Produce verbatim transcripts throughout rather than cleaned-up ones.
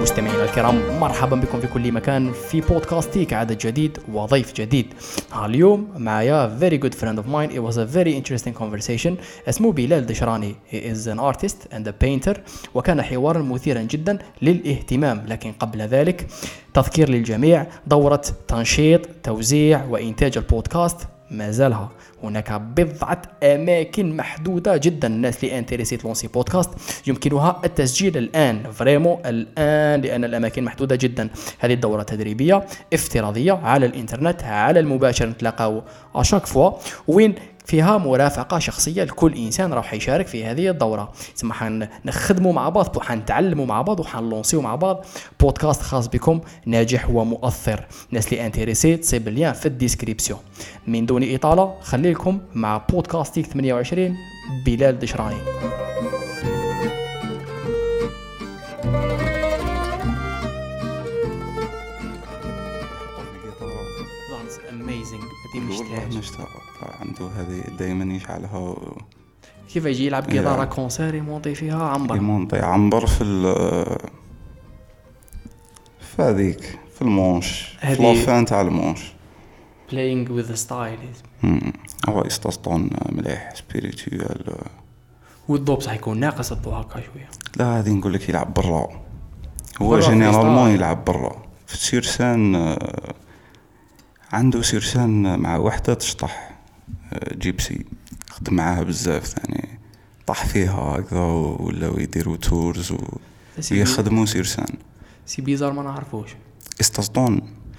مستمعينا الكرام، مرحبا بكم في كل مكان في بودكاستيك، عدد جديد وضيف جديد. اليوم معايا very good friend of mine. It was a very interesting conversation. اسمه بلال دشراني. He is an artist and a painter. وكان حوارا مثيرا جدا للاهتمام. لكن قبل ذلك تذكير للجميع، دورة تنشيط توزيع وإنتاج البودكاست ما زالها. هناك بضعة أماكن محدودة جدا. الناس اللي انتريسيت لونسي بودكاست يمكنها التسجيل الآن، فريمو الآن، لأن الأماكن محدودة جدا. هذه الدورة تدريبية افتراضية على الإنترنت، على المباشر، نتلاقاو أشاك فوا، وين فيها مرافقة شخصية لكل إنسان راح يشارك في هذه الدورة. ثم حنخدموا مع بعض وحنتعلموا مع بعض وحنلونسيو مع بعض بودكاست خاص بكم ناجح ومؤثر. الناس اللي انتريسي تصيب اللين في الديسكريبسيون. من دون إطالة خليكم مع بودكاستيك ثمانية وعشرين بلال دشراني. نشتاق عنده هذه دائما يشعلها. كيف يجي يلعب جيتارة كونسير يمونطي فيها عنبر يمونطي عنبر في ال في هذيك في المونش في لافان تاع المونش playing with the style. هو يستسطون مليح سبيريتوال. والضوء بصح يكون ناقص الضوء هكا شويه. لا هذه نقول لك يلعب برا. هو جينيرالمون يلعب برا في سيرسان. عنده سيرسان مع وحده تشطح جيبسي، خدم معاها بزاف ثاني، طاح فيها هكذا ولا يديروا تورز ويخدموا سيرسان. سي بيزار ما نعرفوش. استسطون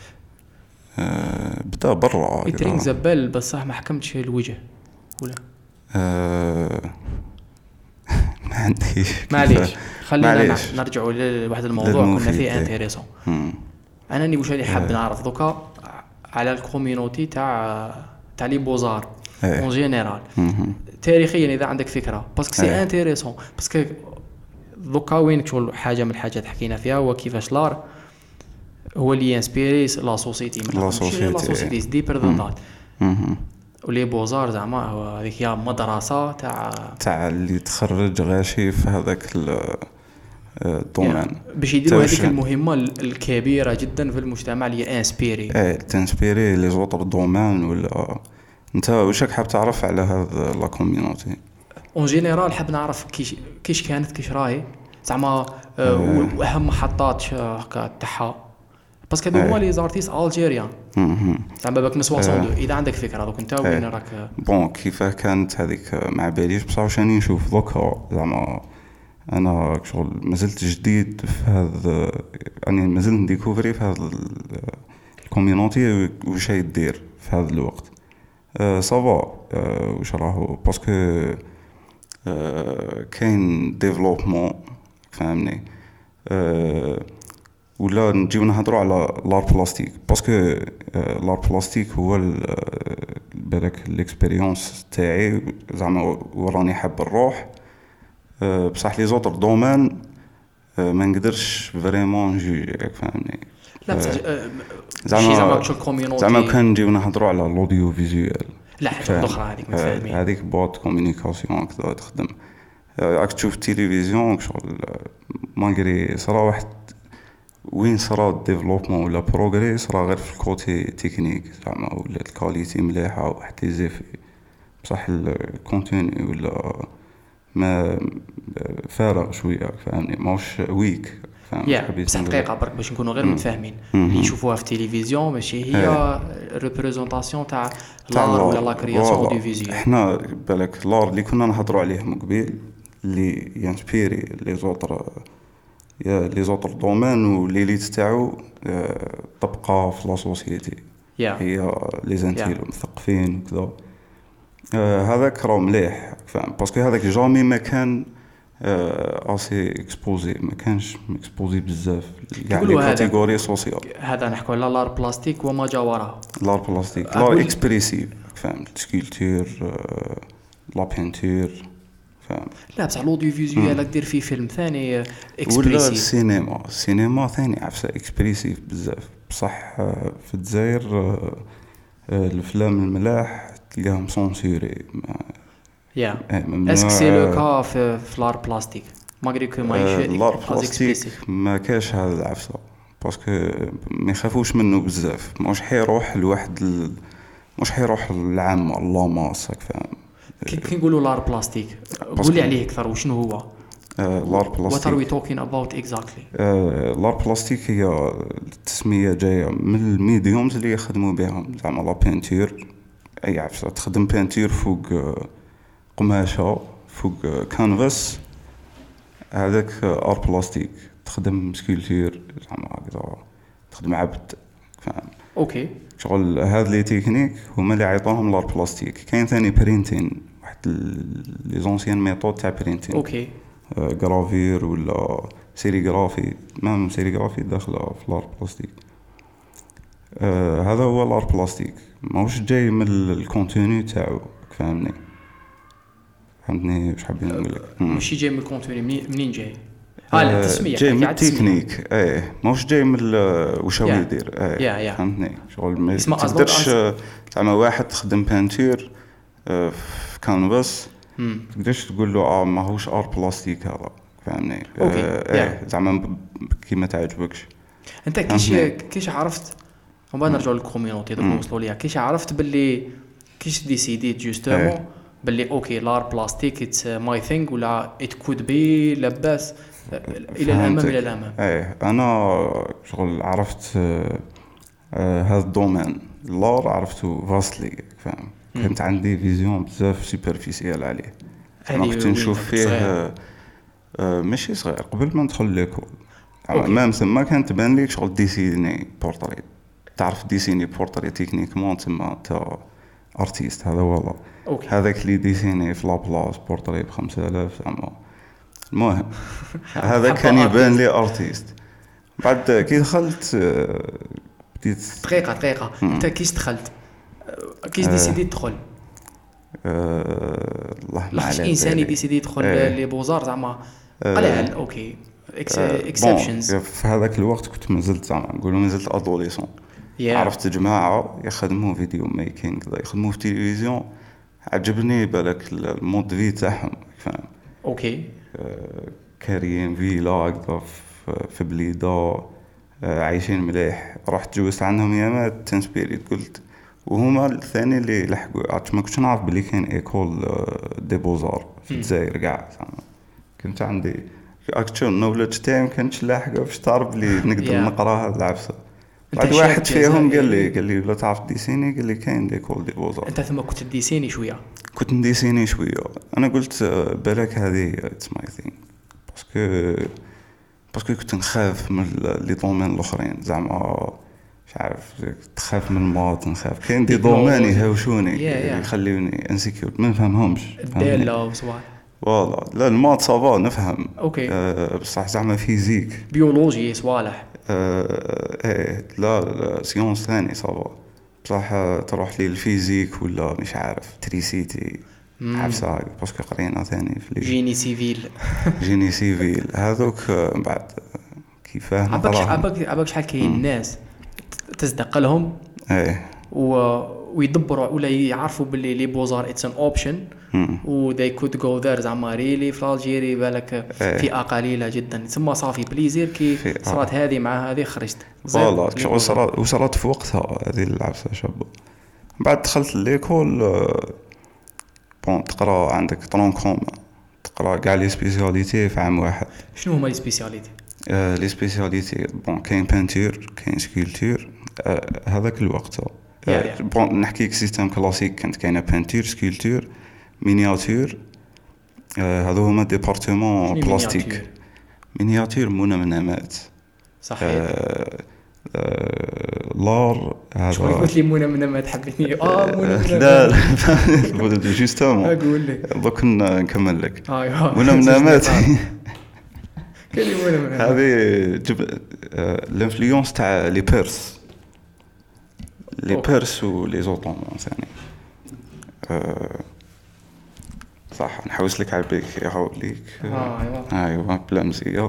أه بدا برا يترينك زبال بصح ما حكمتش الوجه ولا أه ما عنديش. معليش خلينا نرجعوا لواحد الموضوع كنا فيه انتريسون. انا ني واش اللي حاب نعرف دوكا على الكوميونيتي تاع تاع لي بوزار اون جينيرال تاريخيا، اذا عندك فكره، باسكو سي انتريسون. باسكو دوكا وين شغل حاجه من الحاجات حكينا فيها هو كيفاش لار هو اللي ينسبيري لا سوسيتي من لا سوسيتي دي بيردونات ولي بوزار. زعما هذيك هي مدرسه تاع تاع اللي تخرج غاشي في هذاك الدومين يعني باش يديروا هذيك المهمه الكبيره جدا في المجتمع اللي انسبيري ايه تنسبيري لي زوطر دومين. ولا انت واش راك حاب تعرف على هذا لا كوميونيتي اون جينيرال؟ حاب نعرف كيش كيش كانت كيش راهي زعما واهم محطات هكا تاعها، باسكو هذو هما لي زارتيست الجيريان زعما باك من واحد اذا عندك فكره دوك انت وين راك. بون كيف كانت هذيك مع باليش بصح واش راني نشوف دوكا زعما انا شغل مازلت جديد في هذا، يعني مازلت نديكوفري في هذا الكوميونيتي واش يدير في هذا الوقت. أه صافا أه واش راهو باسكو أه كاين ديفلوبمون فهمني. أه ولا نجيو نهضروا على لار بلاستيك باسكو أه لار بلاستيك هو بالك الاكسبيريونس تاعي زعما وراني حاب نروح. أه بصح لي زوتر دومين أه ما نقدرش فريمون نجي فهمني. لا بصح زعما زعما كان نجيو نهضروا على الاوديو فيزوال. لا حاجه اخرى هذيك ما فاهمين. هذيك بوت كومونيكاسيون كذا تخدم. راك تشوف التلفزيون شغل ماغري صرا واحد وين صرا الديفلوبمون ولا بروغري صرا غير في الكوتي تكنيك زعما ولا الكاليتي مليحه واحد لي زيفي، بصح الكونتيني ولا ما فارغ شويه فهمني ماهوش ويك فهمت. بصح دقيقه برك باش نكونوا غير متفاهمين اللي يشوفوها في التلفزيون ماشي هي ريبريزونطاسيون تاع لار ولا لا كرياسيون دو فيزيو. احنا بالك لار اللي كنا نهضروا عليه من قبل اللي ينسبيري لي زوطر يا لي زوطر دومين وليليت تاعو طبقه في لا سوسيتي هي لي زانتيل مثقفين وكذا. هذاك راه مليح فاهم باسكو هذاك جامي ما كان اسي اكسبوزي، ما كانش اكسبوزي بزاف كاع لي كاتيجوري سوسيال. هذا نحكوا على لار بلاستيك وما جا وراها. لار بلاستيك لار اكسبريسيف فاهم، سكولتور لا بينتور فاهم. لا بصح لوديو فيزيوال دير فيه فيلم ثاني اكسبريسيف. ولا السينما السينما ثاني عفسه اكسبريسيف بزاف بصح في الجزائر الافلام الملاح تلقاهم سونسوري يا اسك سي لو كا في لار بلاستيك ماغري كو ماهيش لار بلاستيك ما كاش هذا العفسه باسكو ما يخافوش منه بزاف مش حيروح لواحد ال... مش حيروح للعامه الله ماسك فاهم كي نقولوا لار بلاستيك قول لي عليه اكثر وشنو هو لار what are we بلاستيك talking about exactly لار بلاستيك هي التسميه جايه من الميديومز اللي يخدموا بهم زعما لا بينتور اي عفسه تخدم بينتور فوق قماشه فوق كانفاس هذاك ار بلاستيك تخدم سكولتور زعما هكذا تخدم عبد فاهم اوكي شغل هاد لي تكنيك هما اللي عيطوهم لار بلاستيك كاين ثاني برينتين واحد لي زونسيان ميثود تاع برينتين اوكي غرافير ولا سيريغرافي مام سيريغرافي داخله في لار بلاستيك آه هذا هو لار بلاستيك ماهوش جاي من الكونتوني تاعو فهمني فهمتني واش حابين نقول لك ماشي جاي من الكونتوني منين جاي اه لا التسميه جاي من التكنيك ايه ماهوش جاي من واش هو يدير ايه فهمتني شغل ما تقدرش زعما واحد تخدم بانتور في كانفاس تقدرش تقول له اه ماهوش ار بلاستيك هذا فهمني ايه زعما كيما تعجبكش انت كيش كيش عرفت وما نرجع للكوميونيتي دوك وصلوا ليها كيش عرفت باللي كيش ديسيديت جوستومون باللي اوكي لار بلاستيك اتس ماي ثينغ ولا ات كود بي لاباس الى الامام الى الامام ايه انا شغل عرفت آه آه هذا الدومين لار عرفته فاستلي فاهم كنت عندي فيزيون بزاف سوبرفيسيال عليه انا كنت نشوف فيه آه آه ماشي صغير قبل ما ندخل ليكول ما مسمى كانت تبان لي شغل ديسيني بورتري تعرف ديسيني بورتري تكنيكمون تما تا ارتيست هذا والله هذاك اللي ديسيني في لابلاص بورتري بخمسة آلاف زعما المهم هذا كان يبان لي ارتيست بعد كي دخلت بديت دقيقه دقيقه انت كيش دخلت كيش ديسيدي تدخل أه... الله ما عليك انسان يديسيدي يدخل أه. لي بوزار زعما قلال أه. اوكي اكسبشنز أه. في هذاك الوقت كنت مازلت زعما نقولوا مازلت ادوليسون yeah. عرفت جماعه يخدموا فيديو ميكينغ يخدموا في التلفزيون عجبني بالك المود في تاعهم فاهم اوكي أه كاريين فيلا هكذا في بليده عايشين مليح رحت جوزت عنهم يامات تنسبيريت قلت وهما الثاني اللي لحقوا ما كنتش نعرف بلي كاين ايكول دي بوزار في الجزائر كاع كنت عندي اكشن نولج تاعي كنتش لاحقه باش تعرف بلي نقدر نقرا هاد العفسه بعد واحد فيهم قال لي قال لي لا تعرف ديسيني قال لي كاين ديكول دي بوزار انت ثم كنت ديسيني شويه كنت نديسيني شويه انا قلت بالك هذه اتس ماي ثينغ باسكو باسكو كنت نخاف من لي دومين الاخرين زعما مش عارف تخاف من الماط نخاف كاين دي دومين يهاوشوني يخليوني انسيكيور ما نفهمهمش الداله وصوالح والله لا الماط صافا نفهم اوكي أه بصح زعما فيزيك بيولوجي صوالح أه ايه لا, لا سيونس ثاني صافا بصح تروح لي الفيزيك ولا مش عارف تريسيتي عفسه هاي باسكو قرينا ثاني في جيني سيفيل جيني سيفيل هذوك بعد كيفاه عباك عباك عباك شحال كاين الناس تصدق لهم ايه و ويدبروا ولا يعرفوا باللي لي بوزار اتس ان اوبشن و they could go there زعما ريلي في الجيري بالك فئه قليله جدا ثم صافي بليزير كي صارت هذه مع هذه خرجت والله وصلت وصلت في وقتها هذه العفسه شابه بعد دخلت ليكول بون تقرا عندك طرونكوم تقرا كاع لي سبيسياليتي في عام واحد شنو هما لي سبيسياليتي آه لي سبيسياليتي بون كاين بانتور كاين سكولتور آه هذاك الوقت آه بون نحكيك سيستم كلاسيك كانت كاينه بانتور سكولتور مينياتور آه هذو هما ديبارتمون بلاستيك مينياتور منمنمات صحيح آه آه لار هذا شو قلت لي منمنمات حبيتني اه منمنمات لا لا جوستومون اقول لك دوك نكمل لك ايوا منمنمات كلمه هذه جب الانفلونس تاع لي بيرس لي بيرس ولي زوطومون ثاني صح نحوس لك على بالك يا ليك ايوا ايوا بلا مزيه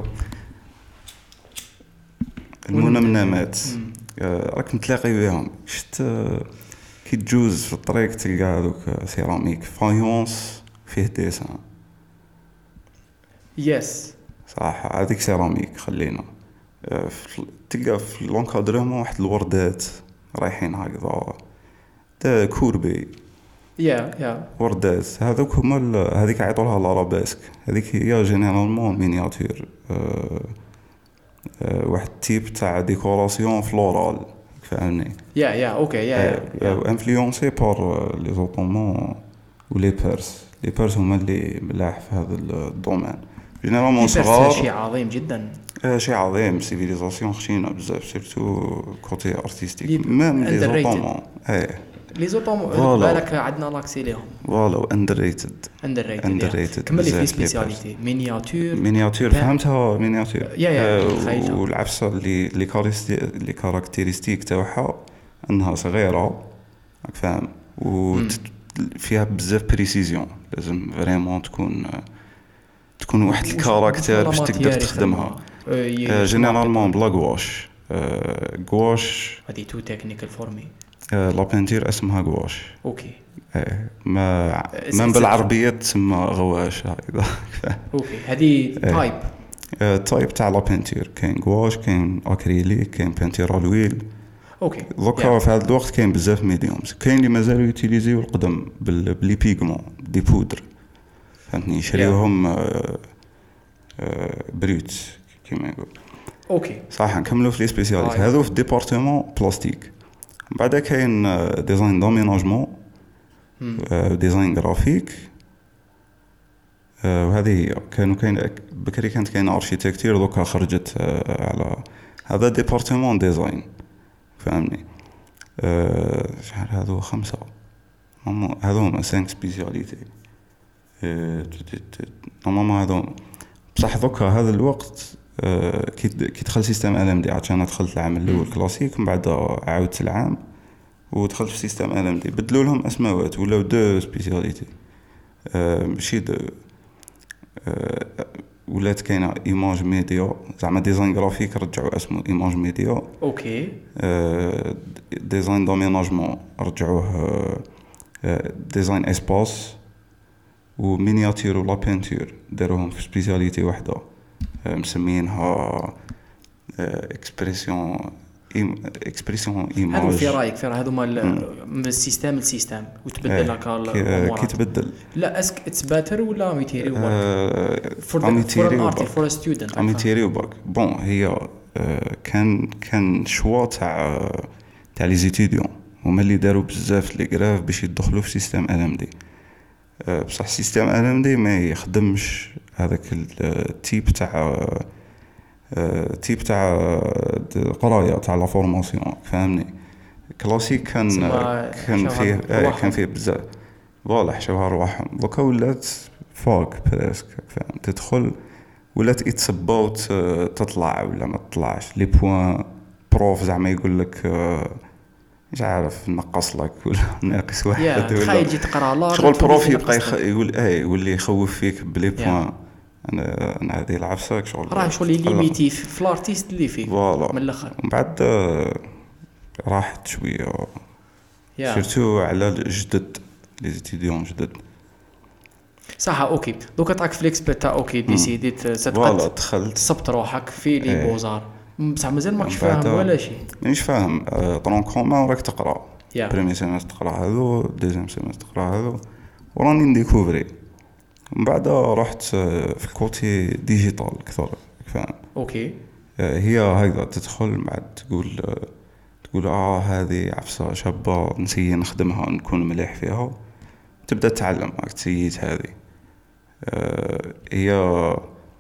المنمنمات راك نتلاقي بهم شفت كي تجوز في الطريق تلقى هذوك سيراميك فايونس فيه ديسان يس صح. هذيك سيراميك خلينا آه، في- تلقى في لونكادرمون واحد الوردات رايحين هكذا تا كوربي يا يا وردات هذوك هما ال- هذيك عيطوا لها لارابيسك. هذيك هي جينيرالمون مينياتور أه أه واحد تيب تاع ديكوراسيون فلورال فهمني. يا يا اوكي يا يا انفلونسي بار لي زوتومون و لي بيرس. لي بيرس هما اللي ملاح في هذا الدومين جينيرالمون صغار شيء صغار. عظيم جدا. آه، شيء عظيم. سيفيليزاسيون خشينه بزاف سيرتو كوتي لي- ارتستيك ميم لي underrated. زوتومون. ايه لي زوطوم فوالا. بالك عندنا لاكسي ليهم فوالا اندر ريتد. اندر ريتد underrated كمل لي في بزاف لي سبيسياليتي مينياتور مينياتور بان. فهمتها مينياتور. يا- يا، آه، تخيلتها. والعفسه اللي اللي كاريستي اللي كاركتيرستيك تاعها انها صغيره راك فاهم وفيها بزاف بريسيزيون. لازم فريمون تكون تكون واحد الكاركتير باش تقدر تخدمها. جينيرالمون بلا غواش. غواش هذه تو تكنيكال فور مي. لا بينتير اسمها غواش. اوكي إيه، ما it's- ما it's- بالعربيه تسمى غواش هكذا. اوكي هذه تايب. تايب تاع لا بينتير كاين غواش كاين اكريليك كاين بينتير الويل. اوكي دوكا في هذا الوقت كاين بزاف ميديومز. كاين اللي مازالوا يوتيليزيو القدم بال- بلي بيغمون دي بودر فهمتني يشريوهم آه، آه، بريوت كيما يقول. اوكي صح. نكملوا في لي سبيسياليتي آه. هذو في ديبارتمون بلاستيك. بعدا كاين آه، ديزاين دوميناجمون آه، ديزاين جرافيك آه، وهذه هي. كانوا كاين بكري كانت كاين اركيتكتير دوكا خرجت آه، على هذا ديبارتمون ديزاين فهمني. آه، شحال هذو خمسة هما هذو هما سانك سبيسياليتي. نورمالمون هذو بصح دوكا هذا الوقت آه، كي كي دخل سيستم ال ام دي. عاد انا دخلت العام الاول كلاسيك من بعد عاودت العام ودخلت في سيستم ال ام دي. بدلوا لهم اسماوات ولاو دو سبيسياليتي آه، ماشي دو آه، ولات كاينه ايماج ميديا زعما ديزاين جرافيك رجعوا اسمه ايماج ميديا. اوكي آه، ديزاين دوميناجمون رجعوه آه، ديزاين اسباس. ومينياتير ولا بينتور داروهم في سبيسياليتي واحده آه، مسمينها اكسبريسيون اكسبريسيون هذو ايماج. في رايك في هذو مال من السيستم للسيستم وتبدل إيه، لك كي الامورات. تبدل لا اسك اتس باتر ولا ميتيري ورك فور اميتيري فور ارتي فور ستودنت اميتيري وباك. بون هي آه، كان كان شوا تاع تاع لي زيتيديون هما اللي داروا بزاف لي غراف باش يدخلوا في سيستم ال ام دي. بصح سيستم ال ام دي ما يخدمش هذاك التيب تاع تيب تاع قرايه تاع لا فورماسيون فهمني. كلاسيك كان تسمى كان حشوها فيه آه، رواحهم. كان فيه بزاف فوالا حشوها رواحهم. دوكا ولات فاك بريسك فاهم تدخل ولات اتس اباوت تطلع ولا ما تطلعش. لي بوين بروف زعما يقول لك آه، مش عارف نقص لك ولا ناقص واحد يا ولا تخيل جي تقرا لا شغل بروف يبقى يخ... يقول اي يولي يخوف فيك بلي Yeah. بوين. انا انا هذه العفسه شغل راه شغل ليميتي في الارتيست اللي فيه فوالا. من الاخر. ومن بعد آه، راحت شويه يا سيرتو على الجدد لي زيتيديون جدد. صح. اوكي دوكا تعك فليكس بتا اوكي ديسيديت فوالا ستقد دخلت تصبت روحك في لي إيه. بوزار بصح مازال ماكش بعد- فاهم ولا شيء. مانيش فاهم طرون كومان راك تقرا يا بريمي سيمستر تقرا هذو دوزيام سيمستر تقرا هذو وراني نديكوفري. من بعد رحت آه، في الكوتي ديجيتال اكثر فاهم. اوكي آه، هي هكذا تدخل بعد تقول آه، تقول اه هذه عفسه شابه نسيي نخدمها نكون مليح فيها. تبدا تتعلم راك تسييت هذه آه، هي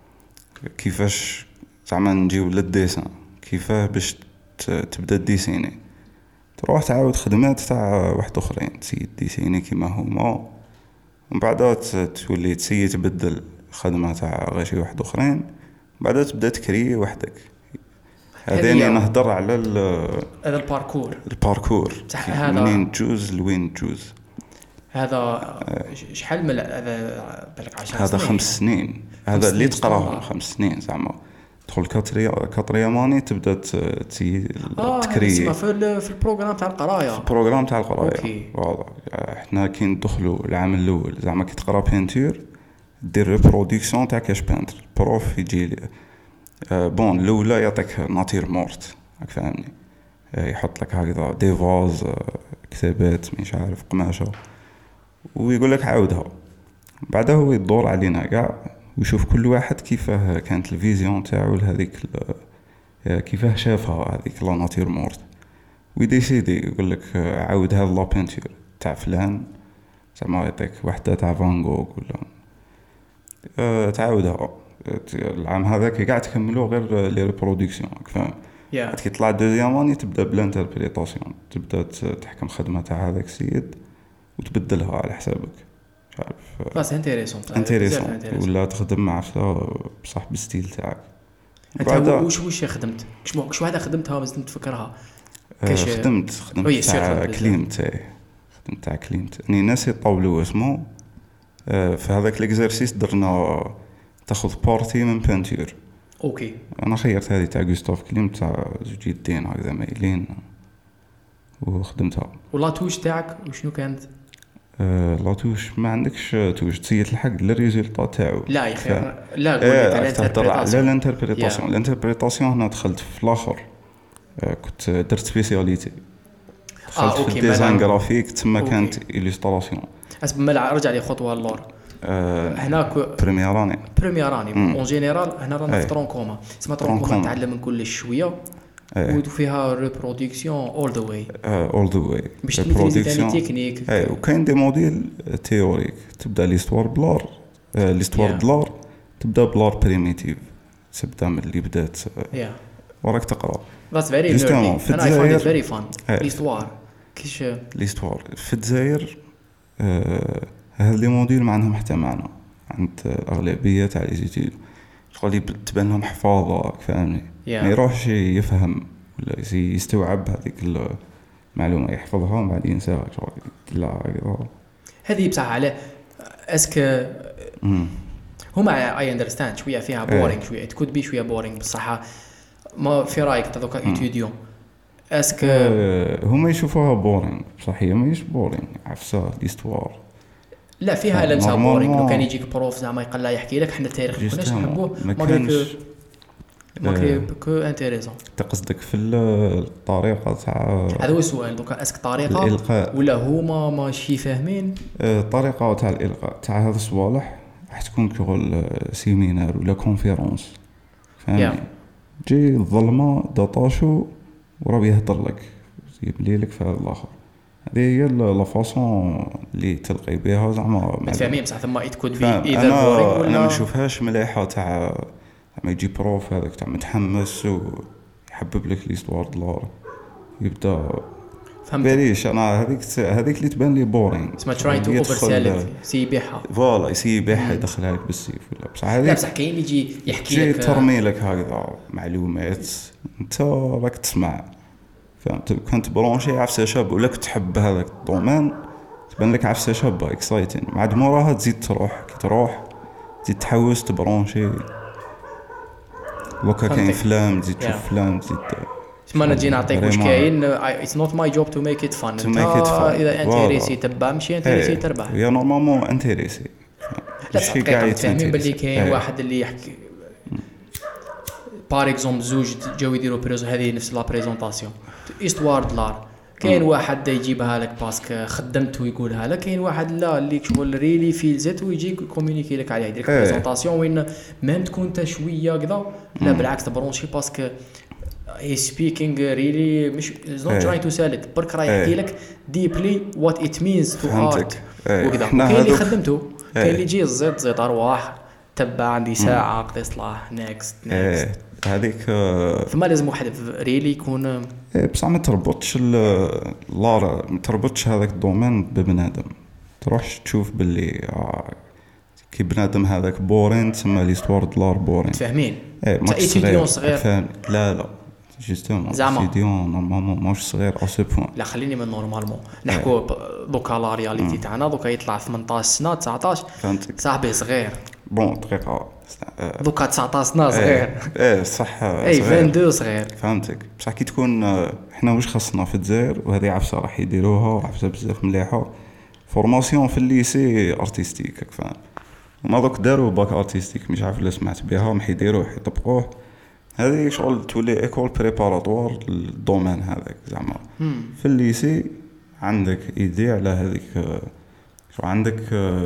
كيفاش زعما نجيو للديسان كيفاه باش ت- تبدا ديسيني. تروح تعاود خدمات تاع واحد اخرين تسيي ديسيني كيما هما ومن بعد تولي تسيي تبدل خدمه تاع غير شي واحد اخرين. بعد تبدا تكري وحدك. هذاني هذه- نهضر على ال- هذا الباركور الباركور صح، كيف هذا- منين تجوز لوين تجوز. هذا ش- شحال من هذا بالك عشر هذا سنين. خمس سنين هذا خمس اللي سنين تقراهم سنة. خمس سنين زعما تدخل كاتريا كاتريا ماني تبدا ت- تي اه تكري اسمه في ال- في البروغرام تاع القرايه. البروغرام تاع القرايه. أوكي. فوالا احنا كي ندخلوا العام الاول زعما كي تقرا بينتور دير ريبرودكسيون تاع كاش بانتر بروف يجي لي آه بون الاولى يعطيك ناتير مورت راك فاهمني آه يحط لك هكذا دي فاز آه كتابات مش عارف قماشه ويقول لك عاودها بعدها هو يدور علينا كاع ويشوف كل واحد كيفاه كانت الفيزيون تاعو لهذيك كيفاه شافها هذيك لا ناتير مورت ويديسيدي يقول لك عاود هذا لا بينتور تاع فلان زعما يعطيك وحده تاع فان غوغ ولا أه تعاودها العام هذاك كاع تكملوا غير لي ريبرودكسيون فاهم yeah. كي طلع دوزيام اني تبدا بالانتربريتاسيون تبدا تحكم خدمه تاع هذاك السيد وتبدلها على حسابك مش عارف بس انتريسون انتريسون ولا تخدم مع بصاحب الستيل تاعك انت واش واش خدمت شنو شو هذا خدمتها بس نتفكرها كاش خدمت خدمت تاع كليم تاعي خدمت تاع كليم اني ناسي طاولو اسمه في هذاك الاكزرسيس درنا تاخذ بارتي من بانتور اوكي انا خيرت هذه تاع غوستاف كليم تاع زوج يدين هكذا مايلين وخدمتها ولا توش تاعك وشنو كانت أه لا توش ما عندكش توش تسيت الحق للريزلطه تاعو لا يا خير لا قول لي الانتربريتاسيون لا الانتربريتاسيون الانتربريتاسيون هنا دخلت في الاخر أه كنت درت سبيسياليتي دخلت آه، في الديزاين جرافيك تما كانت إليستراسيون اسب ما رجع لي خطوه للور أه هناك بريمير اني بريمير اني اون جينيرال هنا رانا في ترونكوما اسمها ترونكوما نتعلم من كل شويه وفيها ريبرودكسيون اول ذا واي اول ذا واي باش تميزي تكنيك اي وكاين دي موديل تيوريك تبدا ليستوار بلار ليستوار بلار تبدا بلار بريميتيف تبدا من اللي بدات وراك تقرا بس فيري جوستومون في الجزائر فيري فان ليستوار كيش ليستوار في الجزائر هاد لي موديل ما عندهم حتى معنى عند الاغلبيه تاع لي زيتيد شغل تبان لهم حفاظه فاهمني ما يروحش يفهم ولا يستوعب هذيك المعلومه يحفظها ومن بعد ينساها شغل لا هذه بصح على اسك هما اي اندرستاند شويه فيها بورينغ شويه تكود بي شويه بورينغ بصح ما في رايك تذوق ايتوديون اسك هما يشوفوها بورينغ بصح هي ماهيش بورينغ عفسه ليستوار لا فيها لمسه بورينغ لو كان يجيك بروف زعما يقلا يحكي لك حنا التاريخ ما كناش نحبوه ما كانش ما كو انتريسون تقصدك في الطريقه تاع هذا هو السؤال دوكا اسك طريقه الإلقاء. ولا هما ماشي فاهمين الطريقه تاع الالقاء تاع هذا الصوالح راح تكون كغل سيمينار ولا كونفيرونس فهمني yeah. جي الظلمه داطاشو وراه يهضر لك يبلي لك في هذا الاخر هذه هي لا فاصون اللي تلقي بها زعما ما تفهمي بصح ثم يتكود بي اذا انا ولا انا ما نشوفهاش مليحه تاع ما يجي بروف هذاك تاع متحمس ويحبب لك ليستوار دولار يبدا فهمت انا هذيك هذيك اللي تبان لي بورين اسمها تراي تو اوفر سيل سي بيحها فوالا يسي بيحها يدخلها لك بالسيف ولا بصح هذيك لا بصح كاين اللي يجي يحكي لك ترمي لك هكذا معلومات انت راك تسمع فهمت كنت برونشي عفسه شاب ولا كنت تحب هذاك الدومين تبان لك عفسه شابه اكسايتين بعد موراها تزيد تروح كي تروح تزيد تحوس تبرونشي لوكا كاين فلام تزيد تشوف فلام تزيد ما نجي نعطيك واش كاين اتس نوت ماي جوب تو ميك ات فان اذا انتريسي تبع ماشي انتريسي تربح يا نورمالمون انتريسي ماشي كاع فاهمين باللي كاين واحد اللي يحكي بار اكزومبل زوج جاو يديروا بريز هذه نفس لا بريزونطاسيون استوار دولار كاين واحد يجيبها لك باسكو خدمته ويقولها لك كاين واحد لا اللي شغل ريلي فيلزت ويجي كومونيكي لك عليها يدير بريزونطاسيون وين ميم تكون انت شويه كذا لا بالعكس تبرونشي باسكو هي سبيكينغ ريلي مش نوت تراي تو سيل ات برك راه يحكي لك ديبلي وات ات مينز تو ارت وكذا كاين اللي خدمته كاين اللي يجي زيد زيد ارواح تبع عندي ساعه قضي صلاح نيكست نيكست هذيك فما لازم واحد ريلي يكون بصح ما تربطش لار ما تربطش هذاك الدومين ببنادم تروحش تشوف باللي كي بنادم هذاك بورين تسمى ليستوار دولار بورين فاهمين صغير فاهم لا لا جوستومون سيديون نورمالمون ماهوش صغير او سو بوين لا خليني من نورمالمون نحكوا دوكا لا رياليتي تاعنا دوكا يطلع ثمنطاش سنه تسعطاش صاحبي صغير بون دقيقه دوكا تسعطاش سنه صغير ايه صح اي اثنين وعشرين صغير فهمتك بصح كي تكون احنا واش خصنا في الجزائر وهذه عفسه راح يديروها عفسه بزاف مليحه فورماسيون في الليسي ارتستيك فاهم وما دوك داروا باك ارتستيك مش عارف لا سمعت بها ما حيديروه يطبقوه. هذه شغل تولي ايكول بريباراتوار للدومين هذاك زعما. في الليسي عندك ايدي على هذيك شو عندك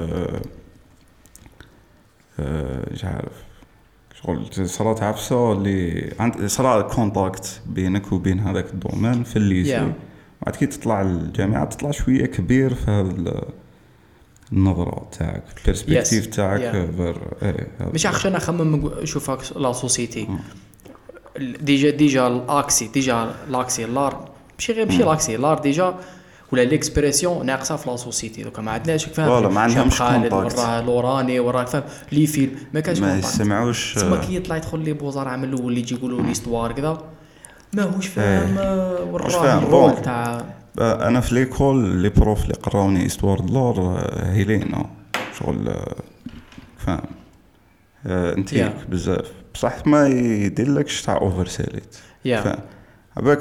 مش عارف شغل صارت عفسه اللي عند صار كونتاكت بينك وبين هذاك الدومين في الليسي. yeah. بعد كي تطلع الجامعه تطلع شويه كبير في هذا النظره تاعك البيرسبكتيف yes. تاعك yeah. فر ايه مش عشان اخمم نشوفك لا سوسيتي ديجا ديجا الاكسي ديجا لاكسي لار ماشي غير ماشي لاكسي لار ديجا ولا ليكسبريسيون ناقصه في لا سوسيتي دوكا ما عندناش فاهم ولا ما عندهمش خالد كونتاكت وراه لوراني وراه فاهم لي فيلم ما كانش ما يسمعوش تما كي يطلع يدخل لي بوزار عمل الاول اللي يجي يقولوا ليستوار كذا ماهوش فاهم وراه الرول تاع. انا في ليكول لي بروف اللي قراوني استوار دولار هيلينا شغل فاهم انتيك yeah. بزاف بصح ما يدير لكش تاع اوفر سيليت yeah. فاهم عباك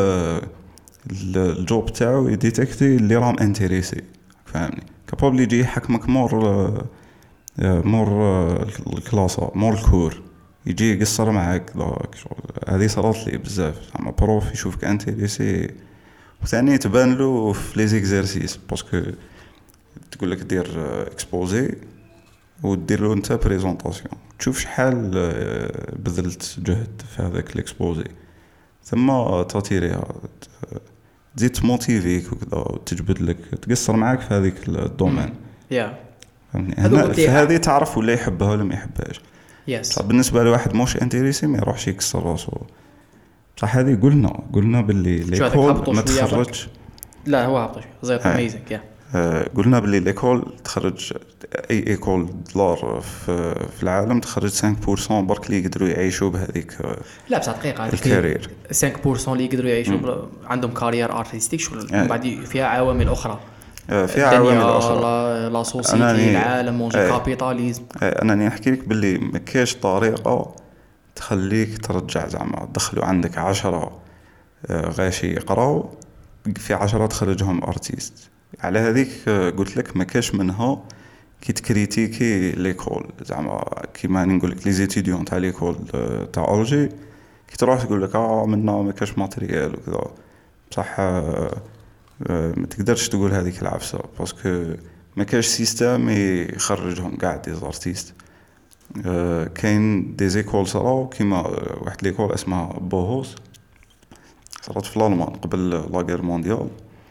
الجوب تاعو يديتكتي اللي راهم انتريسي فاهمني كابابلي يجي يحكمك مور مور الكلاسه مور الكور يجي يقصر معاك داك شغل. هذه صارت لي بزاف زعما بروف يشوفك انتريسي وثاني تبان له في لي زيكزارسيس باسكو تقول لك دير اكسبوزي ودير له انت بريزونطاسيون تشوف شحال بذلت جهد في هذاك الاكسبوزي ثم تاتيريها تزيد تموتيفيك وكذا وتجبد لك تقصر معاك في هذيك الدومين يا هنا في هذه تعرف ولا يحبها ولا ما يحبهاش. يس بالنسبه لواحد موش انتريسي ما يروحش يكسر راسو بصح هذه قلنا قلنا باللي ليكول ما تخرجش لا هو هبطش زيت اميزنج يا قلنا باللي ليكول تخرج اي ايكول دولار في, في العالم تخرج خمسة بالمية برك اللي يقدروا يعيشوا بهذيك لا بصح دقيقه الكارير خمسة بالمية اللي يقدروا يعيشوا عندهم كارير ارتستيك شغل من بعد فيها عوامل اخرى فيها عوامل اخرى لا سوسيتي العالم مونجي كابيتاليزم. انا نحكي لك باللي ما كاينش طريقه تخليك ترجع زعما تدخلوا عندك عشرة غاشي يقراو في عشرة تخرجهم ارتيست على هذيك قلت لك ما كاش منها كي تكريتيكي ليكول زعما كيما نقول لك لي زيتيديون تاع ليكول تاع اورجي كي تروح تقول لك اه منا ما كاش ماتريال وكذا بصح ما تقدرش تقول هذيك العفسه باسكو ما كاش سيستم يخرجهم كاع دي زارتيست. كاين دي زيكول صراو كيما واحد ليكول اسمها بوهوس صارت في الالمان قبل لا غير مونديال.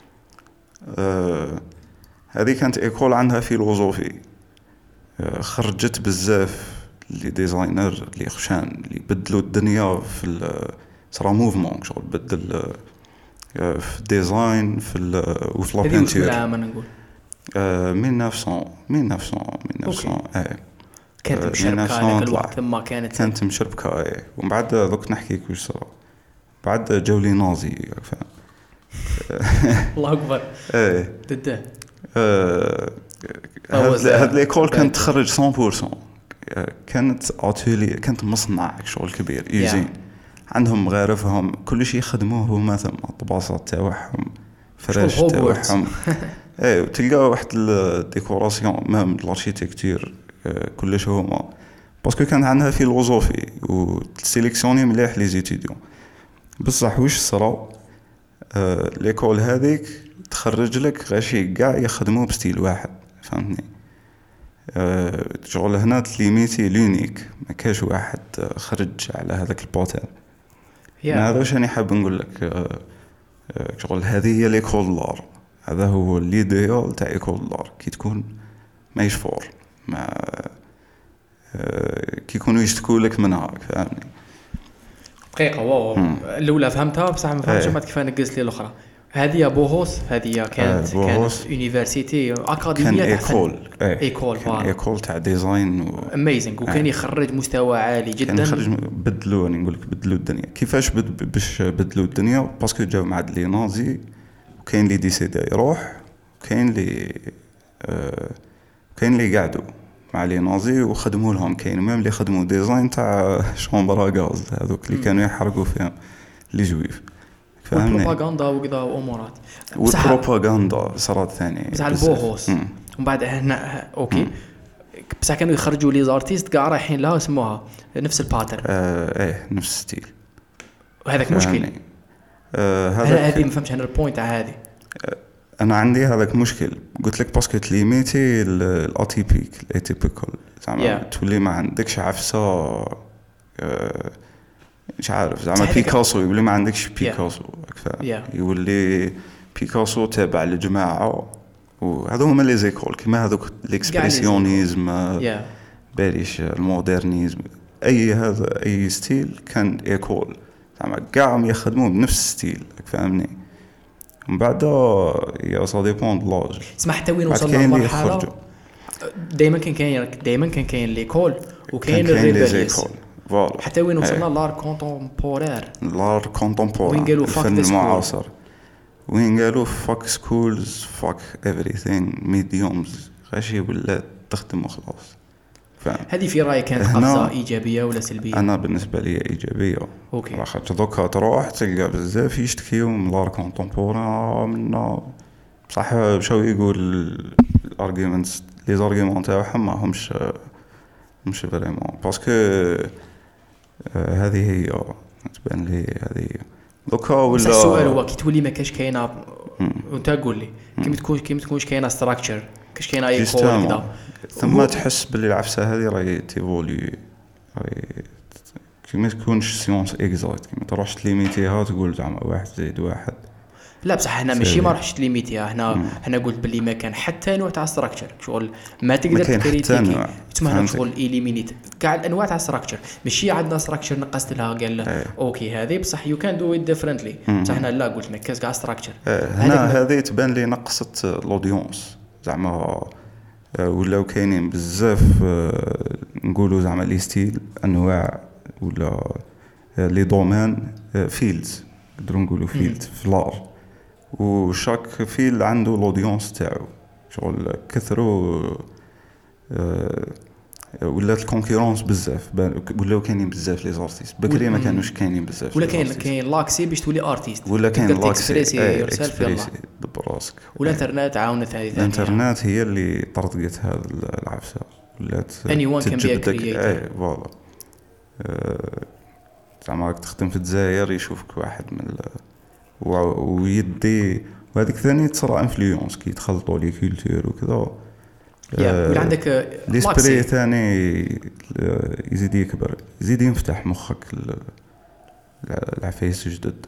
هذه كانت ايكول عندها فيلوزوفي خرجت بزاف لي ديزاينر اللي خشان اللي بدلوا الدنيا في صرا موفمون شغل بدل في ديزاين في وفي لا بينتور عام نقول ألف وتسعمية ألف وتسعمية اي كانت مشربكه الوقت ما كانت كانت مشربكه اي ومن بعد دوك نحكيك واش صرا بعد جاولي نازي فاهم الله اكبر ايه ضده هاد ليكول كانت تخرج مية بالمية كانت اتولي كانت مصنع شغل كبير يوزين عندهم مغارفهم كل شيء يخدموه هما ثم الطباصات تاعهم فراش تاعهم ايه وتلقى واحد الديكوراسيون مام الاركيتكتور كلش هما باسكو كان عندها فيلوزوفي وسيليكسيوني مليح لي زيتيديون بصح واش صرا آه ليكول هذيك تخرج لك غاشي كاع يخدموا بستيل واحد فهمتني آه شغل هنا تليميتي لونيك ما كاش واحد خرج على هذاك البوتال yeah. هذا واش انا حاب نقول لك آه شغل هذه هي ليكول دولار هذا هو ليديال تاع ايكول دولار كي تكون ما يشفور ما آه كي يكونوا يشتكوا لك منها فهمتني دقيقه واو الاولى فهمتها بصح ما فهمتش ما كيف نقص لي الاخرى. هذه بوهوس هذه كانت آه كانت يونيفرسيتي اكاديميه كان ايكول ايكول كان ايكول تاع ديزاين و... اميزنج وكان يخرج مستوى عالي جدا كان يخرج بدلوا نقول لك بدلوا الدنيا كيفاش بد... باش بدلوا الدنيا باسكو جاو مع لي نازي وكاين اللي ديسيدي يروح وكاين اللي آه... كاين اللي قعدوا مع لي نازي وخدموا لهم كاين ميم اللي خدموا ديزاين تاع شومبرا غاز هذوك اللي كانوا يحرقوا فيهم لي جويف فهمني البروباغندا وكذا وامورات والبروباغندا صارت ثاني بصح البوهوس ومن بعد هنا اوكي بصح كانوا يخرجوا لي زارتيست كاع رايحين لها سموها نفس الباترن. آه ايه نفس ستيل. وهذاك مشكل. آه هذا هذه ما فهمتش انا البوينت تاع هذه. انا عندي هذاك مشكل قلت لك باسكو تليميتي الاتيبيك الاتيبيكال زعما yeah. تولي ما عندكش عفسه آه مش عارف زعما بيكاسو يولي ما عندكش بيكاسو yeah. yeah. يولي بيكاسو تابع لجماعه وهذو هما لي زيكول كيما هذوك الاكسبرسيونيزم yeah. باليش المودرنيزم اي هذا اي ستيل كان ايكول زعما كاع يخدموا بنفس ستيل فهمني. من بعد يا سا ديبون د لاج. اسمع حتى وين وصلنا للمرحله دائما كان كاين دائما كان كاين ليكول وكاين الريبيليس حتى وين وصلنا لار كونتمبورير لار كونتمبورير وين قالوا فاك المعاصر وين قالوا فاك سكولز فاك ايفريثينغ ميديومز غاشي ولا تخدم وخلاص. هذه في رايك كانت قفزه ايجابيه ولا سلبيه؟ انا بالنسبه لي ايجابيه. اوكي لاخاطش دوكا تروح تلقى بزاف يشتكيو من لار كونتمبورير من بصح مشاو يقول الارغيومنتس لي زارغيومون تاعهم ما همش مش فريمون باسكو هذه هي تبان لي هذه دوكا ولا. السؤال هو كي تولي ما كاش كاينه وانت قول لي كيما تكون كيما تكونش كاينه ستراكشر كاش كاينه اي كول كذا ثم تحس باللي العفسه هذه راهي تيفولي راهي كيما تكونش سيونس اكزاكت كيما تروحش تليميتيها تقول زعما واحد زائد واحد. لا بصح هنا ماشي ما راحش تليميتيها هنا هنا قلت باللي ما كان حتى نوع تاع ستراكشر شغل ما تقدر تكريتيكي تسمى هنا شغل اليمينيت كاع الانواع تاع ستراكشر ماشي عندنا ستراكشر نقصت لها قال اه. اوكي هذه بصح يو كان دو ات ديفرنتلي بصح هنا لا قلت ما كاش كاع ستراكشر هنا هذه تبان لي نقصت الاودينس زعما ولاو كاينين بزاف نقولوا زعما لي ستيل انواع ولا لي دومين فيلدز نقدروا نقولوا فيلد في لار وشاك فيل عنده الاودينس تاعو شغل كثروا أه ولات الكونكورونس بزاف ولاو كاينين بزاف لي زارتيست بكري ما كانوش كاينين بزاف ولا كاين كاين لاكسي باش تولي ارتيست ولا كاين لاكسي اكسبريسي براسك والانترنت عاونت هذه الانترنت هي اللي طردقت هذا العفسه ولات اني وان كان بي كرييتور اي فوالا زعما راك تخدم في الجزائر يشوفك واحد من ويدي وهذيك ثاني تصرا انفلونس كي يتخلطوا لي كولتور وكذا يا ولا عندك لي سبري ثاني يزيد يكبر يزيد ينفتح مخك العفايس جدد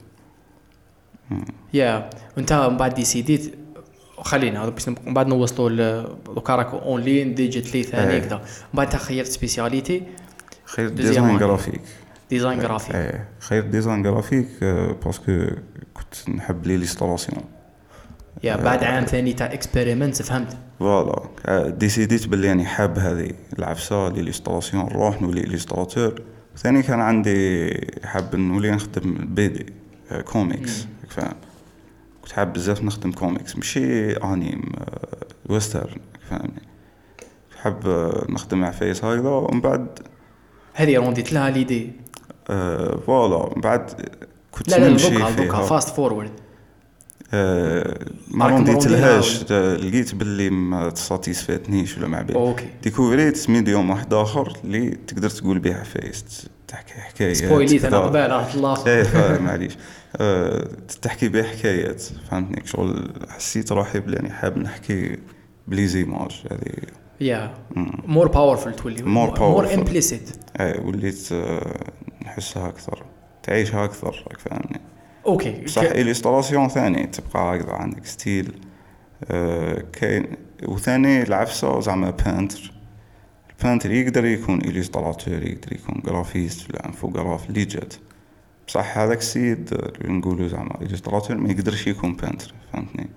يا وانت من بعد ديسيديت خلينا هذا باش من بعد نوصلوا لوكاراك اونلاين ديجيتالي ثاني كذا من بعد خيرت سبيسياليتي خير ديزاين جرافيك ديزاين جرافيك ايه خير ديزاين جرافيك باسكو كنت نحب لي ليستراسيون يا بعد عام ثاني تاع اكسبيريمنت فهمت فوالا ديسيديت باللي يعني حاب هذه العفسه لي ليستراسيون نروح نولي ليستراتور ثاني كان عندي حاب نولي نخدم بيدي كوميكس فاهم كنت حاب بزاف نخدم كوميكس ماشي انيم ويسترن فهمني حاب نخدم عفايس هكذا ومن بعد هذه رونديت لها ليدي أه فوالا من بعد كنت لا نمشي لا دوكا فاست فورورد أه ما رونديت لهاش لقيت باللي ما تساتيسفاتنيش ولا ما عبالي ديكوفريت ميديوم واحد اخر اللي تقدر تقول به عفايس تحكي حكايات سبويليت انا قبال راح الله ايه معليش أه تحكي به حكايات فهمتني شغل حسيت روحي بلي يعني حاب نحكي بلي زيماج هذه يا مور باورفul تولي مور امبليسيت اي وليت نحسها اكثر تعيشها اكثر فهمني اوكي صح إليستراسيون ثاني تبقى هكذا عندك ستيل أه كاين وثاني العفسه زعما بانتر البانتر يقدر يكون إليستراتور يقدر يكون جرافيست ولا انفوغراف اللي جات بصح هذاك السيد اللي نقولوا زعما إليستراتور ما يقدرش يكون بانتر فهمتني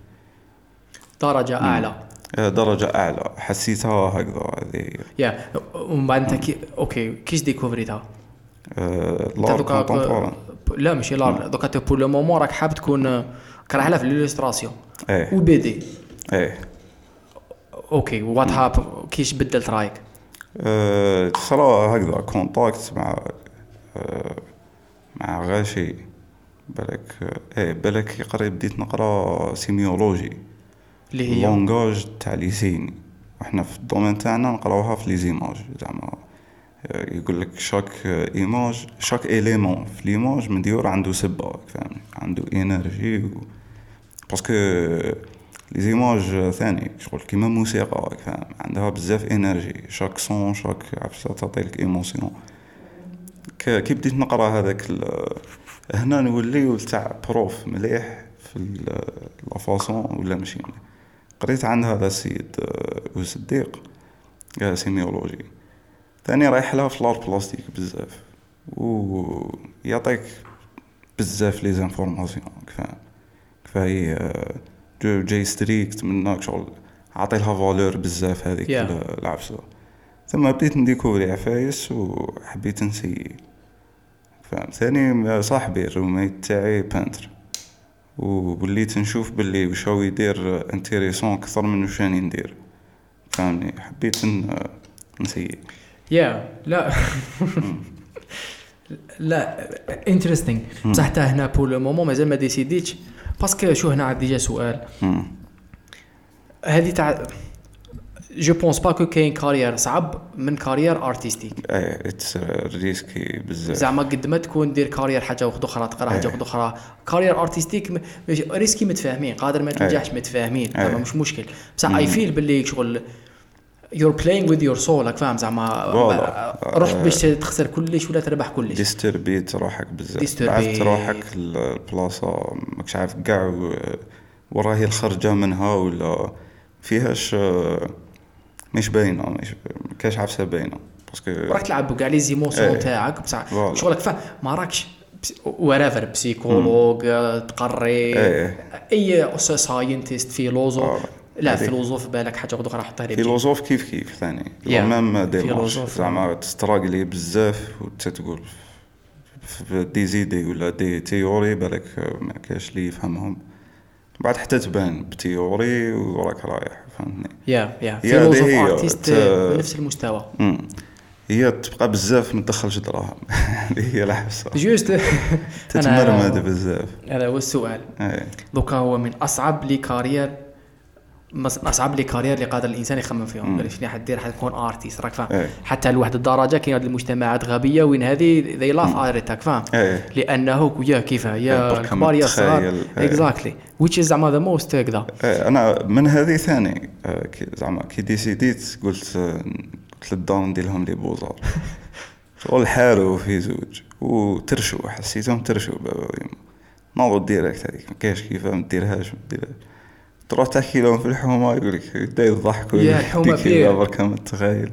درجه اعلى درجة أعلى حسيتها هكذا هذه يا ومن بعد أنت كي أوكي كيش ديكوفريتها لار كونتمبوران لا ماشي لار دوكا تو بور لو مومون راك حاب تكون كرهلا في الإليستراسيون ايه وبي دي ايه اوكي وات هاب كيش بدلت رايك أه صرا هكذا كونتاكت مع أه مع غاشي بالك ايه بالك قريب بديت نقرا سيميولوجي اللي هي لونغاج تاع ليسيني احنا في الدومين تاعنا نقراوها في لي زيماج زعما يقول لك شاك ايماج شاك اليمون في ليماج مديور عنده سبه فهمني عنده انرجي و... باسكو لي زيماج ثاني شغل كيما موسيقى فاهم عندها بزاف انرجي شاك صون شاك عفسه تعطيك ايموسيون كي بديت نقرا هذاك ال... هنا نولي تاع بروف مليح في لا فاصون ولا ماشي قريت عن هذا السيد وصديق سيميولوجي ثاني رايح لها في لار بلاستيك بزاف ويعطيك بزاف لي زانفورماسيون فاهم كفايه جو جاي ستريكت منك شغل عطي لها فالور بزاف هذيك yeah. العفسه ثم بديت نديكوري عفايس وحبيت نسي فاهم ثاني صاحبي الروميت تاعي بانتر ووليت نشوف باللي وش هو يدير انتريسون اكثر من وش راني ندير فهمني حبيت نسي يا لا لا انتريستينغ بصح حتى هنا بول مومون مازال ما ديسيديتش باسكو شو هنا عندي جا سؤال هذه تاع جو بونس با كو كاين كارير صعب من كارير ارتستيك اي اتس ريسكي بزاف زعما قد ما تكون دير كارير حاجه واحده اخرى تقرا حاجه واحده اخرى كارير ارتستيك ريسكي متفاهمين قادر ما تنجحش متفاهمين زعما مش مشكل بصح اي فيل باللي شغل you're playing with your soul راك فاهم زعما رحت باش تخسر كلش ولا تربح كلش ديستربيت روحك بزاف عرفت روحك البلاصه ماكش عارف كاع وراهي الخرجه منها ولا فيهاش مش باينه مش كاش عفسه باينه باسكو راك تلعب كاع لي زيموسيون تاعك بصح شغلك فا ما راكش ورافر بسيكولوج تقري اي ساينتست فيلوزوف لا فيلوزوف بالك حاجه اخرى حطها لي فيلوزوف كيف كيف ثاني مام ديمارش زعما تستراغلي بزاف وتتقول في دي زيدي ولا دي تيوري بالك ما كاش لي يفهمهم بعد حتى تبان بتيوري وراك رايح فهمني يا يا فيلوزوف ارتست بنفس المستوى امم هي تبقى بزاف ما تدخلش دراهم هذه هي الحبسه جوست تتمرمد بزاف هذا هو السؤال دوكا هو من اصعب لي كارير اصعب لي كارير اللي قادر الانسان يخمم فيهم قال شنو حدير حتكون ارتيست راك فاهم حتى لواحد الدرجه كاين هذه المجتمعات غبيه وين هذه ذي لاف اريتك فاهم لانه يا كيف يا الكبار يا الصغار اكزاكتلي which is زعما ذا موست كذا انا من هذه ثاني زعما كي ديسيديت قلت قلت للدار ندير لهم لي بوزار شغل حاروا في زوج وترشوا حسيتهم ترشوا نوضوا ديريكت هذيك ما كاينش كيف ما ديرهاش ما ديرهاش تروح تحكي لهم في الحومه يقول لك يبدا يضحكوا يا الحومه فيها برك ما تتخيل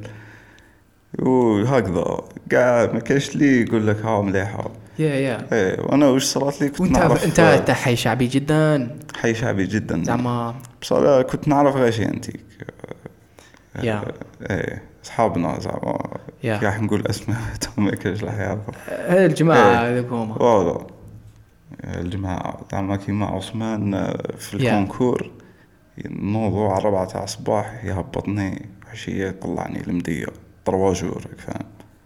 وهكذا كاع ما كاينش لي يقول لك ها مليحه يا يا ايه وانا واش صرات لي كنت نعرف انت انت حي شعبي جدا حي شعبي جدا زعما بصراحه كنت نعرف غاشي انتيك يا ايه اصحابنا زعما راح نقول اسماء ما كاينش راح يعرفوا الجماعه هذوكم والله الجماعه زعما كيما عثمان في الكونكور نوضو على ربعة تاع الصباح يهبطني عشية طلعني المدية طروا جور فاهم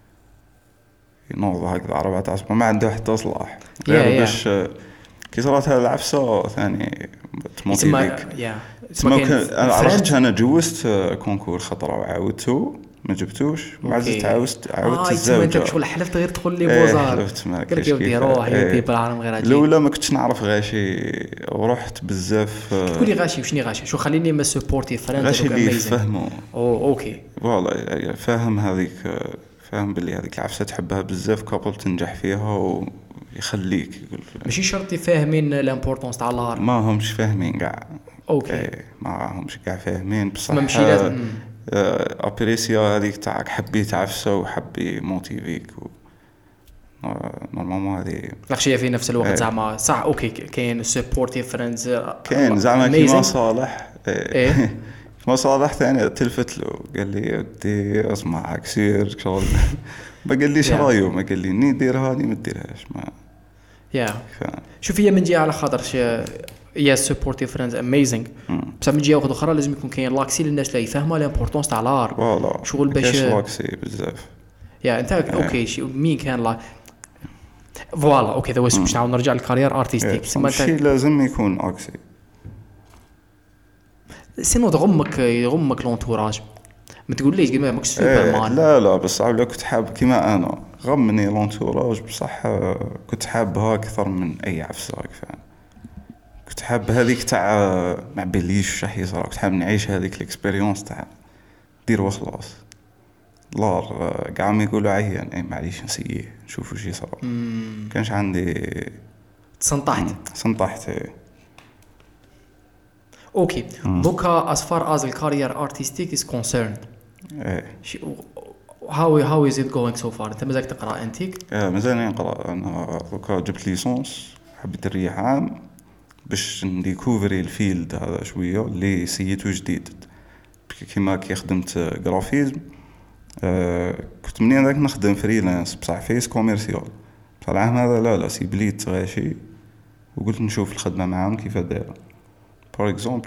ينوضو هكذا على ربعة تاع الصباح ما عنده حتى صلاح غير باش كي صارت هذه العفسة ثاني تموتيفيك انا عرفت انا جوزت كونكور خطرة وعاودتو ما جبتوش ما زدت عاوزت عاودت آه الزوجه انت شغل حلفت غير تدخل لي بوزار حلفت ما قلت يودي روح يودي بالعالم غير اجي الاولى ما كنتش نعرف غاشي ورحت بزاف تقولي غاشي وشني غاشي شو خليني ما سبورتي فريند غاشي اللي يفهموا او اوكي والله فاهم هذيك فاهم باللي هذيك العفسه تحبها بزاف كابل تنجح فيها ويخليك يقول ماشي شرط فاهمين الامبورطونس تاع النهار ما همش فاهمين كاع اوكي ما همش كاع فاهمين بصح ما مشي لازم ابريسيا هذيك تاعك حبيت عفسه وحبي موتيفيك و... نورمالمون هذه لاخشيه في نفس الوقت زعما صح اوكي كاين سبورتيف فريندز كاين زعما كيما صالح ايه كيما صالح ثاني تلفت له قال لي ودي اسمعك سير شغل ما قال ليش رايو ما قال لي ني ديرها ني ما ديرهاش ما يا شوف هي من جهه على خاطر يا سبورتيف فريندز اميزنج بس من جهه اخرى لازم يكون كاين لاكسي للناس اللي يفهموا الامبورطونس تاع الار فوالا شغل باش كاش لاكسي بزاف يا انت اوكي شي مين كان لا فوالا اوكي ذا واش باش نعاود نرجع للكارير ارتستيك بس ماشي لازم يكون اكسي سينو تغمك يغمك لونتوراج، ما تقوليش كيما ماكش سوبر إيه مان. لا لا بس عاولا كنت حاب كيما انا غمني لونتوراج بصح آه، كنت حابها اكثر من اي عفسه راك فاهم. كنت حاب هذيك تاع ما بليش شح يصرا، كنت حاب نعيش هذيك الاكسبيريونس تاع دير وخلاص. لار كاع ما يقولوا عيان اي معليش نسيه نشوف واش يصرا. كانش عندي تسنطحت. سنطحت. اوكي دوكا as far as the career artistic is concerned ايه شي- how how is it going so far؟ انت مازالك تقرا انتيك؟ اه مازال نقرا انا دوكا جبت ليسونس، حبيت نريح عام باش نديكوفري الفيلد هذا شويه اللي سيتو جديد. كيما كي خدمت جرافيزم آه كنت منين هذاك نخدم فريلانس بصح فيس كوميرسيال. بصح العام هذا لا لا سيبليت غاشي وقلت نشوف الخدمه معاهم كيف دايره. بار اكزومبل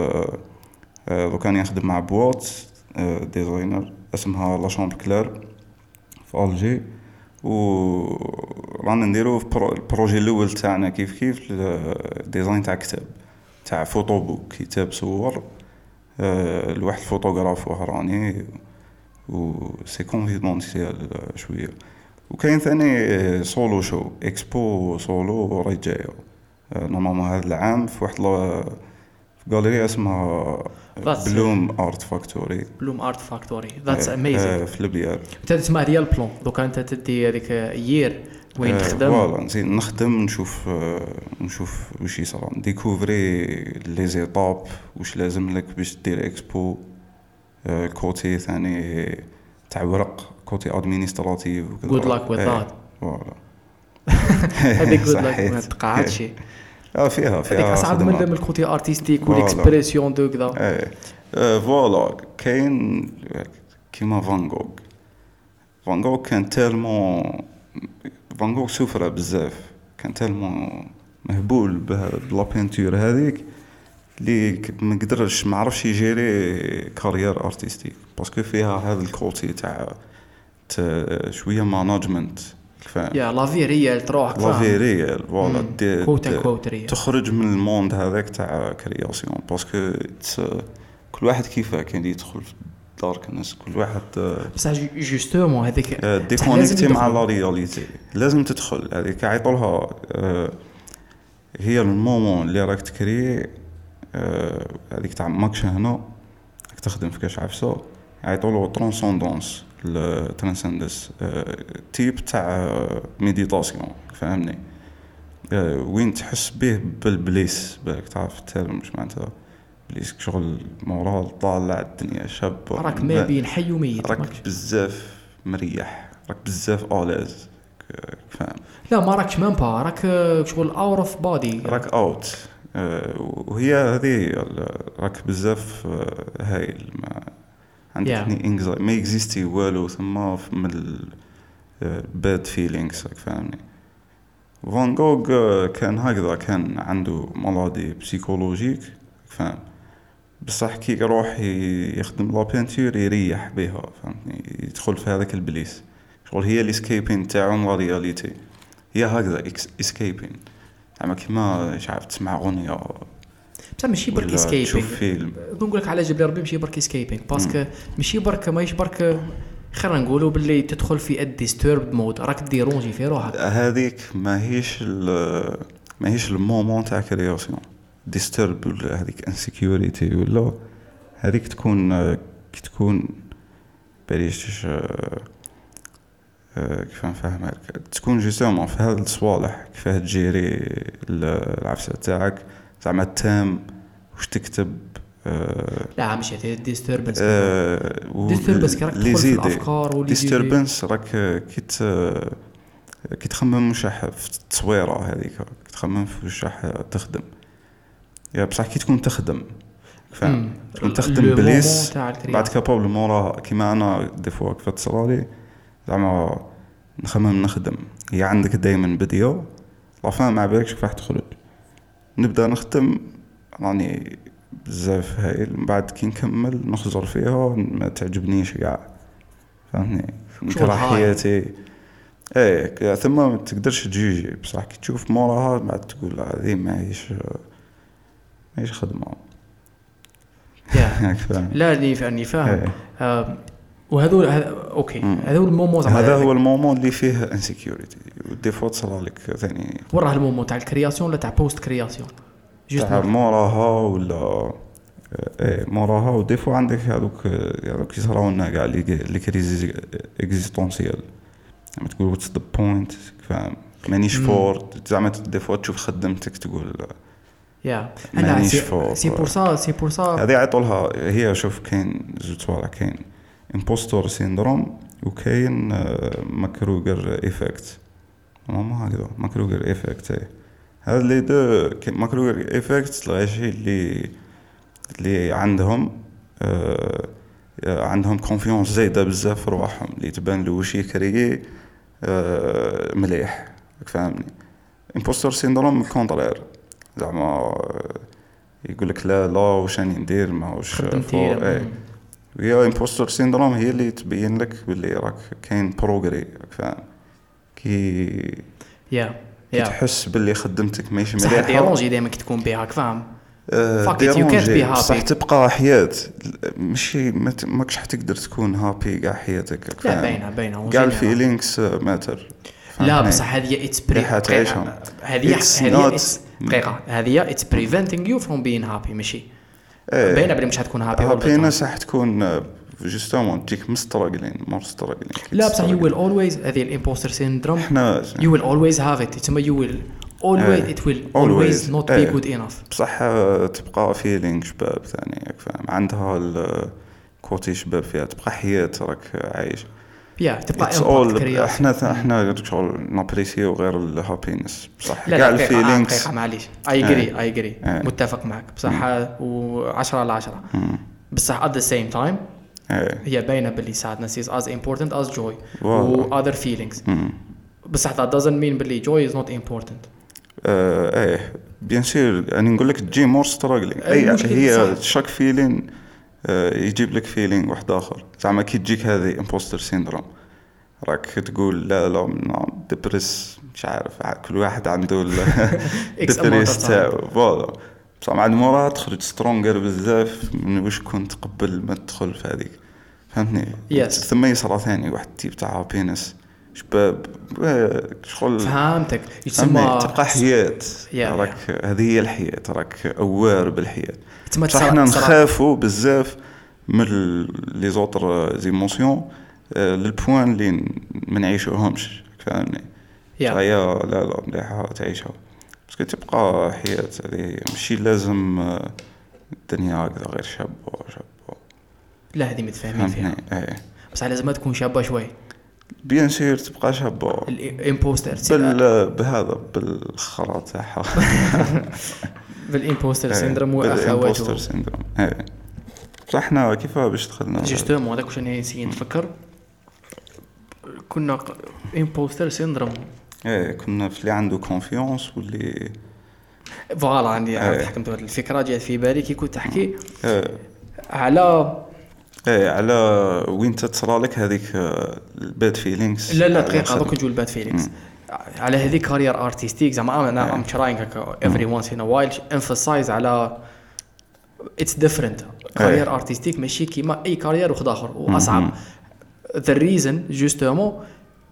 لو كان يخدم مع بواط آه ديزاينر اسمها لا شامبر كلير في الجي، و رانا نديرو في البروجي الاول تاعنا كيف كيف ديزاين تاع كتاب تاع فوتو بوك، كتاب صور آه لواحد الفوتوغراف وهراني و سي كونفيدونسيال شويه. وكاين ثاني سولو شو اكسبو سولو راهي جايه نورمالمون هذا العام في واحد في غاليري اسمها بلوم ارت فاكتوري. بلوم ارت فاكتوري ذاتس اميزينغ في البيار. انت تسمع ديال البلون دوكا انت تدي هذيك يير وين تخدم فوالا نزيد نخدم نشوف نشوف واش يصرا ديكوفري لي زيتاب واش لازم لك باش دير اكسبو كوتي ثاني تاع ورق كوتي ادمينستراتيف وكذا. good luck with that. فوالا هذيك good luck ما تقعدش اه فيها فيها هذيك اصعب من من الكوتي ارتستيك والاكسبريسيون دو كذا. ايه فوالا كاين كيما فان غوغ. فان غوغ كان تالمون فان غوغ سوفر بزاف، كان تالمون مهبول بلا بينتور هذيك اللي ما قدرش ما عرفش يجيري كارير ارتستيك باسكو فيها هذا الكوتي تاع شويه ماناجمنت فاهم. يا لا في ريال تروح لا في ريال فوالا كوتا كوت ريال تخرج من الموند هذاك تاع كرياسيون باسكو كل واحد كيفاه كاين يدخل في دارك الناس كل واحد بصح جوستومون هذيك ديكونيكتي مع لا رياليتي لازم تدخل هذيك عيطولها هي المومون اللي راك تكري هذيك تاع ماكش هنا راك تخدم في كاش عفسه يعيطولو ترانسوندونس الترانسندس تيب تاع ميديتاسيون فهمني وين تحس به بالبليس بالك تعرف الترم مش معناتها بليس شغل مورال طالع الدنيا شاب راك ما بين حي وميت راك بزاف مريح راك بزاف الاز فاهم. لا ما راكش مام با راك شغل اوت اوف بودي راك اوت وهي هذه راك بزاف هايل ما عندك yeah. انكزايتي ما اكزيستي والو ثم من الباد فيلينغز راك فاهمني. فان غوغ كان هكذا كان عنده مرضي بسيكولوجيك فاهم بصح كي يروح يخدم لا بينتور يريح بها فهمتني يدخل في هذاك البليس شغل هي الاسكيبين تاعو لا رياليتي هي هكذا اسكيبين اما كيما مش عارف تسمع اغنيه بصح ماشي برك اسكيبين تشوف فيلم نقول لك على جبل ربي ماشي برك اسكيبين باسكو ماشي برك ماهيش برك خلينا نقولوا باللي تدخل في الديستورب مود راك ديرونجي في روحك هذيك ماهيش ماهيش المومون تاع كرياسيون ديستورب ولا هذيك انسيكيوريتي ولا هذيك تكون كي تكون بريش كيف نفهمك تكون جوستومون في هذا الصوالح كيفاه تجيري العفسه تاعك زعما التام واش تكتب أه لا مش هذه ديستوربنس أه ديستوربنس راك تدخل في الافكار ولي ديستوربنس راك كيت كي تخمم واش راح في التصويره هذيك تخمم في واش راح تخدم يا بصح كي تكون تخدم فاهم تكون تخدم بليس بعد كابابل مورا كيما انا دي فوا كيف تصرالي زعما نخمم نخدم هي عندك دائما بديو لا فان ما بالكش كيف راح تخرج نبدا نخدم راني بزاف هايل من بعد كي نكمل نخزر فيها ما تعجبنيش كاع فهمني نكره حياتي ايه ثم ما تقدرش تجيجي بصح كي تشوف موراها بعد تقول هذه ماهيش ماهيش خدمه يا فاهم. لا اللي فاني فاهم. إيه. آه وهذول هذ... اوكي هذا هو المومو زعما هذا هو المومون اللي فيه انسيكيوريتي ودي فوا تصرى لك ثاني وراه المومو تاع الكرياسيون ولا تاع بوست كرياسيون تاع موراها ولا ايه موراها. ودي فوا عندك هذوك هذوك يصراو لنا كاع لي كريز اكزيستونسيال زعما تقول واتس ذا بوينت فاهم مانيش فور زعما دي فوا تشوف خدمتك تقول يا مانيش سي فور. سي بور سا سي بور سا هذه يعطولها هي. شوف كاين زوج صوالح كاين امبوستور سيندروم وكاين ماكروغر ايفكت ما هكذا ماكروغر ايفكت. هذا اللي دو ماكروغر ايفكت الغاشي اللي اللي عندهم آه عندهم كونفيونس زايده بزاف في رواحهم اللي تبان له وشي كريي آه مليح فهمني. امبوستور سيندروم كونترير زعما يقول لك لا لا واش راني ندير ما واش خدمتي. هي امبوستور سيندروم هي اللي تبين لك باللي راك كاين بروغري فاهم كي يا يا تحس باللي خدمتك ماشي مليحه. صح ديرونجي دائما كي تكون بها فاهم فاكيت يو كانت بي هابي صح تبقى حياة ماشي ماكش حتقدر تكون هابي كاع حياتك. لا باينه باينه كاع الفيلينغز ماتر. لا بصح هذه اتس بري هذه هذه دقيقه هذه اتس بريفنتينغ يو فروم بين هابي ماشي باينه بلي مش حتكون هابي ولا هابي ناس حتكون جوستومون تجيك مستراغلين مور ستراغلين. لا بصح يو ويل اولويز هذه الامبوستر سيندروم يو ويل اولويز هاف ات تسمى يو ويل always it will always not be good enough. بصح تبقى فيلينغ شباب ثاني فاهم عندها الكوتي شباب فيها تبقى حياة راك عايش يا تبقى امباكت كرياسيون. احنا احنا شغل نابريسيو غير الهابينس بصح كاع الفيلينغز معليش اي اجري اي اجري متفق معك بصح و10 على عشرة بصح at the same time هي باينه باللي sadness is as important as joy و other feelings بصح that doesn't mean باللي joy is not important. آه ايه بيان سير يعني نقول لك تجي مور ستراغلينغ اي هي شاك فيلين آه يجيب لك فيلين واحد اخر زعما كي تجيك هذه امبوستر سيندروم راك تقول لا لا لا ديبريس مش عارف كل واحد عنده الديبريس تاعو فوالا بصح مع موراها تخرج سترونغر بزاف من واش كنت قبل ما تدخل في هذيك فهمتني. yes. ثم يصرى ثاني واحد تيب تاع هابينس شباب شغل فهمتك يسمى تبقى حياة راك هذه هي الحياة راك اوار بالحياة. صح احنا نخافوا بزاف من لي زوتر زيموسيون للبوين اللي ما نعيشوهمش فهمني. هي لا لا مليحة تعيشها بس تبقى حياة هذه ماشي لازم الدنيا هكذا غير شابة شابة لا هذه متفاهمين فيها ايه. بس لازم تكون شابة شوي بيان سير تبقى شابة الامبوستر بال بهذا بالخرا تاعها بالامبوستر سيندروم واخواته الامبوستر سيندروم ايه. بصح احنا كيف باش دخلنا جوستومون هذاك واش انا نسيت نفكر كنا امبوستر سيندروم ايه كنا في اللي عنده كونفيونس واللي فوالا عندي ايه. حكمت هذه الفكره جات في بالي كي كنت تحكي ايه. على ايه على وين تصرى لك هذيك الباد فيلينغز. لا لا دقيقه دوك نجول الباد فيلينغز على هذيك كارير ارتستيك زعما انا ام تراينغ افري وانس ان وايل امفاسايز على اتس ديفرنت كارير ارتستيك ماشي كيما اي كارير واحد اخر واصعب. ذا ريزن جوستومون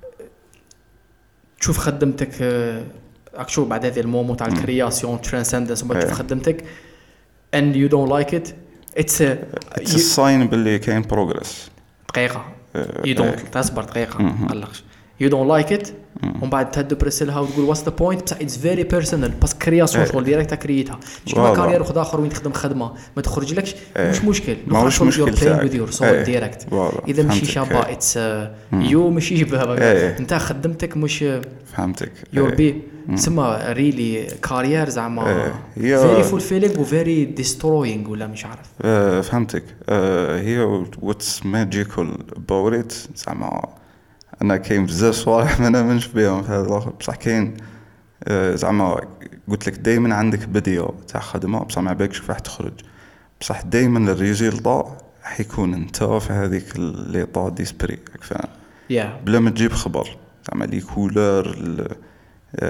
تشوف خدمتك اكشو بعد هذه المومو تاع الكرياسيون ترانسندنس وما تشوف خدمتك and you don't like it it's a it's a sign باللي كاين progress. دقيقة you don't تصبر دقيقة مقلقش you don't like it ومن بعد تدبرس لها وتقول what's the point بصح it's very personal بس كرياسيون شغل ديريكت كريتها مش كما كارير واحد اخر وين تخدم خدمة ما تخرج لكش مش مشكل مش مشكل تاعك with your soul ديريكت اذا ماشي شابة it's يو ماشي شبه انت خدمتك مش فهمتك your be تسمى ريلي كارير زعما very fulfilling و very destroying ولا مش عارف. فهمتك هي what's magical about it زعما انا كاين بزاف صوالح ما نامنش بهم في هذا الاخر بصح كاين زعما قلت لك دائما عندك بديه تاع خدمه بصح ما بالكش راح تخرج بصح دائما الريزلت حيكون انت في هذيك لي طا ديسبري فاهم بلا ما تجيب خبر زعما لي كولور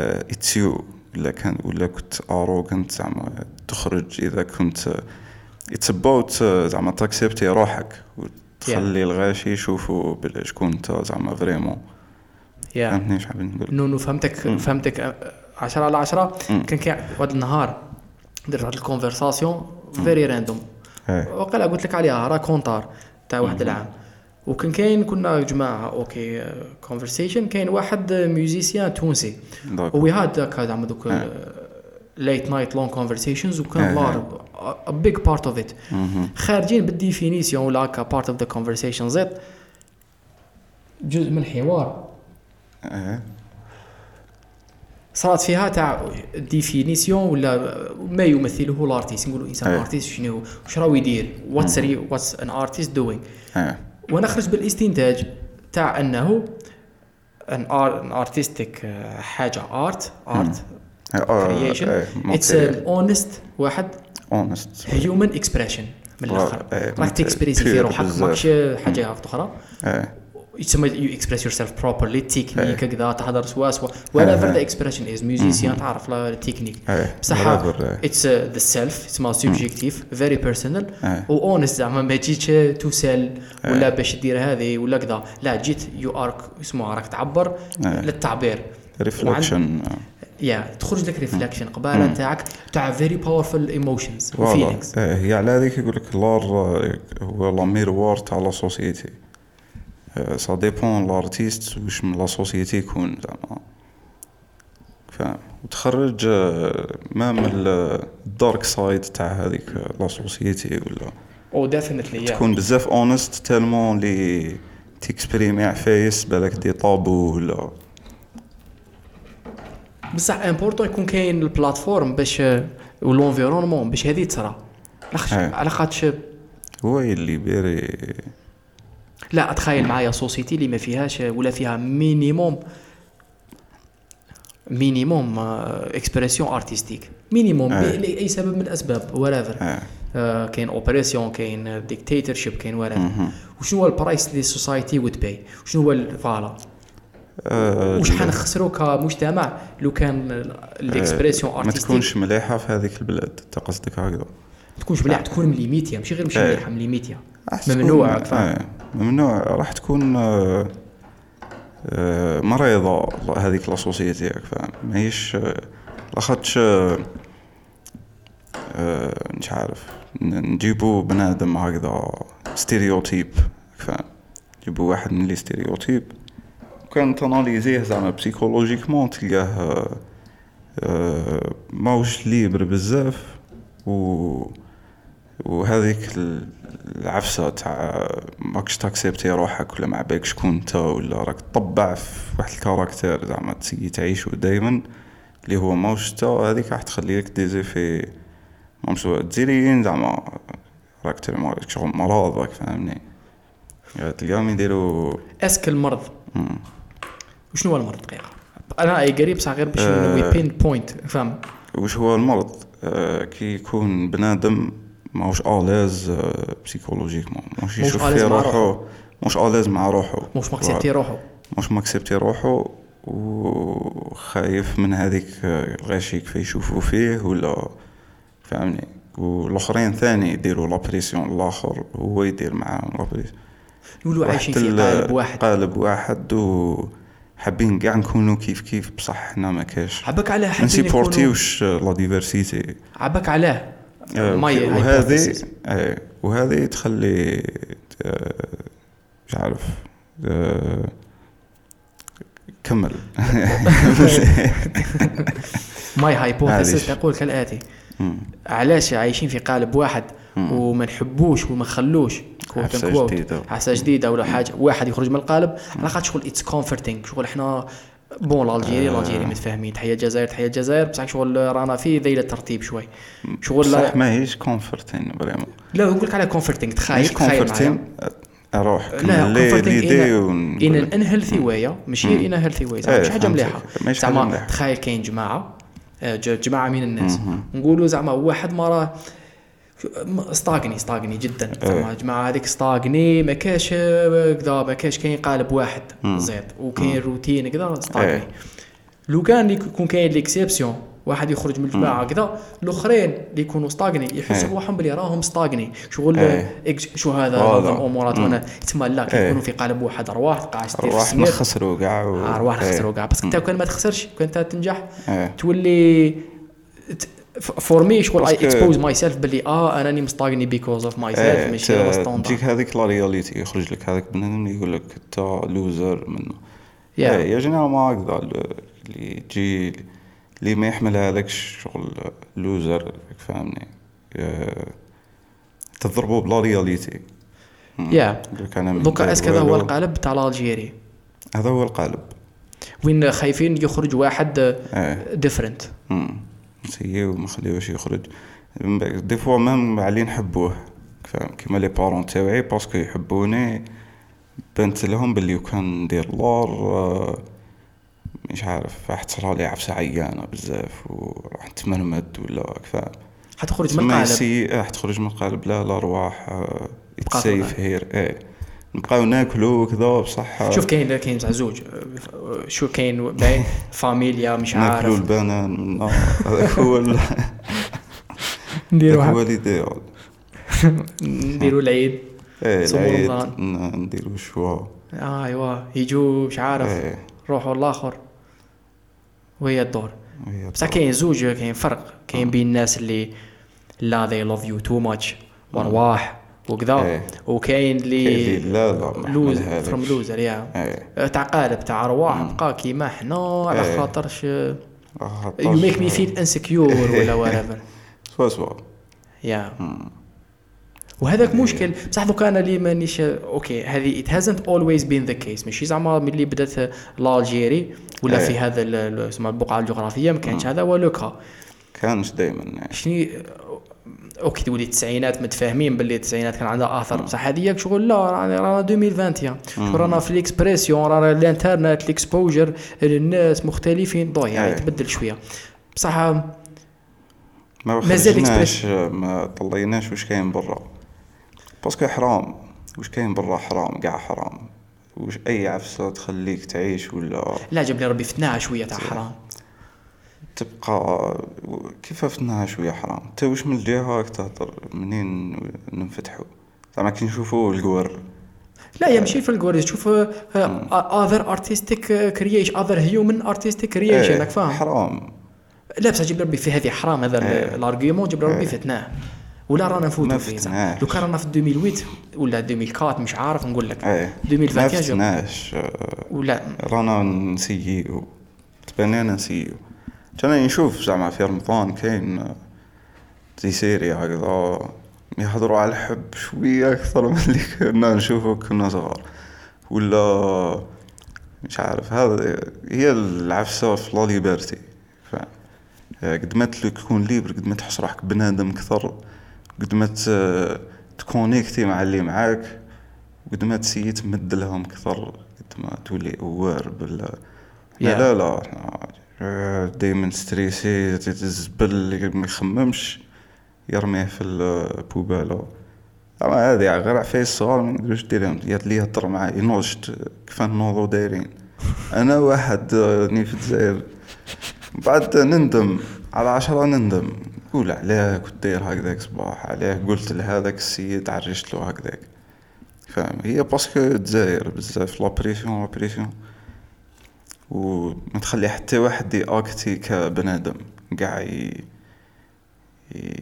اتسيو ولا كان ولا كنت اروغنت زعما تخرج اذا كنت اتس اباوت زعما تاكسبتي روحك وتخلي الغاشي يشوفوا بلا شكون انت زعما فريمون. فهمتني شحال نقول؟ نو نو فهمتك فهمتك عشرة على عشرة. كان كاع واحد النهار درت واحد الكونفرساسيون فيري راندوم وقيلا قلت لك عليها راه كونتار تاع واحد العام. وكان كاين كنا جماعه اوكي كونفرسيشن كاين واحد ميوزيسيان تونسي وي هاد هكا زعما دوك late night long conversations وكان لار a big part of it خارجين بالديفينيسيون ولا كا part of the conversation زيت جزء من الحوار صارت فيها تاع ديفينيسيون ولا ما يمثله الارتيست. نقولوا انسان ارتيست شنو واش راهو يدير واتس واتس ان ارتيست دوينغ. وانا خرج بالاستنتاج تاع انه ان ارتستيك حاجه ارت ارت creation it's an honest واحد honest human expression من الاخر راك تكسبريسي في روحك ماكش حاجه اخرى يتسمى you express yourself properly تكنيك كذا تهضر سوا سوا whatever the expression is musician تعرف لا التكنيك بصح it's the self اسمها subjective very personal و honest زعما ما جيتش تسال ولا باش دير هذه ولا كذا لا جيت you are اسمها راك تعبر للتعبير reflection يا تخرج لك ريفلكشن قباله نتاعك تاع فيري باورفul ايموشنز وفيلينغز. هي على هذيك يقول لك لار هو لا ميروار تاع لا سوسيتي سا ديبون لارتيست واش من لا سوسيتي يكون زعما فاهم وتخرج ما من الدارك سايد تاع هذيك لا سوسيتي ولا او ديفينيتلي تكون بزاف اونست تالمون لي تيكسبريمي عفايس بالك دي طابو ولا بصح امبورطون يكون كاين البلاتفورم باش والانفيرونمون باش هذه تصرا على خاطش هو اللي بيري. لا اتخيل معايا سوسيتي اللي ما فيهاش ولا فيها مينيموم مينيموم اكسبرسيون ارتستيك مينيموم لاي سبب من الاسباب ورافر آه كاين اوبريسيون كاين ديكتاتورشيب كاين ورافر. وشنو هو البرايس اللي السوسايتي وود باي شنو هو فوالا أه وش حنخسروا كمجتمع لو كان الاكسبرسيون ارتستيك ما تكونش مليحه في هذيك البلاد. انت قصدك هكذا تكونش مليحه تكون مليميتيا ماشي غير ماشي مليحه مليميتيا ممنوع اه ممنوع راح تكون آه آه مريضه هذيك لا سوسيتي فاهم ماهيش لاخاطش آه مش عارف نجيبوا بنادم هكذا ستيريوتيب فاهم نجيبوا واحد من لي ستيريوتيب كان تاناليزيه زعما بسيكولوجيكمون تلقاه ماوش ليبر بزاف و وهذيك العفسه تاع ماكش تاكسبتي روحك ولا ما بالك شكون انت ولا راك تطبع في واحد الكاركتير زعما تسي تعيشو دائما اللي هو ماوش انت. هذيك راح تخلي لك ديزيفي مامسو تزيرين زعما راك ترمى شغل مرض راك فاهمني تلقاهم يديروا اسك المرض. وشنو هو المرض دقيقه انا اي قريب صح غير باش نوي بين بوينت فهم وش هو المرض. آه كي يكون بنادم ماهوش آلاز آه بسيكولوجيكمون ماهوش يشوف في روحه ماهوش آلاز مع روحه ماهوش ماكسبتي روحه ماهوش ماكسبتي روحه وخايف من هذيك الغاشي كيف يشوفوا فيه ولا فهمني. والاخرين ثاني يديروا لا بريسيون الاخر هو يدير معاهم لا بريسيون يقولوا عايشين في قالب واحد قالب واحد و حابين كاع نكونوا كيف كيف بصح حنا ما كاش عباك علاه حابين نسيبورتيوش لا ديفيرسيتي عباك علاه ماي وهذه وهذه تخلي مش عارف كمل ماي هايبوثيسيس تقول كالآتي علاش عايشين في قالب واحد وما نحبوش وما نخلوش حاسه جديده ولا حاجه واحد يخرج من القالب على خاطر شغل اتس كومفورتينغ شغل احنا بون الجيري الجيري متفاهمين تحيه الجزائر تحيه الجزائر بصح شغل رانا في ذيل الترتيب شوي شغل صح ماهيش كومفورتينغ فريمون. لا نقول لك على كومفورتينغ تخيل تخيل اروح لا ليدي ان ان هيلثي واي ماشي ان هيلثي واي زعما حاجه مليحه زعما تخيل كاين جماعه جماعه من الناس نقولوا زعما واحد ما راه استاغني استاغني جدا زعما جماعه هذيك استاغني ما كاش كذا ما كاش كاين قالب واحد زيد وكاين روتين كذا استاغني. لو كان يكون كاين ليكسيبسيون واحد يخرج من الجماعه كذا الاخرين اللي يكونوا ستاغني يحسوا بروحهم بلي راهم ستاغني شغل إكس شو هذا نظم امورات وانا تسمى لا كيكونوا في قالب واحد ارواح قاعد تدير ارواح نخسروا كاع و... ارواح نخسروا كاع بس انت كان ما تخسرش كنت تنجح تولي فور مي شغل اي اكسبوز ماي سيلف بلي اه انا راني مستاغني بيكوز اوف ماي سيلف ماشي هو ستاندرد تجيك هذيك لا رياليتي يخرج لك هذاك بنادم يقول لك انت لوزر منه يا جينيرال ما هكذا اللي تجي اللي ما يحملها هذاك شغل لوزر فاهمني تضربوا بلا رياليتي يا دوكا اسك هذا هو القالب تاع الجيري هذا هو القالب وين خايفين يخرج واحد ديفرنت سيء وما خليوش يخرج دي فوا مام علي نحبوه فاهم كيما لي بارون تاوعي باسكو يحبوني بنت لهم باللي كان ندير لور مش عارف راح تصرى لي عفسه عيانه بزاف وراح تمرمد ولا فاهم حتخرج من القالب راح تخرج من القالب لا الارواح تسيف هير ايه نبقاو ناكلوا كذا بصح شوف كاين كاين تاع زوج شو كاين باين فاميليا مش عارف ناكلوا البنان هذاك هو نديروا هو الايديال نديروا العيد ايه العيد نديروا شوا ايوا يجوا مش عارف ايه. روحوا الاخر وهي الدور بصح كاين زوج كاين فرق كاين بين الناس اللي لا they love you too much وارواح وكذا ايه. وكاين اللي لا لا لوز فروم لوزر يا ايه. تاع قالب تاع ارواح بقى كيما حنا على ايه. خاطرش يو ميك مي فيل انسكيور ولا whatever سوا سوا يا وهذاك ايه. مشكل بصح دوك انا اللي مانيش اوكي هذه it hasn't always been the case ماشي زعما ملي بدات الجيري ولا ايه. في هذا اسمها البقعه الجغرافيه ما كانش هذا هو لوكا كانش دائما شني اوكي تقولي التسعينات متفاهمين باللي التسعينات كان عندها اثر بصح هذيك شغل لا رانا ألفين وواحد وعشرين رانا في الاكسبريسيون رانا الانترنت الاكسبوجر الناس مختلفين ضوي يعني تبدل شويه بصح ما خرجناش ما طليناش واش كاين برا باسكو حرام واش كاين برا حرام كاع حرام واش اي عفسه تخليك تعيش ولا لا جاب لي ربي فتناها شويه تاع حرام تبقى كيف فتناها شويه حرام انت واش من الجهه تهضر منين ننفتحوا زعما كي نشوفوا القور لا يمشي في القور تشوف other artistic creation other human artistic creation راك فاهم حرام لا بس جاب ربي في هذه حرام هذا الارغيومون جاب ربي فتناه ولا رانا نفوتوا فيه لو كان رانا في ألفين وثمانية ولا ألفين وأربعة مش عارف نقول لك ألفين وواحد وعشرين ولا رانا نسيئو تبانينا نسيئو كان نشوف زعما في رمضان كاين زي سيري هكذا يحضروا على الحب شويه اكثر من اللي كنا نشوفه كنا صغار ولا مش عارف هذا هي العفسه في لا ليبرتي فاهم قد ما تكون ليبر قد ما تحس روحك بنادم اكثر قد ما تكونيكتي مع اللي معاك قد ما تسيي تمد لهم اكثر قد ما تولي اوار بال yeah. لا لا دايما ستريسي تزبل ما يخممش يرميه في البوباله اما هذه غير عفايس الصغار ما نقدروش ديرهم قالت لي هضر معايا نوضت كيف نوضوا دايرين انا واحد ني في الجزائر بعد نندم على عشرة نندم قول علاه كنت داير هكذاك صباح علاه قلت لهذاك السيد عرجت له هكذاك فاهم هي باسكو الجزائر بزاف لا بريسيون لا بريسيون وما تخلي حتى واحد ياكتي كبنادم قاع ي... ي...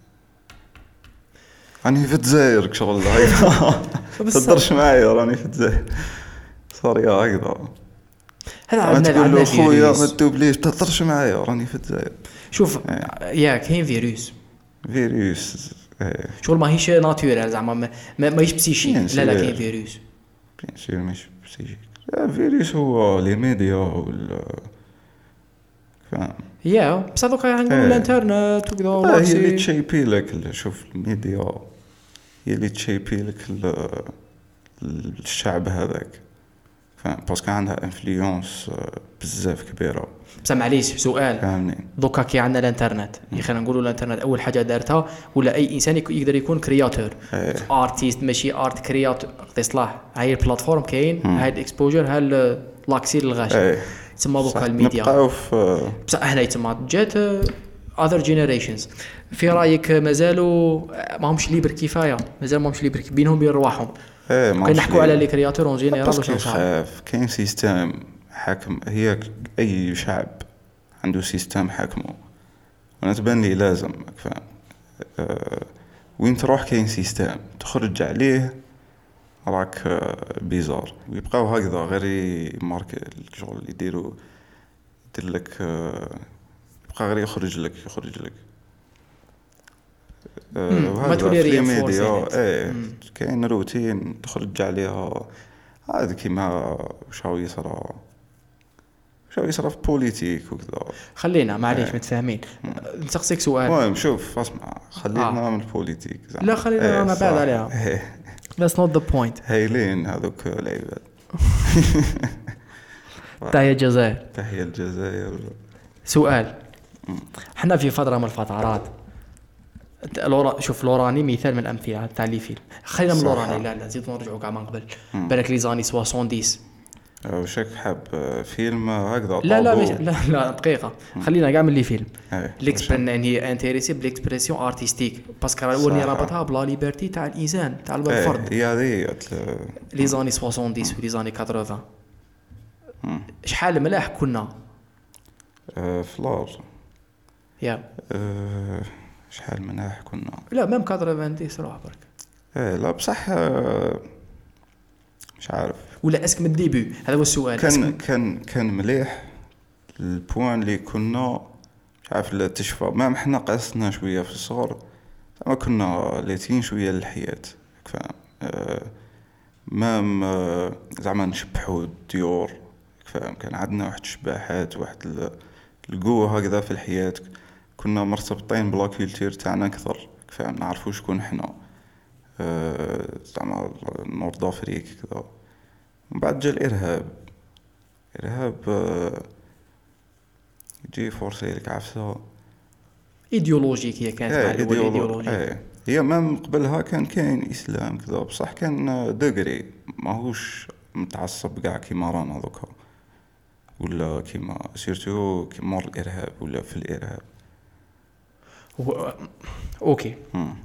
راني في الجزائر شغل هكذا تقدرش معايا راني في الجزائر صار يا هكذا هذا عندنا عندنا خويا ما تدوبليش تهضرش معايا راني في الجزائر شوف يا كاين فيروس فيروس شغل ماهيش ناتورال زعما ما ماهيش بسيشيك لا لا كاين فيروس بيان سير ماشي بسيشيك فيروس هو لي ميديا وال فاهم يا بصح دوكا عندنا الانترنت وكذا هي اللي تشيبي لك شوف الميديا هي اللي تشيبي لك الشعب هذاك فاهم باسكو عندها انفلونس بزاف كبيره بصح معليش سؤال فهمني دوكا كي عندنا الانترنت خلينا نقولوا الانترنت اول حاجه دارتها ولا اي انسان يقدر يكون كرياتور ارتيست ماشي ارت كرياتور قصدي صلاح هاي البلاتفورم كاين هاي الاكسبوجر هاي لاكسي للغاشي تسمى دوكا الميديا نبقاو في بصح هنا يتسمى جات other generations. في رايك مازالوا ماهمش ليبر كفايه؟ مازال ماهمش ليبر بينهم بين رواحهم؟ ايه كنحكوا على لي كرياتور اون جينيرال واش نصح؟ خاف كاين سيستم حاكم. هي اي شعب عنده سيستم حاكمه، انا تبان لي لازم فاهم. أه وين تروح كاين سيستم تخرج عليه راك أه بيزار، ويبقاو هكذا غير مارك الشغل اللي يديروا يدير لك أه يبقى غير يخرج لك يخرج لك أه ما تولي رينفورس. ايه كاين روتين تخرج عليها. هذا كيما واش هو يصرا شو يصرا في بوليتيك وكذا. خلينا معليش ايه. متفاهمين. نسقسيك سؤال. المهم شوف اسمع خلينا آه. من البوليتيك زعما. لا خلينا ايه انا بعد عليها ايه. That's not the point. هايلين هذوك العباد. تحية الجزائر. تحية الجزائر. سؤال. احنا في فترة من الفترات لورا شوف لوراني مثال من الامثله تاع لي فيلم. خلينا من لوراني لا لا زيد نرجعوا كاع من قبل. بالك لي زاني سبعين. وشك حاب فيلم هكذا؟ لا لا لا لا دقيقه خلينا كاع من لي فيلم. ليكسبرن هي انتريسي بالاكسبرسيون ارتستيك باسكو راني رابطها بلا ليبرتي تاع الانسان تاع الفرد. هي هذه لي زاني سبعين ولي زاني ثمانين. شحال ملاح كنا فلار يا شحال مناح كنا. لا ميم ثمانين روح برك. ايه لا بصح مش عارف ولا اسك من الديبي. هذا هو السؤال. كان كان كان مليح البوان اللي كنا مش عارف لا تشفى. ما احنا قاسنا شويه في الصغر ما كنا لاتين شويه للحياه فاهم. أه ما زعما نشبحوا الديور فاهم. كان عندنا واحد الشباحات واحد القوه هكذا في الحياه. كنا مرتبطين بلا كولتور تاعنا اكثر فاهم. نعرفوا شكون احنا أه زعما نورد افريك كذا. من بعد جا الارهاب. ارهاب أه يجي فورسي لك عفسه ايديولوجيك. هي كانت ايه مع الاول ايديولوجيك. ايه هي ما قبلها كان كاين اسلام كذا بصح كان دغري ماهوش متعصب كاع كيما رانا دوكا ولا كيما سيرتو كيما الارهاب ولا في الارهاب. و... اوكي هم.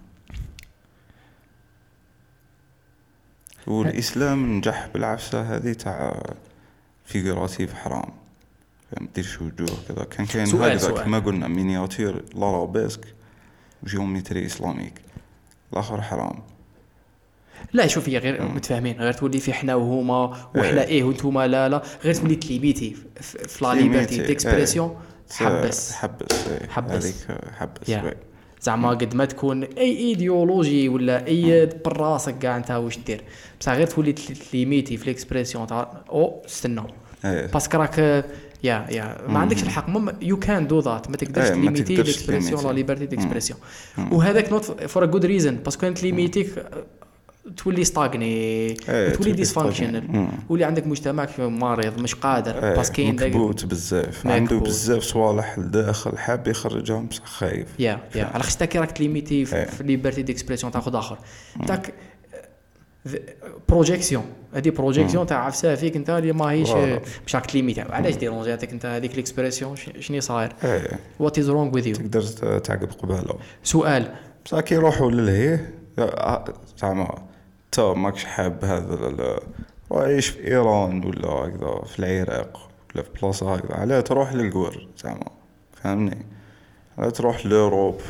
والاسلام نجح بالعفسه هذه تاع فيغوراتيف حرام فهم. ديرش وجوه كذا كان كاين هكذا كما قلنا مينياتير لارابيسك وجيومتري اسلاميك الاخر حرام. لا شوف هي غير متفاهمين غير تولي في حنا وهما وحنا ايه وانتوما لا لا غير تولي تليميتي في لا ليبرتي ديكسبرسيون. حبس حبس حبس هذيك حبس زعما قد ما تكون اي ايديولوجي ولا اي براسك كاع انت واش دير بصح غير تولي تليميتي في ليكسبرسيون تاع او استنى باسكو راك يا يا ما عندكش الحق يو كان دو ذات. ما تقدرش تليميتي ليكسبرسيون لا ليبرتي ديكسبرسيون. وهذاك نوت فور ا جود ريزن باسكو انت ليميتيك تولي ستاغني تولي ديسفانكشنال ولي عندك مجتمع مريض مش قادر باسكو كاين مكبوت بزاف عنده بزاف صوالح لداخل حاب يخرجهم بصح خايف. يا يا على خاطر كي راك ليميتي في ليبرتي ديكسبرسيون تاخذ اخر تاك بروجيكسيون. هذه بروجيكسيون تاع عفسه فيك انت اللي ماهيش باش راك ليميتي. علاش ديرونجاتك انت هذيك ليكسبرسيون شنو صاير وات از رونغ وذ يو. تقدر تعقب قباله. سؤال بصح كي يروحوا للهيه زعما تا ماكش حاب هذا عايش في ايران ولا هكذا في العراق ولا في بلاصه هكذا علاه تروح للقور زعما فهمني. علاه تروح لاوروب.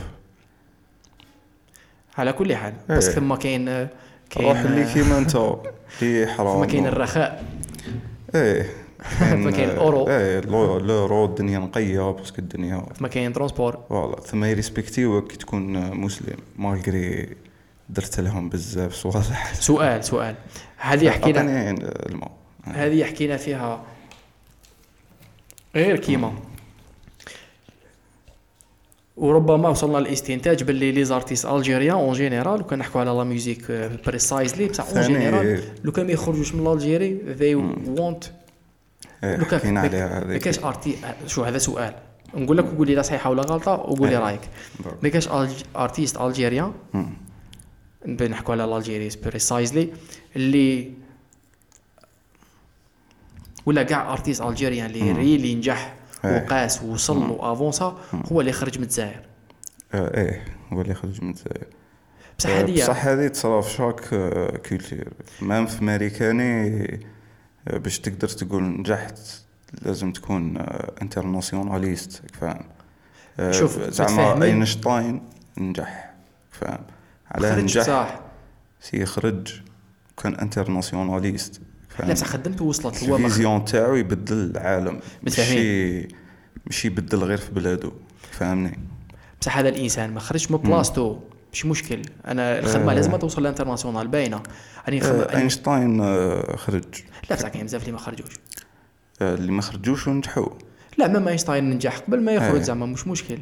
على كل حال بس ثم كاين كاين روح اللي كيما انت اللي حرام. ما كاين الرخاء ايه ما كاين الاورو. ايه الاورو الدنيا نقيه باسكو الدنيا ما كاين ترونسبور فوالا ثم يريسبكتيوك كي تكون مسلم مالغري درت لهم بزاف صوالح. سؤال سؤال هذه حكينا الماء هذه حكينا فيها غير كيما وربما وصلنا للاستنتاج باللي لي زارتيست الجيريان اون جينيرال وكان نحكوا على لا ميوزيك بريسايزلي بصح اون جينيرال لو كان ما يخرجوش من الجيري ذي وونت لو كان ما كاش ارتي. شو هذا سؤال نقول لك وقول لي لا صحيحه ولا غلطه وقول لي رايك. ما كاش ارتيست الجيريان بنحكوا على الجيري بريسايزلي اللي ولا كاع ارتيست الجيريان اللي ريلي نجح إيه. وقاس ووصل وافونسا هو اللي خرج من الجزائر. آه ايه هو اللي خرج من الجزائر. بصح آه، هذه بصح هذه تصرا في شاك كولتور مام في ماريكاني. آه، باش تقدر تقول نجحت لازم تكون انترناسيوناليست فاهم. آه، شوف، زعما متفاهمين. اينشتاين نجح فاهم على خرج نجح صح. سي خرج كان انترناسيوناليست لا بصح خدمته وصلت هو ما خ- الفيزيون تاعو يبدل العالم متفاهمين. ماشي ماشي يبدل غير في بلادو فهمني. بصح هذا الانسان ما خرجش من بلاصتو مش مشكل. انا الخدمه لازم توصل للانترناسيونال باينه. يعني خم... آه، اينشتاين آه، خرج. لا بصح كاين بزاف اللي ما خرجوش. آه، اللي ما خرجوش ونجحوا. لا ما اينشتاين نجح قبل ما يخرج إيه. زعما مش مشكل.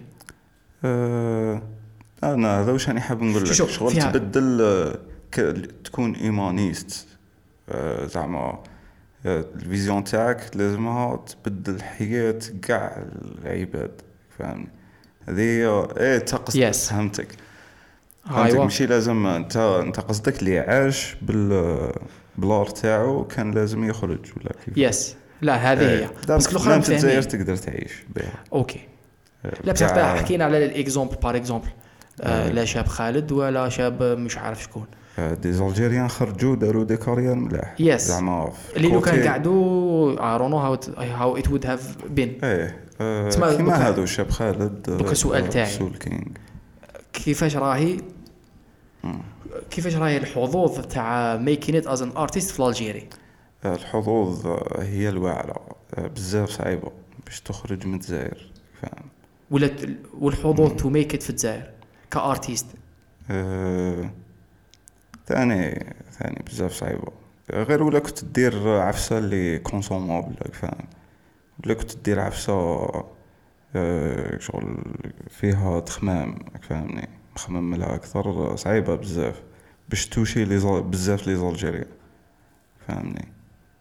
آه، انا هذا واش راني حاب نقول لك شوف، شغل فيها- تبدل آه، ك- تكون ايمانيست. آه، زعما آه، الفيزيون تاعك لازمها تبدل حياة كاع العباد فهمني. هذه هي ايه تقصد Yes. فهمتك فهمتك ايوا ماشي لازم انت انت قصدك اللي عاش بال بلار تاعو كان لازم يخرج ولا كيف. يس. لا هذه هي بس كل الاخرى الاخرى في الجزائر مفاهمين. تقدر تعيش بها. اوكي. لا بصح كاع- حكينا على الاكزومبل بار اكزومبل. آه لا شاب خالد ولا شاب مش عارف شكون. آه، دي زالجيريان خرجوا داروا دي كارير ملاح Yes. زعما في اللي لو كان كوتي- قعدوا I don't know how it, how it would have been. ايه آه، تسمع كيما دوكا- هذا الشاب خالد. آه، دوكا السؤال تاعي. سول كينغ. كيفاش راهي كيفاش راهي الحظوظ تاع making it as an artist في الجيري؟ آه، الحظوظ آه، هي الواعرة آه، بزاف صعيبة باش تخرج من الجزائر فاهم. ولا ت- والحظوظ تو ميك ات في الجزائر كارتيست. آه، ثاني ثاني بزاف صعيبة. آه، غير ولا كنت دير عفسة اللي كونسومابل فاهم. ولا كنت دير عفسة آه، شغل فيها تخمام فاهمني مخمم لها أكثر. صعيبة بزاف باش توشي لي زال- بزاف لي زالجيريا فاهمني.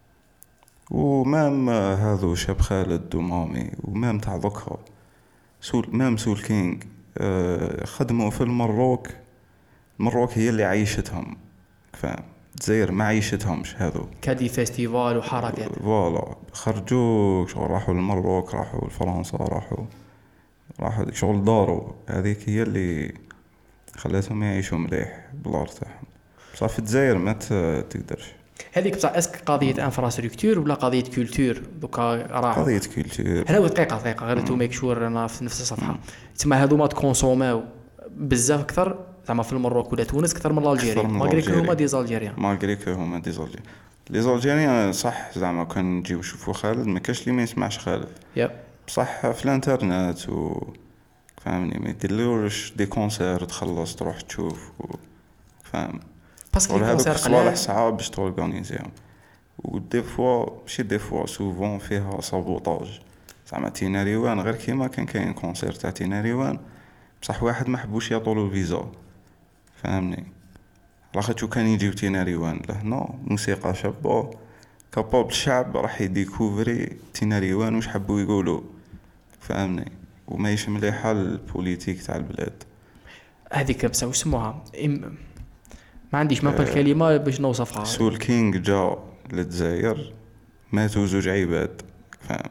ومام هذو شاب خالد ومامي ومام تاع ذكرى سول مام سول كينغ آه، خدموا في المروك. المروك هي اللي عيشتهم فاهم. الجزائر ما عيشتهمش هذو. كادي فيستيفال وحركات. فوالا خرجوا شغل راحوا للمروك راحوا لفرنسا راحوا راحوا ديك شغل داروا. هذيك هي اللي خلاتهم يعيشوا مليح بالارض تاعهم. بصح في الجزائر ما ت- تقدرش. هذيك بصح اسك قضيه انفراستركتور ولا قضيه كولتور دوكا راح. قضية كولتور. هنا دقيقه دقيقه غير تو ميك شور انا في نفس الصفحه. تسمى هذو ما تكونسوماو بزاف اكثر زعما في المروك ولا تونس اكثر من الجيري أكثر من ماغري كو الجيري. هما دي زالجيريان. مالغري كو هما دي زالجيريان. لي زالجيريان صح زعما كان نجيو نشوفوا خالد ما كاش اللي ما يسمعش خالد. يب بصح في الانترنت و فهمني ما يديرلوش دي كونسير تخلص تروح تشوف و... فاهم. باسكو ولا هذوك الكونسير صوالح قلال. صعاب باش تورغانيزيهم. ودي فوا ماشي دي فوا سوفون فيها سابوطاج. زعما تيناريوان غير كيما كان كاين كونسير تاع تيناريوان بصح واحد ما حبوش يعطولو فيزا فهمني. لاخاطش كان يجيو تيناريوان لهنا موسيقى شابه كابابل الشعب راح يديكوفري تيناريوان واش حبوا يقولوا فهمني. وما يش مليحه البوليتيك تاع البلاد. هذيك بصح واش سموها إم... ما عنديش ما الكلمه باش نوصفها. سول كينغ جا للجزائر ماتوا زوج عباد فاهم.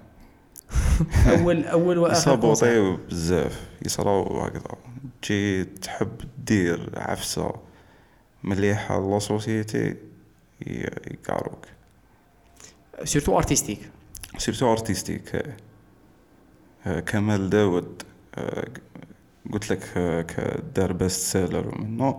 اول اول واخر كونسير. يصابوطيو بزاف يصراو هكذا. تجي تحب دير عفسه مليحه لا سوسيتي يقاروك سيرتو ارتستيك. سيرتو ارتستيك. آه، كمال داود آه، قلت لك آه، كدار بيست سيلر منه.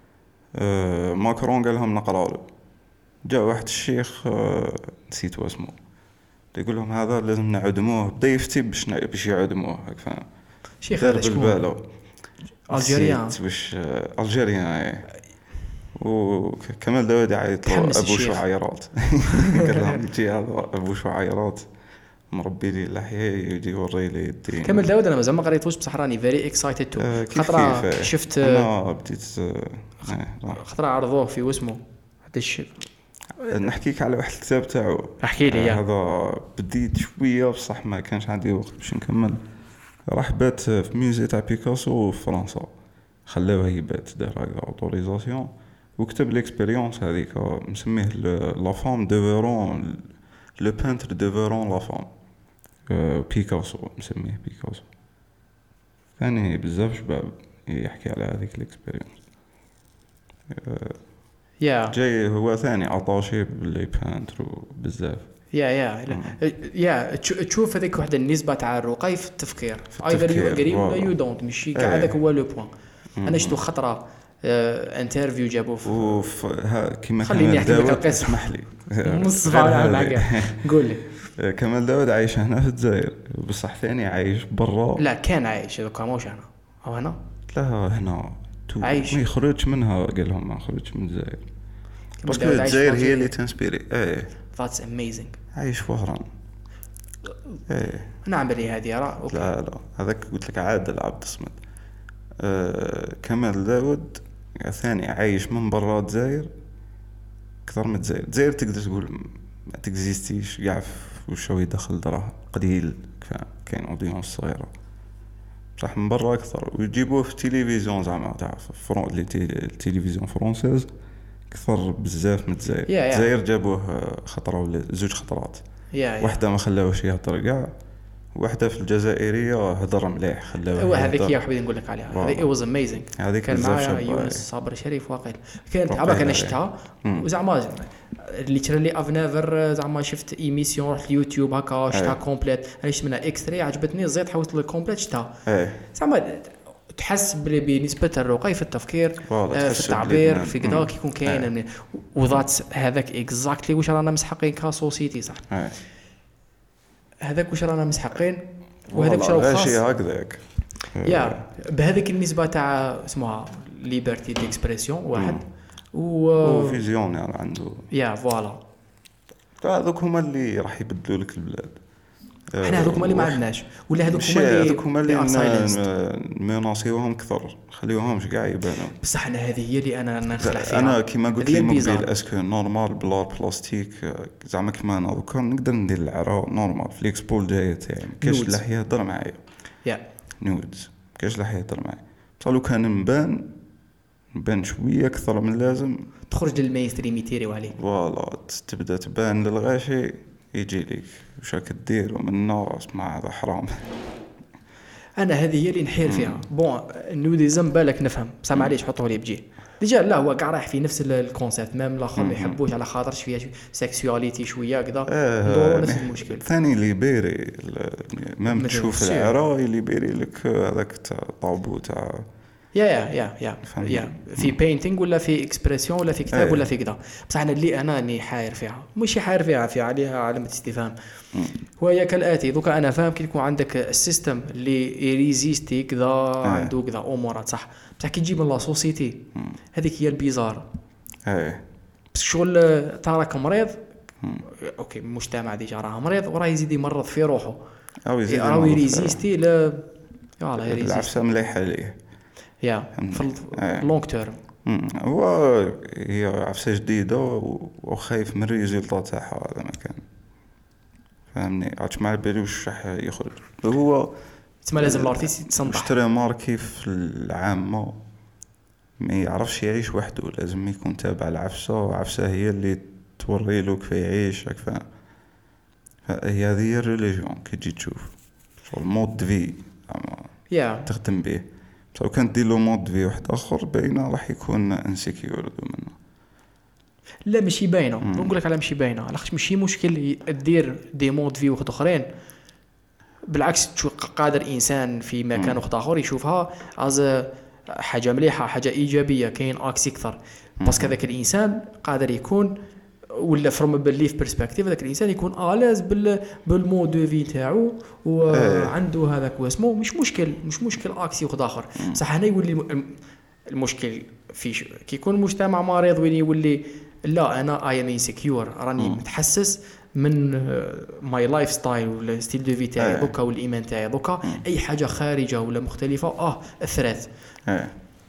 آه، ماكرون قال لهم نقرا له. جاء واحد الشيخ آه، نسيت اسمه يقول لهم هذا لازم نعدموه بدا يفتي باش نع- باش يعدموه هاك فاهم. شيخ دار هذا شكون؟ بالبالو الجيريان. نسيت واش آه، الجيريان ايه. وكمال داود يعيط له تحمس ابو الشيخ. شعيرات. قال لهم يجي هذا ابو شعيرات مربي لي لحيه يجي يوري لي الدين. كمل داود انا مازال ما قريتوش بصح راني فيري اكسايتد تو. آه، كيف خطره كيف شفت انا بديت آه، آه، لا. خطره عرضوه في واسمه هذا الشيء. نحكيك على واحد الكتاب تاعو. احكي لي آه، يا هذا بديت شويه بصح ما كانش عندي وقت باش نكمل. راح بات في ميوزي تاع بيكاسو في فرنسا خلاوه يبات دار هكذا اوتوريزاسيون وكتب ليكسبيريونس هذيك مسميه لا فام دو فيرون لو بانتر ديفورون لا فام، بيكاسو مسميه بيكاسو. ثاني بزاف شباب يحكي على هذيك الاكسبيرينس. يا جاي هو ثاني عطاشي باللي بانتر بزاف. يا يا يا تشوف هذيك واحدة النسبة تاع الرقي في التفكير، التفكير، ايذر يو اجري ولا فوالا. يو دونت، ماشي كاع إيه. هذاك هو لو بوين. انا شفتو خطرة انترفيو جابوه في وف ها كيما خليني كمال نحكي لك داود، القصة. اسمح لي نص غير ساعة هذه. معاك قول لي. كمال داود عايش هنا في الجزائر، بصح ثاني عايش برا. لا كان عايش دوكا موش هنا او هنا لا هنا تو عايش. ما يخرجش منها، قال لهم ما خرجش من الجزائر باسكو داود عايش الجزائر في هي اللي تنسبيري. ايه That's amazing. عايش في وهران. ايه نعمل لي هذه راه اوكي. لا لا هذاك قلت لك عادل عبد الصمد. آه كمال داود ثاني عايش من برا الجزائر اكثر من الجزائر. الجزائر تقدر تقول ما تكزيستيش، يعرف وشو يدخل دراهم قليل، كاين اودينس صغيره، بصح من برا اكثر. ويجيبوه في التلفزيون زعما تعرف فرون لي التلفزيون فرونسيز اكثر بزاف من الجزائر. Yeah, yeah. الجزائر جابوه خطره ولا زوج خطرات، يا يا واحده ما خلاوش يهضر كاع، واحده في الجزائريه هضر مليح خلاوه هو هذيك يهضر. هي حبيت نقول لك عليها. واو. هذه it was amazing. هذيك كان بزاف معايا شابة. يونس صابر شريف واقيل، كانت واقيلا عباك انا عليه. شفتها مم. وزعما اللي ترى لي افنيفر زعما شفت ايميسيون رحت اليوتيوب هكا شفتها أي. كومبليت، انا شفت منها اكستري عجبتني زيد حاولت الكومبليت شفتها ايه زعما تحس بلي بنسبة الرقي في التفكير فوالا، آه، تحس في التعبير بلي- في كذا مم. كيكون كاين أي. من- وذات هذاك اكزاكتلي واش رانا مسحقين كسوسيتي صح. ايه هذاك واش رانا مسحقين وهذاك واش والله راهو غاشي خاص. هكذاك. يا بهذيك النسبة تاع اسمها ليبرتي ديكسبرسيون واحد و وفيزيون يعني عنده. يا فوالا هذوك هما اللي راح يبدلوا لك البلاد. احنا هذوك هما اللي ما عندناش ولا هذوك ماشي هما اللي هذوك هما they are silenced. اللي مناصيوهم كثر، خليوهمش كاع يبانوا. بصح انا هذه هي اللي انا نخلع فيها. انا كيما قلت هذه لي البيزار. مقبل اسكو نورمال بلا بلاستيك زعما كيما انا دوكا نقدر ندير العرا نورمال في الاكسبو الجايه تاعي. كاش نودز. لاح يهضر معايا يا نودز، كاش لاح يهضر معايا. بصح لو كان نبان نبان شويه اكثر من اللازم تخرج للمينستريم يتيريو عليك. فوالا تبدا تبان للغاشي يجي لك واش راك دير ومنا اسمع هذا حرام. انا هذه هي اللي نحير فيها. بون النوديزم بالك نفهم بصح معليش حطوه لي بجي ديجا لا هو كاع رايح في نفس الكونسيبت ميم الاخر ما يحبوش على خاطرش فيها سيكسواليتي شويه كذا ندورو نفس المشكل. ثاني ليبيري ميم مثل تشوف السير. العرا ليبيري لك هذاك تاع طابو تاع يا يا يا يا فهمني. يا في بينتينغ ولا في اكسبرسيون ولا في كتاب أيه. ولا في كذا. بصح انا اللي انا اني حاير فيها مش حاير فيها في عليها علامه استفهام. وهي كالاتي دوكا انا فاهم كي يكون عندك السيستم اللي يريزيستي كذا عنده كذا امورات صح، بصح كي تجيب من لا سوسيتي هذيك هي البيزار. ايه بس شغل تراك مريض اوكي المجتمع ديجا راه مريض وراه يزيد يمرض في روحه او يزيد راه يمرض في يريزيستي لا يلا يريزيستي العفسه مليحه ليه. يا في أيه. اللونغ تيرم. مم. هو هي عفسه جديده و- وخايف من الريزلطات تاعها هذا ما كان فهمني عادش ما على بالي واش راح يخرج. هو تسمى لازم الارتيست يتصنع. اشتري ماركي في العامة ما يعرفش يعيش وحده، لازم يكون تابع العفسة، وعفسة هي اللي توري له كيف يعيش فاهم. هي هذه هي الريليجيون كي تجي تشوف المود دو في يا تخدم به. بس لو كان دير له مود دو في واحد اخر باينه راح يكون انسيكيور منه. لا ماشي باينه نقول لك على ماشي باينه علاش ماشي مشكل دير دي مود في واحد اخرين. بالعكس تشوف قادر انسان في مكان واحد اخر يشوفها از حاجه مليحه حاجه ايجابيه كاين اكس اكثر باسكو هذاك الانسان قادر يكون ولا فروم بليف برسبكتيف هذاك الانسان يكون الاز بال بالمود دو في تاعو وعنده هذاك واسمه مش مشكل مش مشكل اكسي واحد اخر. صح هنا يولي الم- المشكل في ش- كي يكون المجتمع مريض وين يولي لا انا اي ام انسكيور راني متحسس من ماي لايف ستايل ولا ستيل دو في تاعي أيه. دوكا والايمان تاعي دوكا اي حاجه خارجه ولا مختلفه اه اثرت ايه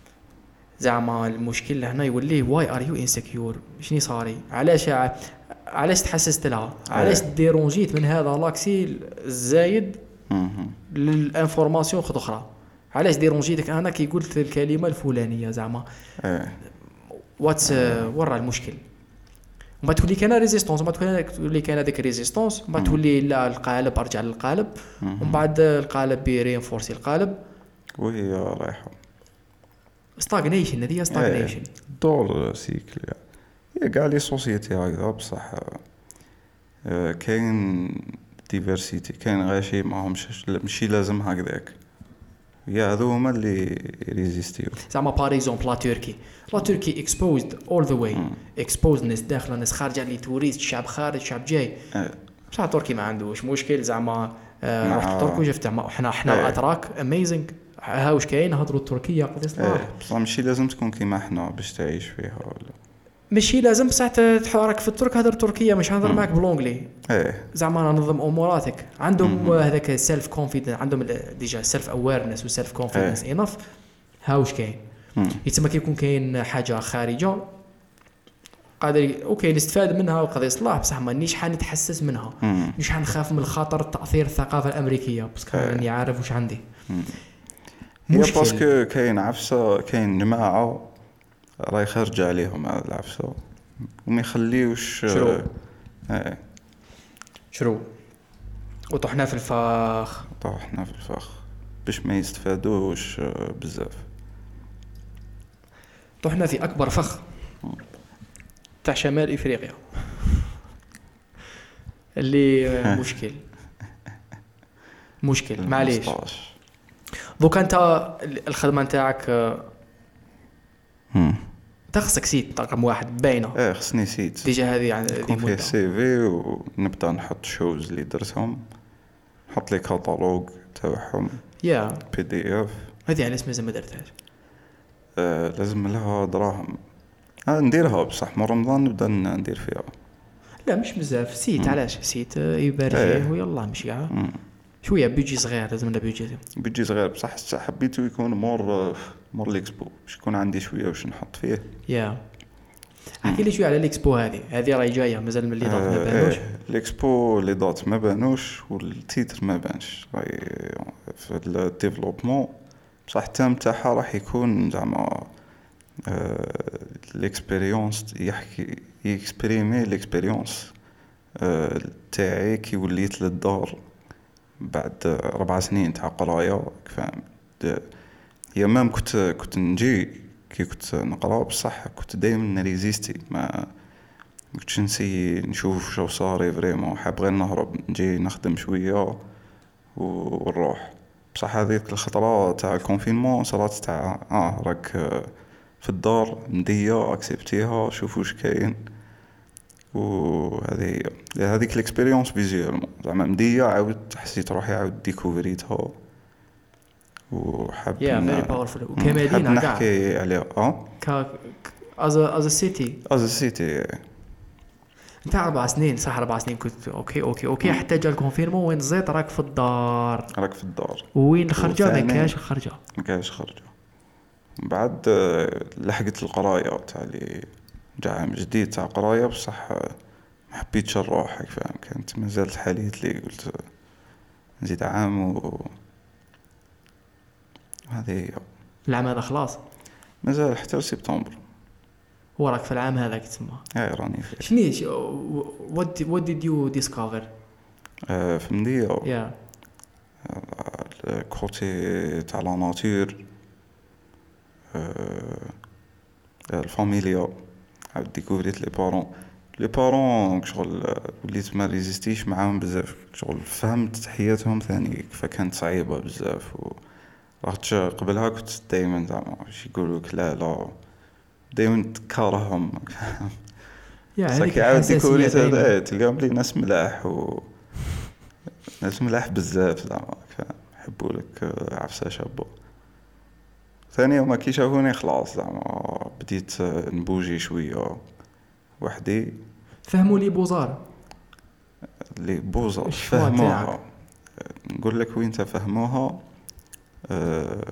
زعما المشكل هنا يولي واي ار يو انسكيور شني صاري علاش ع- علاش تحسست لها علاش ديرونجيت من هذا لاكسي الزايد مهم. للانفورماسيون خد اخرى علاش ديرونجيتك انا كي قلت الكلمه الفلانيه زعما ايه واتس ورا المشكل. وما تولي كاينه ريزيستونس وما تولي تولي كاينه ديك ريزيستونس وما تولي لا القالب ارجع للقالب ومن بعد القالب بيرينفورسي القالب وهي رايحه ستاغنيشن. هذه ستاغنيشن دور سيكل. هي كاع لي سوسيتي هكذا بصح آه، كاين ديفيرسيتي، كاين غاشي ماهمش ماشي لازم هكذاك. يا هذو هما اللي ريزيستيو. زعما بار اكزومبل لا تركي لا تركي اكسبوزد اول ذا واي، اكسبوزد ناس داخله ناس خارجه، لي توريست شعب خارج شعب جاي. بصح تركي ما عندوش مشكل زعما آه رحت تركيا وشفت حنا حنا الاتراك اميزنج ها واش كاين هضروا التركيه قضيه صلاح. بصح ماشي لازم تكون كيما حنا باش تعيش فيها ولا ماشي لازم بصح تحرك في الترك هضر تركيا مش هضر معك بلونجلي. ايه زعما نظم اموراتك عندهم هذاك سيلف كونفيدنس، عندهم ديجا سيلف اويرنس وسيلف كونفيدنس انف. ها واش كاين يتسمى كيكون كاين حاجه خارجه قادر اوكي نستفاد منها وقضيه صلاح، بصح مانيش حنتحسس منها، مش حنخاف من الخطر تاثير الثقافه الامريكيه باسكو راني عارف واش عندي. هي باسكو كاين عفسه، كاين جماعه راهي خارجه عليهم هذا العفسه وما يخليوش شرو ايه شرو وطحنا في الفخ طحنا في الفخ باش ما يستفادوش بزاف. طحنا في اكبر فخ تاع شمال افريقيا اللي مشكل مشكل معليش. دوك انت الخدمه نتاعك تخصك سيت رقم واحد باينه. ايه خصني سيت ديجا هذه يعني يكون فيه سي في ونبدا نحط شوز اللي درتهم، نحط لي كاتالوج تاعهم يا بي دي اف. هذه على اسمها ما درتهاش. آه لازم لها دراهم. آه نديرها بصح من رمضان نبدا ندير فيها. لا مش بزاف سيت. علاش سيت يبارك فيه ويلا مشي كاع شويه بيجي صغير، لازم لنا بيجي بيجي صغير بصح حبيته يكون مور مور ليكسبو باش يكون عندي شويه واش نحط فيه. يا احكي لي شويه على الاكسبو هذه هذه راهي جايه مازال من اللي دات ما بانوش. الاكسبو اللي دات ما بانوش والتيتر ما بانش راهي في الديفلوبمون، بصح التام تاعها راح يكون زعما الاكسبيريونس يحكي يكسبريمي الاكسبيريونس تاعي كي وليت للدار بعد ربع سنين تاع قرايه فاهم. هي مام كنت كنت نجي كي كنت نقرا بصح كنت دائما نريزيستي، ما كنتش نسي نشوف شو صار فريمون، حاب غير نهرب نجي نخدم شويه ونروح. بصح هذيك الخطره تاع الكونفينمون صارت تاع اه راك في الدار مديه اكسبتيها شوف واش كاين. وهذه هذيك الاكسبيريونس فيزيوالمون زعما مديه عاود حسيت روحي عاود ديكوفريتها وحاب يا فيري باورفول وكمدينه كاع نحكي عليها اه ك از از سيتي از سيتي نتاع اربع سنين صح. اربع سنين كنت اوكي اوكي اوكي حتى جا الكونفيرمون وين زيت راك في الدار راك في الدار وين الخرجه ما كاش خرجه ما كاش خرجه. بعد لحقت القرايه تاع لي جا عام جديد تاع قرايه بصح ما حبيتش نروح فاهم. كانت مازال حاليت لي قلت نزيد عام و هذه العام هذا خلاص مازال حتى سبتمبر. هو راك في العام هذاك تسمى اي راني فيه. شنيش وات وات ديد يو ديسكفر في مديه يا الكوتي تاع لا ناتور الفاميليا عاود ديكوفريت لي بارون لي بارون شغل وليت ما ريزيستيش معاهم بزاف شغل فهمت حياتهم ثاني فكانت صعيبه بزاف. و رحت قبلها كنت دائما زعما واش يقولوا لك لا لا دائما تكرههم يا هذيك عاود ديكوفريت هذا تلقاهم لي ناس ملاح و ناس ملاح بزاف زعما يحبوا لك عفسه شابه. ثانيا ما كي شافوني خلاص زعما بديت نبوجي شويه وحدي. فهموا لي بوزار لي بوزار فهموها. نقول لك وين تفهموها آه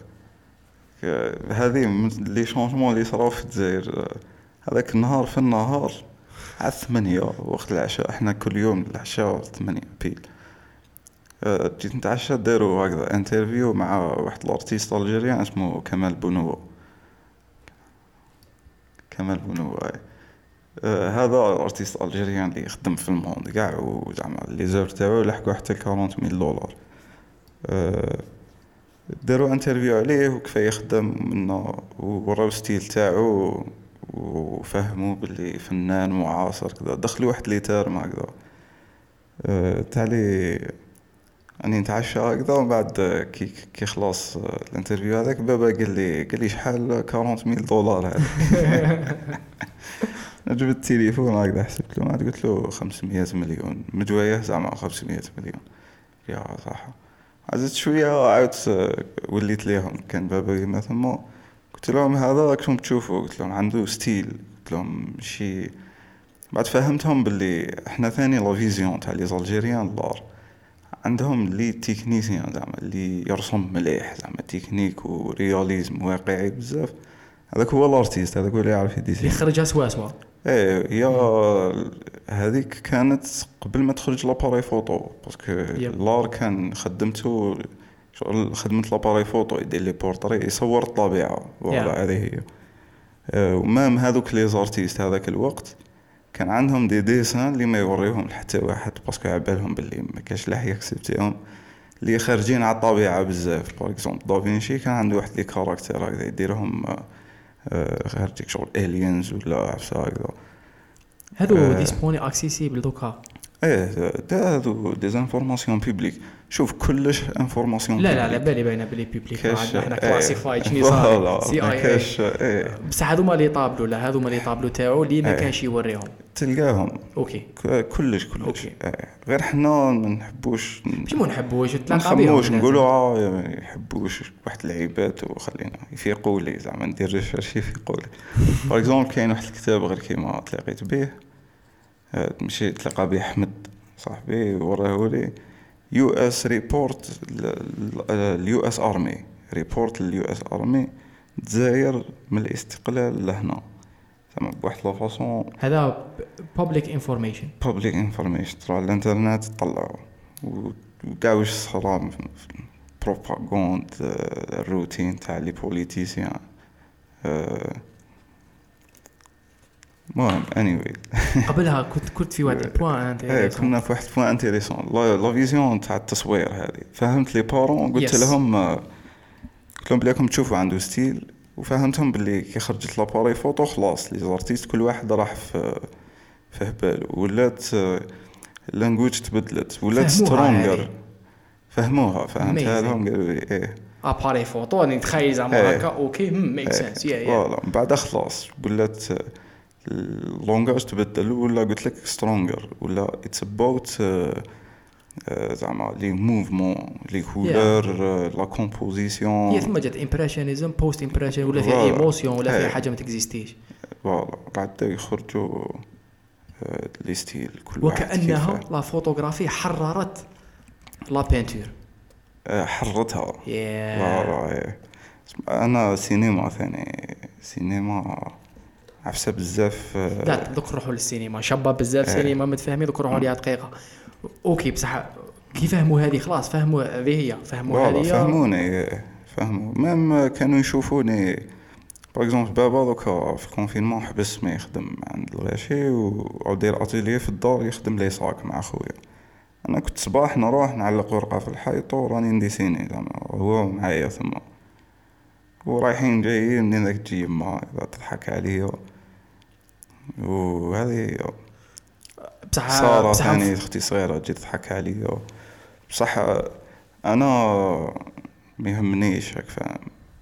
هذه لي شونجمون اللي صراو في الجزائر. هذاك النهار في النهار على ثمانية وقت العشاء احنا كل يوم العشاء ثمانية بيل أه جيت نتعشى داروا هكذا انترفيو مع واحد الارتيست الجيريان اسمه كمال بونوا. كمال بونوا آه هذا ارتيست الجيريان اللي يخدم في الموند كاع وزعما لي زور تاعو لحقوا حتى أربعين ميل دولار. آه داروا انترفيو عليه وكيف يخدم منه وراو ستيل تاعو وفهموا باللي فنان معاصر كذا. دخلوا واحد لي تيرم هكذا أه تالي اني نتعشى هكذا ومن بعد كي كي خلاص الانترفيو هذاك بابا قال لي قال لي شحال أربعين ميل دولار هذا. جبت التليفون هكذا حسبت له، ما قلت له خمسمية مليون مجويه زعما خمسمية مليون يا صح. عزت شويه عاودت وليت ليهم كان بابا ما ثم قلت لهم هذا راكم تشوفوا، قلت لهم عنده ستيل، قلت لهم شي. بعد فهمتهم باللي احنا ثاني لا فيزيون تاع لي زالجيريان لار عندهم لي تكنيسيان زعما اللي يرسم مليح زعما تكنيك ورياليزم واقعي بزاف. هذاك هو الارتيست، هذاك هو اللي يعرف يديسين يخرجها سوا سوا. ايه هي هذيك كانت قبل ما تخرج لاباري فوتو باسكو لار كان خدمته شغل خدمه لاباري فوتو يدير لي بورتري يصور الطبيعه ولا هذه هي. ومام هذوك لي زارتيست هذاك الوقت كان عندهم دي ديسان اللي ما يوريهم حتى واحد باسكو عبالهم باللي ما كاش لاح يكسبتيهم اللي خارجين على الطبيعه بزاف. باغ اكزومبل دافينشي كان عنده واحد لي كاركتير هكذا يديرهم خارجيك شغل الينز ولا عفسه هكذا. هذو أه ديسبوني اكسيسيبل دوكا. ايه ده هذو دي انفورماسيون بوبليك. شوف كلش انفورماسيون لا لا لا بالي باينه بلي بوبليك احنا كلاسيفايد شنو صار سي اي كاش. ايه بصح هذوما لي طابلو لا هذوما لي طابلو تاعو اللي ما كانش يوريهم تلقاهم. اوكي كلش كلش ايه. غير حنا ما نحبوش مش ما نحبوش تلاقى بهم نقولوا اه يحبوش واحد العيبات وخلينا يفيقوا لي زعما ندير ريشيرش يفيقوا لي. باغ اكزومبل كاين واحد الكتاب غير كيما تلاقيت به ماشي تلقى به احمد صاحبي وراه لي يو اس ريبورت اليو اس ارمي ريبورت اليو اس ارمي الجزائر من الاستقلال لهنا زعما بواحد لا فاصون. هذا بابليك انفورميشن بابليك انفورميشن ترى الانترنت طلعوا وكاع واش صرا بروباغاند الروتين تاع لي بوليتيسيان. المهم anyway قبلها كنت كنت في واحد بوان انتريسون. كنا في واحد بوان انتريسون لا فيزيون تاع التصوير هذه. فهمت لي بارون قلت yes. لهم قلت لهم بليكم تشوفوا عنده ستيل وفهمتهم باللي كي خرجت لاباري فوتو خلاص لي زارتيست كل واحد راح في في هبال ولات اللانجويج تبدلت ولات سترونجر. فهموها فهمتها لهم قالوا لي ايه اباري فوتو نتخيل زعما هكا اوكي ميك سنس يا يا فوالا. بعد خلاص ولات اللونجاج تبدل ولا قلت لك سترونجر ولا اتس اباوت زعما لي موفمون لي كولور لا كومبوزيسيون. هي ثم جات امبريشنيزم بوست امبريشن ولا فيها ايموشن ولا فيها حاجه ما تكزيستيش. فوالا بعد يخرجوا لي ستيل كل واحد وكانها لا فوتوغرافي حررت لا بينتور حررتها. فوالا انا سينما ثاني سينما عفسه بزاف. لا دوك نروحوا للسينما شابه بزاف اه. سينما متفاهمين دوك نروحوا ليها دقيقه اوكي بصح كي فهموا هذه خلاص فهموا هذه هي فهموا هذه فهموني فهموا ميم كانوا يشوفوني باغ اكزومبل بابا دوكا في الكونفينمون حبس ما يخدم عند الغاشي ودير اتيليه في الدار يخدم لي صاك مع خويا. انا كنت صباح نروح نعلق ورقه في الحيط وراني نديسيني زعما هو معايا ثم ورايحين جايين من ذاك تجي ما تضحك عليا وهذه بصح صارت ثاني اختي صغيره تجي تضحك عليا. بصح انا ما يهمنيش هك فاهم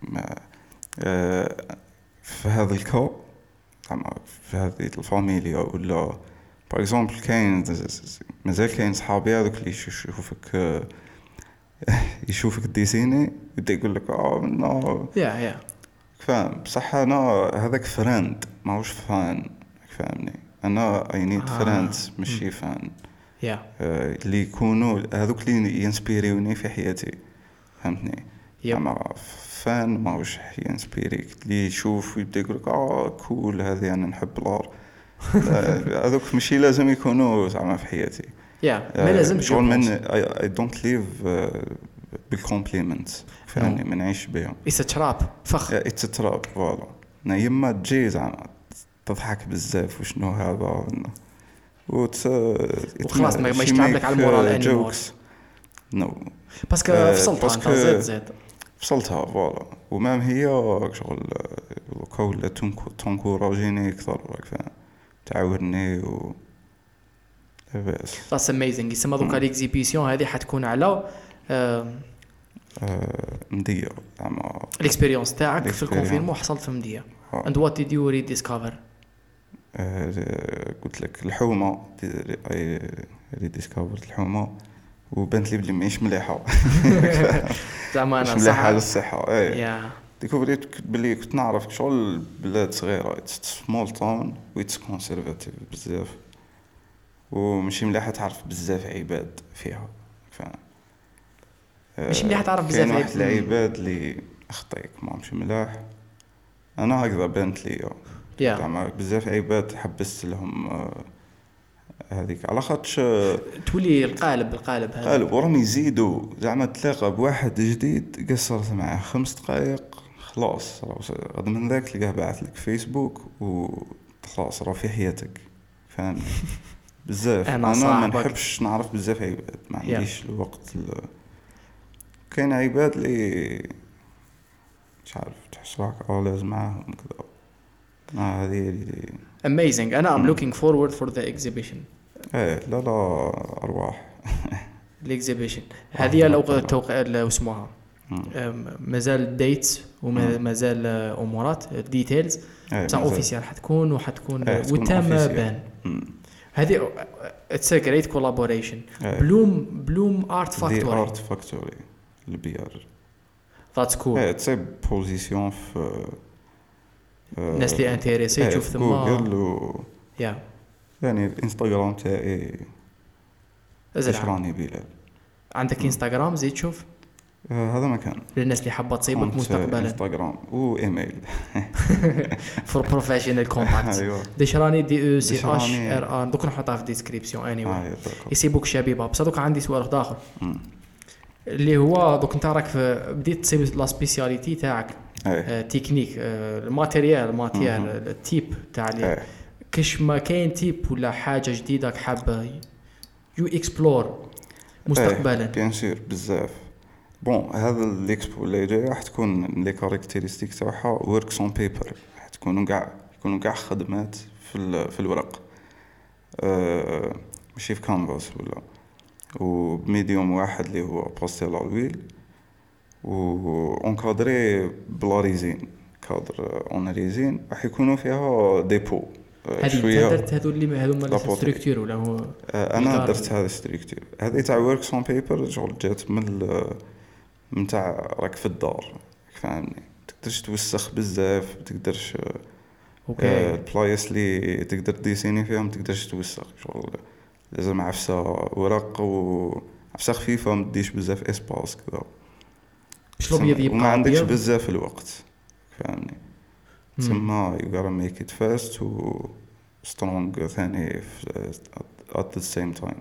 في هذا الكو زعما في هذه الفاميليا ولا باغ اكزومبل كاين مازال كاين صحابي هذوك اللي يشوفك يشوفك ديسيني يبدا يقول لك اه نو يا يا فاهم. بصح انا هذاك فريند ماهوش فان فاهمني. انا اي نيد فريند ماشي فان يا اللي يكونوا هذوك اللي ينسبيريوني في حياتي فهمتني. اما فان ماهوش ينسبيريك اللي يشوف ويبدا يقول لك اه كول هذه انا نحب الار هذوك ماشي لازم يكونوا زعما في حياتي. يا ما لازم شغل من اي دونت ليف بالكومبليمنت فهمني ما نعيش بهم. اتس تراب فخ اتس تراب فوالا. يما تجي زعما تضحك بزاف وشنو هذا وت وخلاص ما ما يشتعب لك على المورال انيمور نو باسكو فصلتها انت زيد زيد فصلتها فوالا ومام هي شغل كول تنكوراجيني اكثر راك فاهم تعاوني و بس that's amazing. يسمى دوكا ليكزيبيسيون هذه حتكون على مدية زعما الاكسبيريونس تاعك في الكونفينمون حصلت في مدية. and what did you rediscover؟ قلت لك الحومة ريديسكفرت الحومة وبانت لي بلي ماهيش مليحة زعما انا مش مليحة للصحة. اي yeah. ديكوفريت بلي كنت نعرف شغل بلاد صغيرة سمول تاون ويتس كونسيرفاتيف بزاف ومشي مليحة تعرف بزاف عباد فيها فاهم مش مليحة تعرف بزاف كاين واحد العباد اللي اخطيك ما مشي ملاح انا هكذا بانت لي زعما بزاف عباد حبست لهم هذيك على خاطش تولي القالب القالب هذا قالب وراهم يزيدوا زعما تلاقى بواحد جديد قصرت معاه خمس دقائق خلاص غد من ذاك تلقاه باعث لك فيسبوك وخلاص راه في حياتك فاهم بزاف. انا, أنا ما نحبش نعرف بزاف عباد ما عنديش yeah. الوقت ال... كاين عباد اللي مش عارف تحس روحك اه لازم معاهم كذا اه هذه اللي amazing. انا I'm looking forward for the exhibition. ايه لا لا ارواح الاكزيبيشن هذه لو توقع لو اسمها مازال ديتس ومازال امورات ديتيلز بصح اوفيسيال حتكون وحتكون وتم بان هذه اتس ا جريت كولابوريشن. بلوم بلوم ارت فاكتوري ارت فاكتوري البيار ذاتس كول اتس ا بوزيسيون في الناس اللي انتريسي تشوف ثم جوجل و يا يعني الانستغرام تاعي اشراني بلال. عندك انستغرام زيد تشوف آه هذا مكان للناس اللي حابه تصيبك مستقبلا انستغرام وايميل فور بروفيشنال كونتاكت دشراني دي او سي اش ار ار دوك نحطها في الديسكريبسيون اني واي يسيبوك شبيبه. بصح دوك عندي سؤال اخر اللي هو دوك انت راك بديت تصيب لا سبيسياليتي تاعك آه تكنيك آه الماتيريال ماتيريال التيب تاع لي كش ما كاين تيب ولا حاجه جديده حابه يو اكسبلور مستقبلا بيان سور بزاف. بون هذا الاكسبو اللي جاي راح تكون لي كاركتيرستيك تاعها وركس اون بيبر راح تكونوا كاع يكونوا كاع خدمات في في الورق أه ماشي في كانفاس ولا وبميديوم واحد اللي هو باستيل على الويل و اونكادري بلا ريزين كادر اون ريزين راح يكونوا فيها ديبو. هذه درت هذو اللي هذو مال ستركتور ولا هو انا درت هذا ستركتور هذه تاع وركس اون بيبر شغل جات من من تاع راك في الدار فاهمني تقدرش توسخ بزاف تقدرش اوكي البلايص اللي تقدر ديسيني فيهم تقدرش توسخ شغل لازم عفسه ورق وعفسه خفيفه ما تديش بزاف اسباس كذا شلون يبقى وما عندكش بزاف الوقت فاهمني ثم you gotta make it fast و strong ثاني at the same time.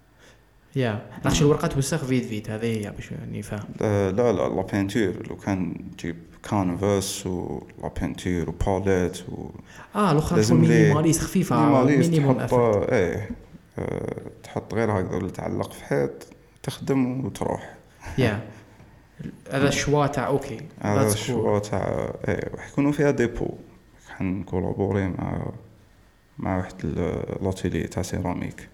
يا ناخذ الورقه توسخ فيد فيد هذه هي باش يعني فاهم. لا لا لا بينتور لو كان تجيب كانفاس ولا بينتور وباليت و اه الاخرى تكون مينيماليست خفيفه مينيموم افورت ايه أه تحط غير هكذا اللي تعلق في حيط تخدم وتروح. يا هذا الشوا تاع اوكي هذا الشوا تاع ايه راح يكونوا فيها ديبو حنكولابوري مع مع واحد لاتيلي تاع سيراميك.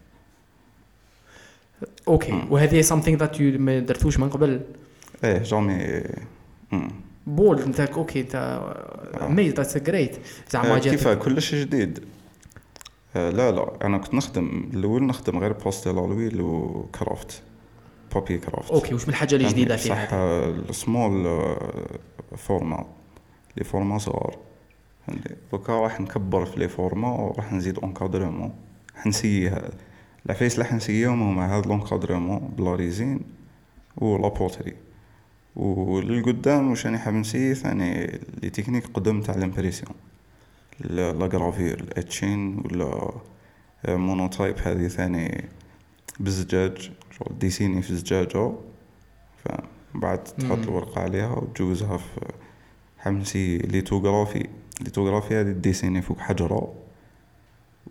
اوكي مم. وهذه something that you ما درتوش من قبل ايه جامي بول انت اوكي انت ميز ذاتس جريت زعما كيف كلش جديد. آه لا لا انا كنت نخدم الاول نخدم غير باستيل الويل وكرافت بابي كرافت. اوكي وش من الحاجه اللي جديده فيها صح السمول فورما لي فورما صغار دوكا راح نكبر في لي فورما وراح نزيد اونكادرمون حنسيها العفايس اللي حنسيهم هما هذا لونكادرمون بلا ريزين ولا بوتري وللقدام واش راني حاب نسي ثاني لي تكنيك قدم تاع الامبريسيون لا غرافير الاتشين ولا مونوتايب هذه ثاني بالزجاج شغل ديسيني في الزجاجه فبعد تحط الورقه عليها وتجوزها في حمسي ليتوغرافي ليتوغرافي هذه ديسيني فوق حجره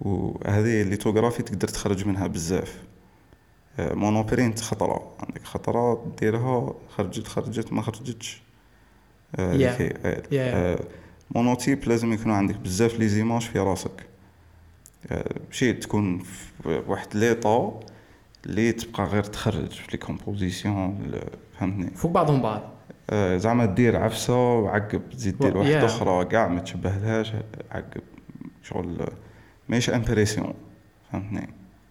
وهذه الليتوغرافي تقدر تخرج منها بزاف. مونوبرينت خطرة، عندك خطرة ديرها خرجت خرجت ما خرجتش. yeah. yeah. مونوتيب لازم يكونوا عندك بزاف لي زيماج في راسك، شيء تكون في واحد ليطا اللي تبقى غير تخرج في لي كومبوزيسيون، فهمتني، فوق بعضهم بعض. زعما دير عفسه وعقب تزيد دير واحده yeah. اخرى كاع ما تشبهلهاش، عقب شغل ماهيش امبريسيون، فهمتني.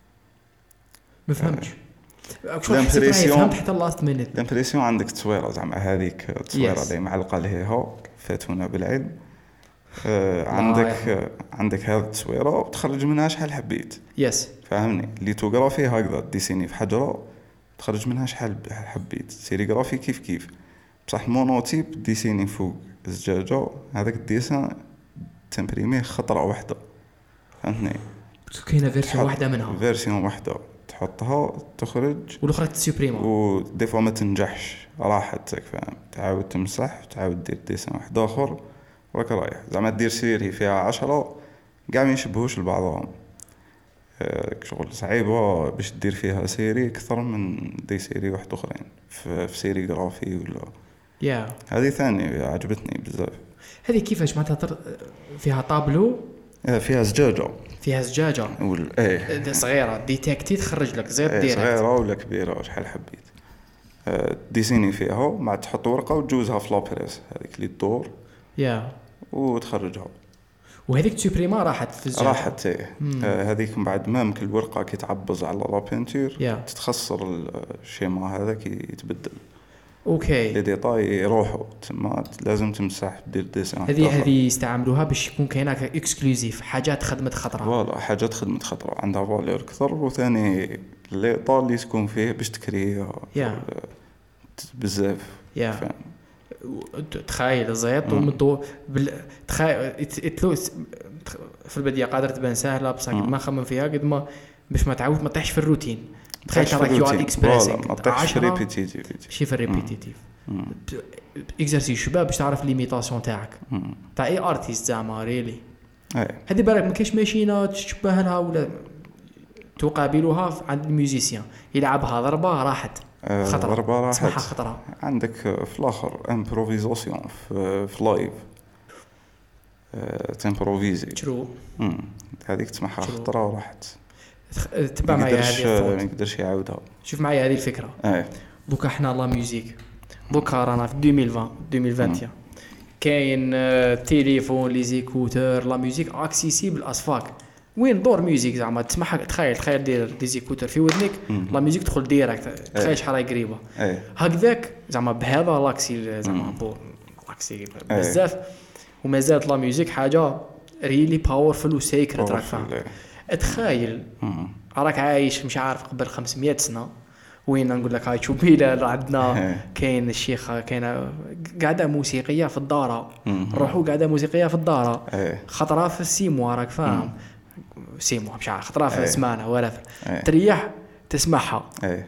ما فهمتش شو حسيت فهمت حتى لاست مينيت. الامبريسيون عندك تصويره زعما هذيك التصويره اللي yes. معلقه ليها فاتونا بالعلم. آه عندك آه عندك هذه التصويره وتخرج منها شحال حبيت. يس yes. فهمني. ليتوغرافي هكذا ديسيني في حجره تخرج منها شحال حبيت. سيريغرافي كيف كيف، بصح المونوتيب ديسيني فوق الزجاجه، هذاك الديسان تمبريميه خطره واحده، فهمتني. كاينه فيرسيون واحده منها، فيرسيون واحده تحطها تخرج والاخرى تسوبريما، ودي فوا ما تنجحش راحتك، فاهم. تعاود تمسح وتعاود دير ديسان واحد اخر وراك رايح. زعما دير سيري فيها عشرة كاع ما يشبهوش لبعضهم، شغل صعيبه باش دير فيها سيري اكثر من دي سيري واحد اخرين في, في سيري غرافي ولا يا yeah. هذه ثاني عجبتني بزاف. هذه كيفاش معناتها تر... فيها طابلو، فيها زجاجه فيها زجاجه وال... ايه صغيره ديتيكتي تخرج لك زيت ايه ديريكت، صغيره ولا كبيره شحال حبيت. أه ديسيني فيها مع تحط ورقه وتجوزها في لابريس هذيك اللي تدور يا yeah. وتخرجها. وهذيك تسوبريما راحت في الزجاجه، راحت ايه آه هذيك من بعد ما ممكن الورقه كي تعبز على لا بينتور yeah. تتخسر الشيما هذاك يتبدل. اوكي لي ديتاي يروحوا تما لازم تمسح دير ديسان. هذه هذه يستعملوا باش يكون كاينه اكسكلوزيف، حاجات خدمه خطره. فوالا حاجات خدمه خطره عندها فالور اكثر، وثاني لي طال اللي تكون فيه باش تكريها yeah. بزاف yeah. تخيل الزيت ومدو بال... تخيل اتلوس في البدايه قادر تبان سهله بصح ما خمم فيها قد ما باش ما تعاود ما تطيحش في الروتين. تخيل تراك يو ار اكسبريسينغ ما تطيحش في ريبيتيتيف، شي في ريبيتيتيف اكزرسيس شباب باش تعرف ليميتاسيون تاعك تاع اي ارتيست زعما ريلي. هذه بالك ما كاينش ماشينه تشبه لها ولا تقابلها عند الميوزيسيان يلعبها ضربه راحت خطره، ضربه راحت تسمعها خطره. عندك في الاخر امبروفيزاسيون في, في لايف تمبروفيزي ترو هذيك تسمعها خطره وراحت. تبع معايا هذه ما يقدرش يعاودها. شوف معايا هذه الفكره. ايه دوكا احنا لا ميوزيك دوكا رانا في ألفين وعشرين ألفين وعشرين كاين تليفون لي زيكوتور، لا ميوزيك اكسيسيبل اسفاك. وين دور ميوزيك زعما تسمعها تخيل تخيل دير دي زيكوتور في ودنك لا ميوزيك تدخل ديريكت تخيل شحال راهي قريبه هكذاك زعما بهذا لاكسي زعما بور لاكسي بزاف. ومازالت لا ميوزيك حاجه ريلي باورفل وسيكرت راك فاهم. اتخيل راك عايش مش عارف قبل خمسمية سنه وين نقول لك هاي شوف بيلا عندنا كاين الشيخ كاين قاعده موسيقيه في الداره، نروحوا قاعده موسيقيه في الداره خطره في السيمو راك فاهم، سيمو مش عارف خطره في السمانه ولا تريح تسمعها.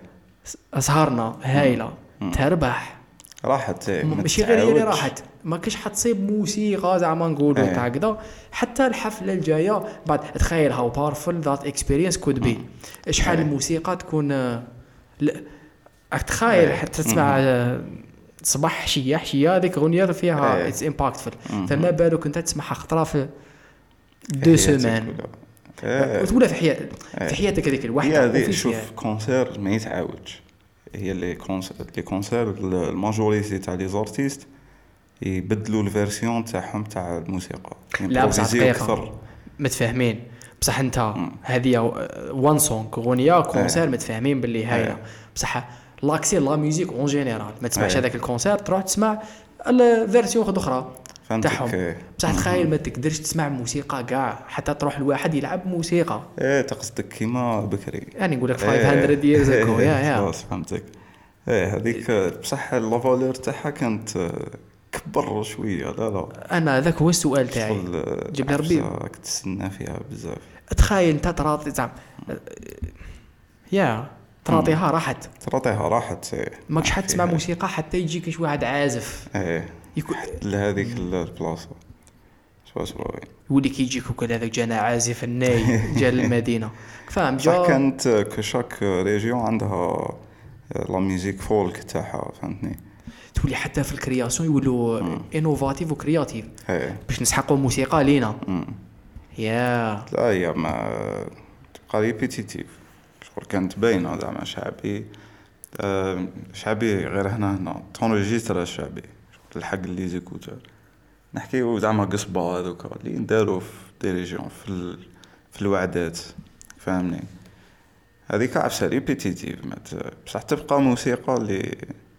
اسهرنا هايله تربح راحت ماشي غير اللي راحت ما كاش حتصيب موسيقى زعما نقولوا تاع كذا. حتى الحفله الجايه بعد تخيل هاو بارفل ذات اكسبيرينس كود بي شحال الموسيقى تكون لا تخيل حتى تسمع صباح حشيه حشيه هذيك اغنيه فيها اتس امباكتفul، فما بالك انت تسمعها خطره في دو سيمان وتقولها في حياتك في حياتك هذيك الوحده. وفي شوف كونسير ما يتعاودش، هي اللي كونسير لي كونسير الماجوريتي تاع لي زارتيست يبدلوا الفيرسيون تاعهم تاع الموسيقى. لا بصح دقيقه متفاهمين بصح انت هذه وان سونغ اغنيه كونسير متفاهمين باللي هاي بصح لاكسي لا ميوزيك اون جينيرال ما تسمعش هذاك الكونسير تروح تسمع الفيرسيون اخرى تاعهم. بصح تخيل ما تقدرش تسمع موسيقى كاع حتى تروح الواحد يلعب موسيقى. ايه تقصدك كيما بكري يعني نقول لك خمسمية years ago يا يا خلاص فهمتك. ايه هذيك بصح لا فالور تاعها كانت كبر شويه. لا لا انا ذاك هو السؤال تاعي جبنا ربي راك تستنى فيها بزاف. تخيل انت تراطي زعما يا تراطيها راحت تراطيها راحت ماكش حد تسمع موسيقى حتى يجيك شي واحد عازف ايه يكون لهذيك البلاصه سبعة وسبعين يولي كيجيك وكل هذاك جانا عازف الناي جا المدينه فاهم صح. جا كانت كشاك ريجيون عندها لا ميوزيك فولك تاعها فهمتني. تولي حتى في الكرياسيون يولوا انوفاتيف وكرياتيف ايه باش نسحقوا موسيقى لينا. مم. يا لا هي ما تبقى ريبيتيتيف شغل كانت باينه زعما شعبي. آه شعبي غير هنا هنا تونجيستر شعبي الحق اللي زيكوتر نحكيو زعما قصبه هذوك اللي نداروا في دي ريجيون في ال... في الوعدات فهمني. هذيك عفسه ريبيتيتيف بصح تبقى موسيقى اللي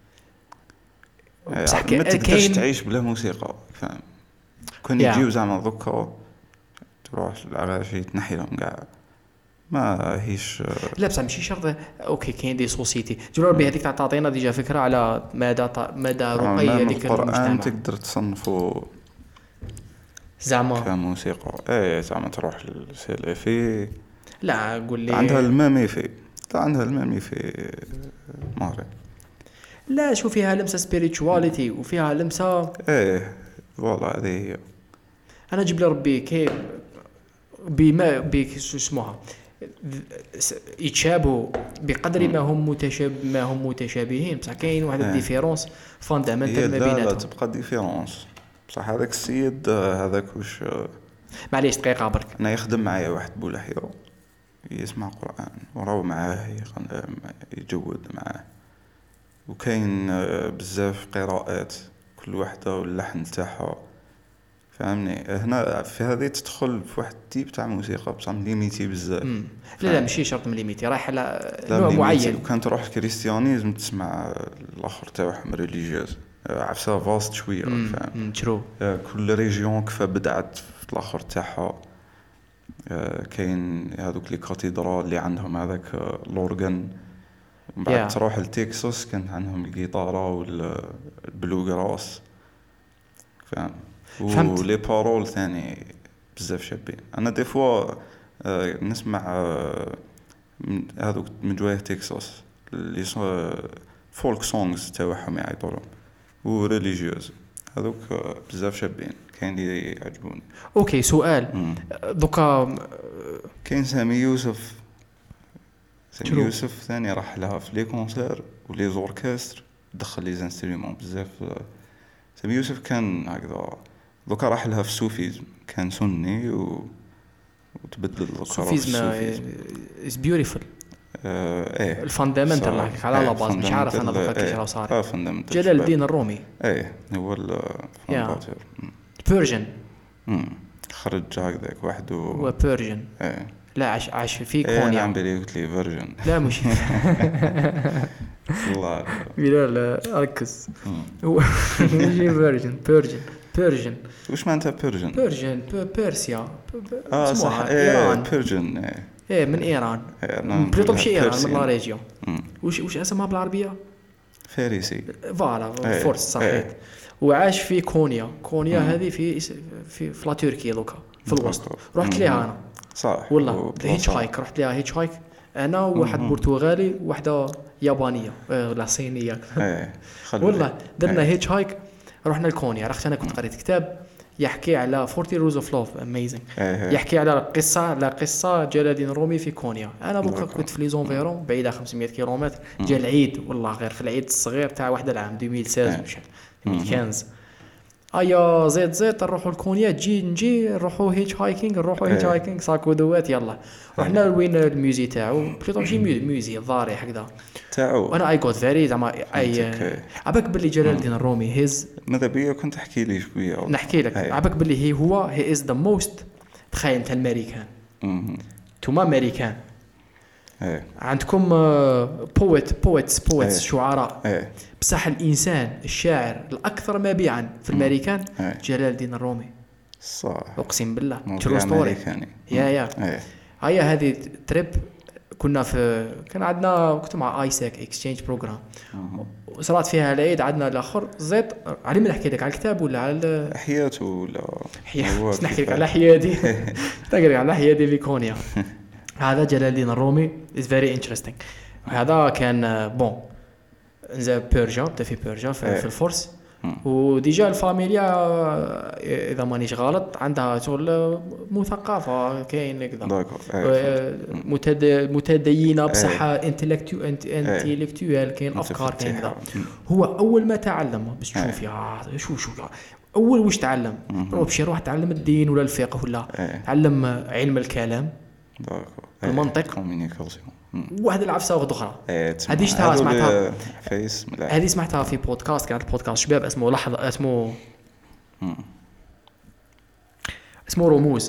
بصح ما تقدرش كاين تعيش بلا موسيقى فاهم. كون Yeah. يجيو زعما دوكا تروح العراشي تنحي لهم كاع ما هيش. لا بصح ماشي شرط. اوكي كاين دي سوسيتي جرور بهذيك تاع تعطينا ديجا فكره على مدى مدى رقي هذيك القرآن المجتمع تقدر تصنفوا زعما. كموسيقى. ايه زعما تروح للسلفي لا قول لي عندها المامي في لا عندها المامي في مغرب. لا شوف فيها لمسه سبيريتواليتي وفيها لمسه. ايه والله هذه هي. انا جيب لي ربي كي بما بك شو اسمها يتشابهوا بقدر ما هم متشاب ما هم متشابهين بصح كاين واحد الديفيرونس فاندامنتال ما لا لا بيناتهم. تبقى ديفيرونس بصح هذاك السيد هذاك واش معليش دقيقه برك. انا يخدم معايا واحد بولحيه يسمع قرآن وراو معاه يجود معاه وكاين بزاف قراءات كل واحدة واللحن تاعها فهمني. هنا في هذه تدخل في واحد تيب تاع موسيقى بصح ليميتي بزاف. لا لا ماشي شرط من ليميتي رايح على نوع معين. وكان تروح الكريستيانيزم تسمع الاخر تاعهم ريليجيوز عفسه فاست شويه فاهم. ترو كل ريجيون كيف بدعت في الاخر تاعها. كاين هذوك لي كاتيدرال اللي عندهم هذاك لورغان من بعد Yeah. تروح لتكساس كان عندهم الجيتارة والبلوغراس فاهم. ولي بارول ثاني بزاف شابين. انا دي فوا آه نسمع آه هذوك من جوايه تكساس اللي فولك سونغز تاعهم يعيطولهم وريليجيوز هذوك آه بزاف شابين كاين اللي يعجبوني. اوكي سؤال دوكا كاين سامي يوسف سامي يوسف ثاني راح لها في لي كونسير ولي زوركستر دخل لي زانسترومون بزاف. سامي يوسف كان هكذا دوكا راح لها في السوفيزم كان سني و... وتبدل السوفيزم از بيوتيفول. ايه الفاندامنتال راك على لا باز مش عارف انا دوكا كيفاش راه صار. جلال الدين الرومي ايه هو الفانداتور بيرجن خرج هكذاك وحده هو بيرجن. ايه لا عاش عاش في كونيا. ايه عم بلي قلت لي فيرجن. لا مش والله لا ركز هو ماشي فيرجن بيرجن بيرجن. وش معناتها بيرجن؟ بيرجن بيرسيا اه صح ايه بيرجن ايه ايه من ايران. بليطو ماشي ايران من لا ريجيون. وش وش اسمها بالعربيه؟ فارسي فوالا فورس صحيح. وعاش في كونيا. كونيا هذه في في في لا تركيا دوكا في الوسط. رحت ليها انا صح والله هيتش هايك. رحت ليها هيتش هايك انا وواحد برتغالي وواحده يابانيه لا صينيه والله درنا هيتش هايك رحنا لكونيا. رحت انا كنت قريت كتاب يحكي على أربعين روز اوف لوف اميزنج يحكي على قصه على قصه جلال الدين الرومي في كونيا. انا بقى كنت في لي زونفيرون بعيده خمسمية كيلومتر. جا العيد والله غير في العيد الصغير تاع واحد العام ألفين وستة عشر ألفين وخمسطاش ايا زيد زيد نروحوا لكونيا تجي نجي نروحوا هيتش هايكينغ نروحوا هيتش هايكينغ ساكو دوات يلا. رحنا لوين الميوزي تاعو بليطو ماشي ميوزي الضاري هكذا تاعو. وانا اي جوت فيري زعما اي عباك باللي جلال الدين الرومي هيز ماذا بيا كنت احكي لي شويه نحكي لك عباك باللي هي هو هي از ذا موست. تخيل انت الامريكان انتوما امريكان عندكم بويت بويتس بويتس شعراء بصح الانسان الشاعر الاكثر مبيعا في الامريكان جلال الدين الرومي صح اقسم بالله ترو ستوري. يا يا هيا هذه تريب كنا في كان عندنا كنت مع ايساك اكسشينج بروجرام وصرات فيها العيد عندنا الاخر زيت علي ما نحكي لك على الكتاب ولا على حياته ولا حياته نحكي لك على حياتي تقري على حياتي في كونيا. هذا جلال الدين الرومي is very interesting. هذا كان بون نزا بيرجا بدا في بيرجا في, في الفرس وديجا الفاميليا اذا مانيش غلط عندها شغل مثقفه كاين كذا متدينه بصح انتلكتوال كاين افكار كاين كذا. هو اول ما تعلم باش تشوف يا شو شو اول واش تعلم باش يروح تعلم الدين ولا الفقه ولا تعلم علم الكلام المنطق واحد العفسه واحده اخرى. هذه شفتها سمعتها هذه سمعتها في بودكاست كانت بودكاست شباب اسمه لحظه اسمه اسمه رموز.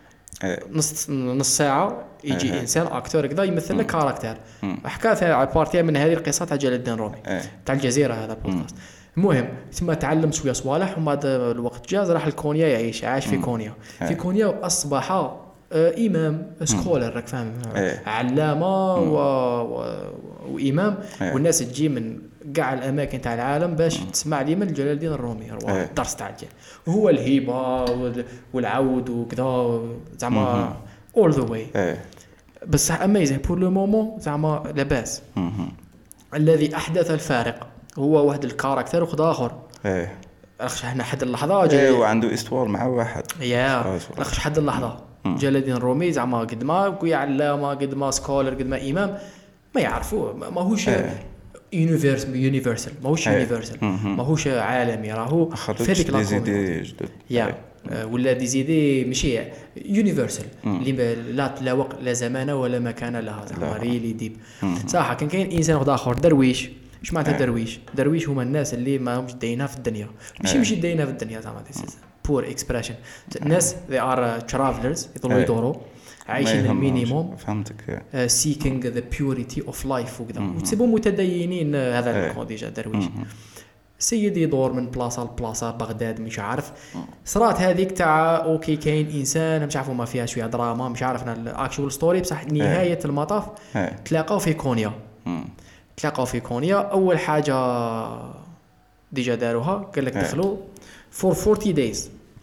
نص نص ساعه يجي انسان اكتور كذا يمثل لك كاركتر حكى فيها على بارتي من هذه القصه تاع جلال الدين الرومي تاع الجزيره. هذا بودكاست المهم ثم تعلم شويه صوالح وما الوقت جاز راح لكونيا يعيش عاش في كونيا. في كونيا واصبح امام سكولر راك فاهم علامه و... و... وامام والناس تجي من كاع الاماكن تاع العالم باش تسمع لي من جلال الدين الرومي الدرس تاع الجيل وهو الهيبه والعود وكذا زعما all the way. بس اميزين بور لو مومون زعما لاباس. الذي احدث الفارق هو واحد الكاركتر وخد اخر ايه اخش احنا حد اللحظه جاي ايه وعنده استوار مع واحد يا اخش حد اللحظه جلال الدين الرومي زعما قد ما كوي علامه قد ما سكولر قد ما امام ما يعرفوه ماهوش يونيفرس يونيفرسال ماهوش يونيفرسال ماهوش عالمي راهو في هذيك لا يا ولا دي زيدي ماشي يونيفرسال اللي لا لا وقت لا زمان ولا مكان لها زعما ريلي ديب صح. كان كاين انسان واحد اخر درويش. اش معناتها درويش؟ درويش هما الناس اللي ما همش داينها في الدنيا ماشي ماشي داينها في الدنيا زعما بور اكسبريشن الناس they are travelers يضلوا يدوروا عايشين المينيموم فهمتك seeking the purity of life وكذا وتسيبوا متدينين. هذا الكون ديجا درويش سيدي يدور من بلاصه لبلاصه بغداد مش عارف صرات هذيك تاع اوكي كاين انسان مش عارفوا ما فيها شويه دراما مش عارفنا الاكشوال ستوري بصح نهايه المطاف تلاقاو في كونيا تلاقاو في كونيا. اول حاجه ديجا داروها قال لك دخلوا for forty days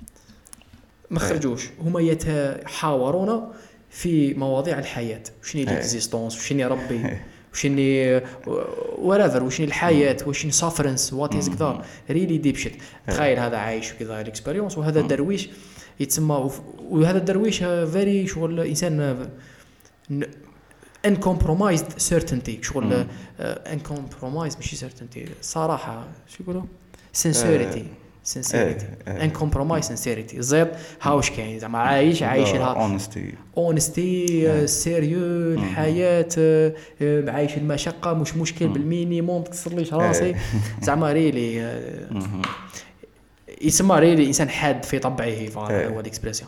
ما خرجوش هما يتحاورون في مواضيع الحياه وشني الاكزيستونس وشني ربي وشني ورافر وشني الحياه وشني سافرنس وات از كذا ريلي ديب شيت. تخيل هذا عايش كذا الاكسبيرينس وهذا درويش يتسمى وهذا الدرويش فيري شغل انسان uncompromised certainty شغل uncompromised ماشي certainty صراحة شو يقولوا sincerity sincerity uncompromised sincerity زيد هاوش كاين زعما عايش عايش لها honesty honesty سيريو الحياة عايش المشقة مش مشكل بالمينيموم تكسرليش راسي زعما ريلي يسمى ريلي إنسان حاد في طبعه هذا هو الإكسبريسيون.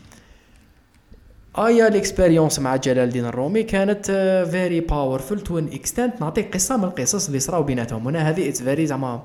ايا الاكسبيريونس مع جلال الدين الرومي كانت فيري باورفول تو ان اكستنت. نعطيك قصه من القصص اللي صراو بيناتهم هنا هذه اتس فيري زعما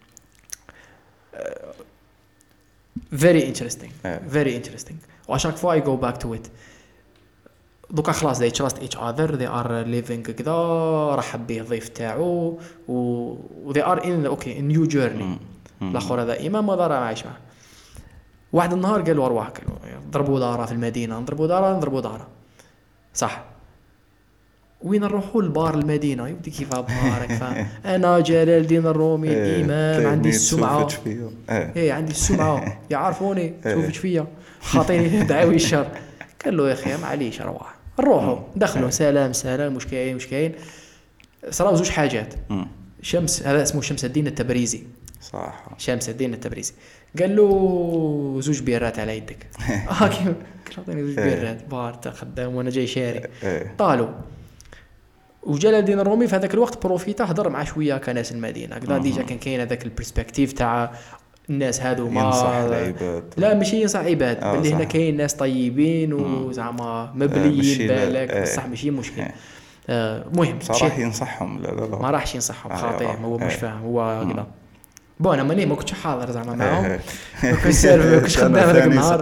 فيري انتريستينغ فيري انتريستينغ واشاك فوا اي جو باك تو ات. دوكا خلاص they trust each other they are living كذا رحب به ضيف تاعو و they are in okay in new journey. الاخر هذا امام ما دار عايش معه. واحد النهار قالوا ارواح قالوا ضربوا دارة في المدينة نضربوا دارة نضربوا دارة صح وين نروحوا لبار المدينة يبدي كيف بارك فاهم أنا جلال الدين الرومي الإمام عندي السمعة إيه عندي السمعة يعرفوني شوفش فيا خاطيني دعوي الشر. قال له يا أخي معليش أرواح نروحوا دخلوا سلام سلام مش كاين مش كاين. صراو زوج حاجات شمس هذا اسمه شمس الدين التبريزي صح شمس الدين التبريزي قال له زوج بيرات على يدك هاكي عطيني زوج بيرات بارت خدام وانا جاي شاري طالوا. وجلال الدين الرومي في هذاك الوقت بروفيتا هضر مع شويه كناس المدينه كذا ديجا كان كاين هذاك البرسبكتيف تاع الناس هادو ما لا ماشي ينصح عباد باللي هنا كاين ناس طيبين وزعما مبليين بالك بصح ماشي مشكل. مهم صراحه ينصحهم لا لا لا ما راحش ينصحهم خاطئ هو مش فاهم هو كذا بون انا ماني ما كنتش حاضر زعما معاهم ما كنتش سيرف ما كنتش خدام هذاك النهار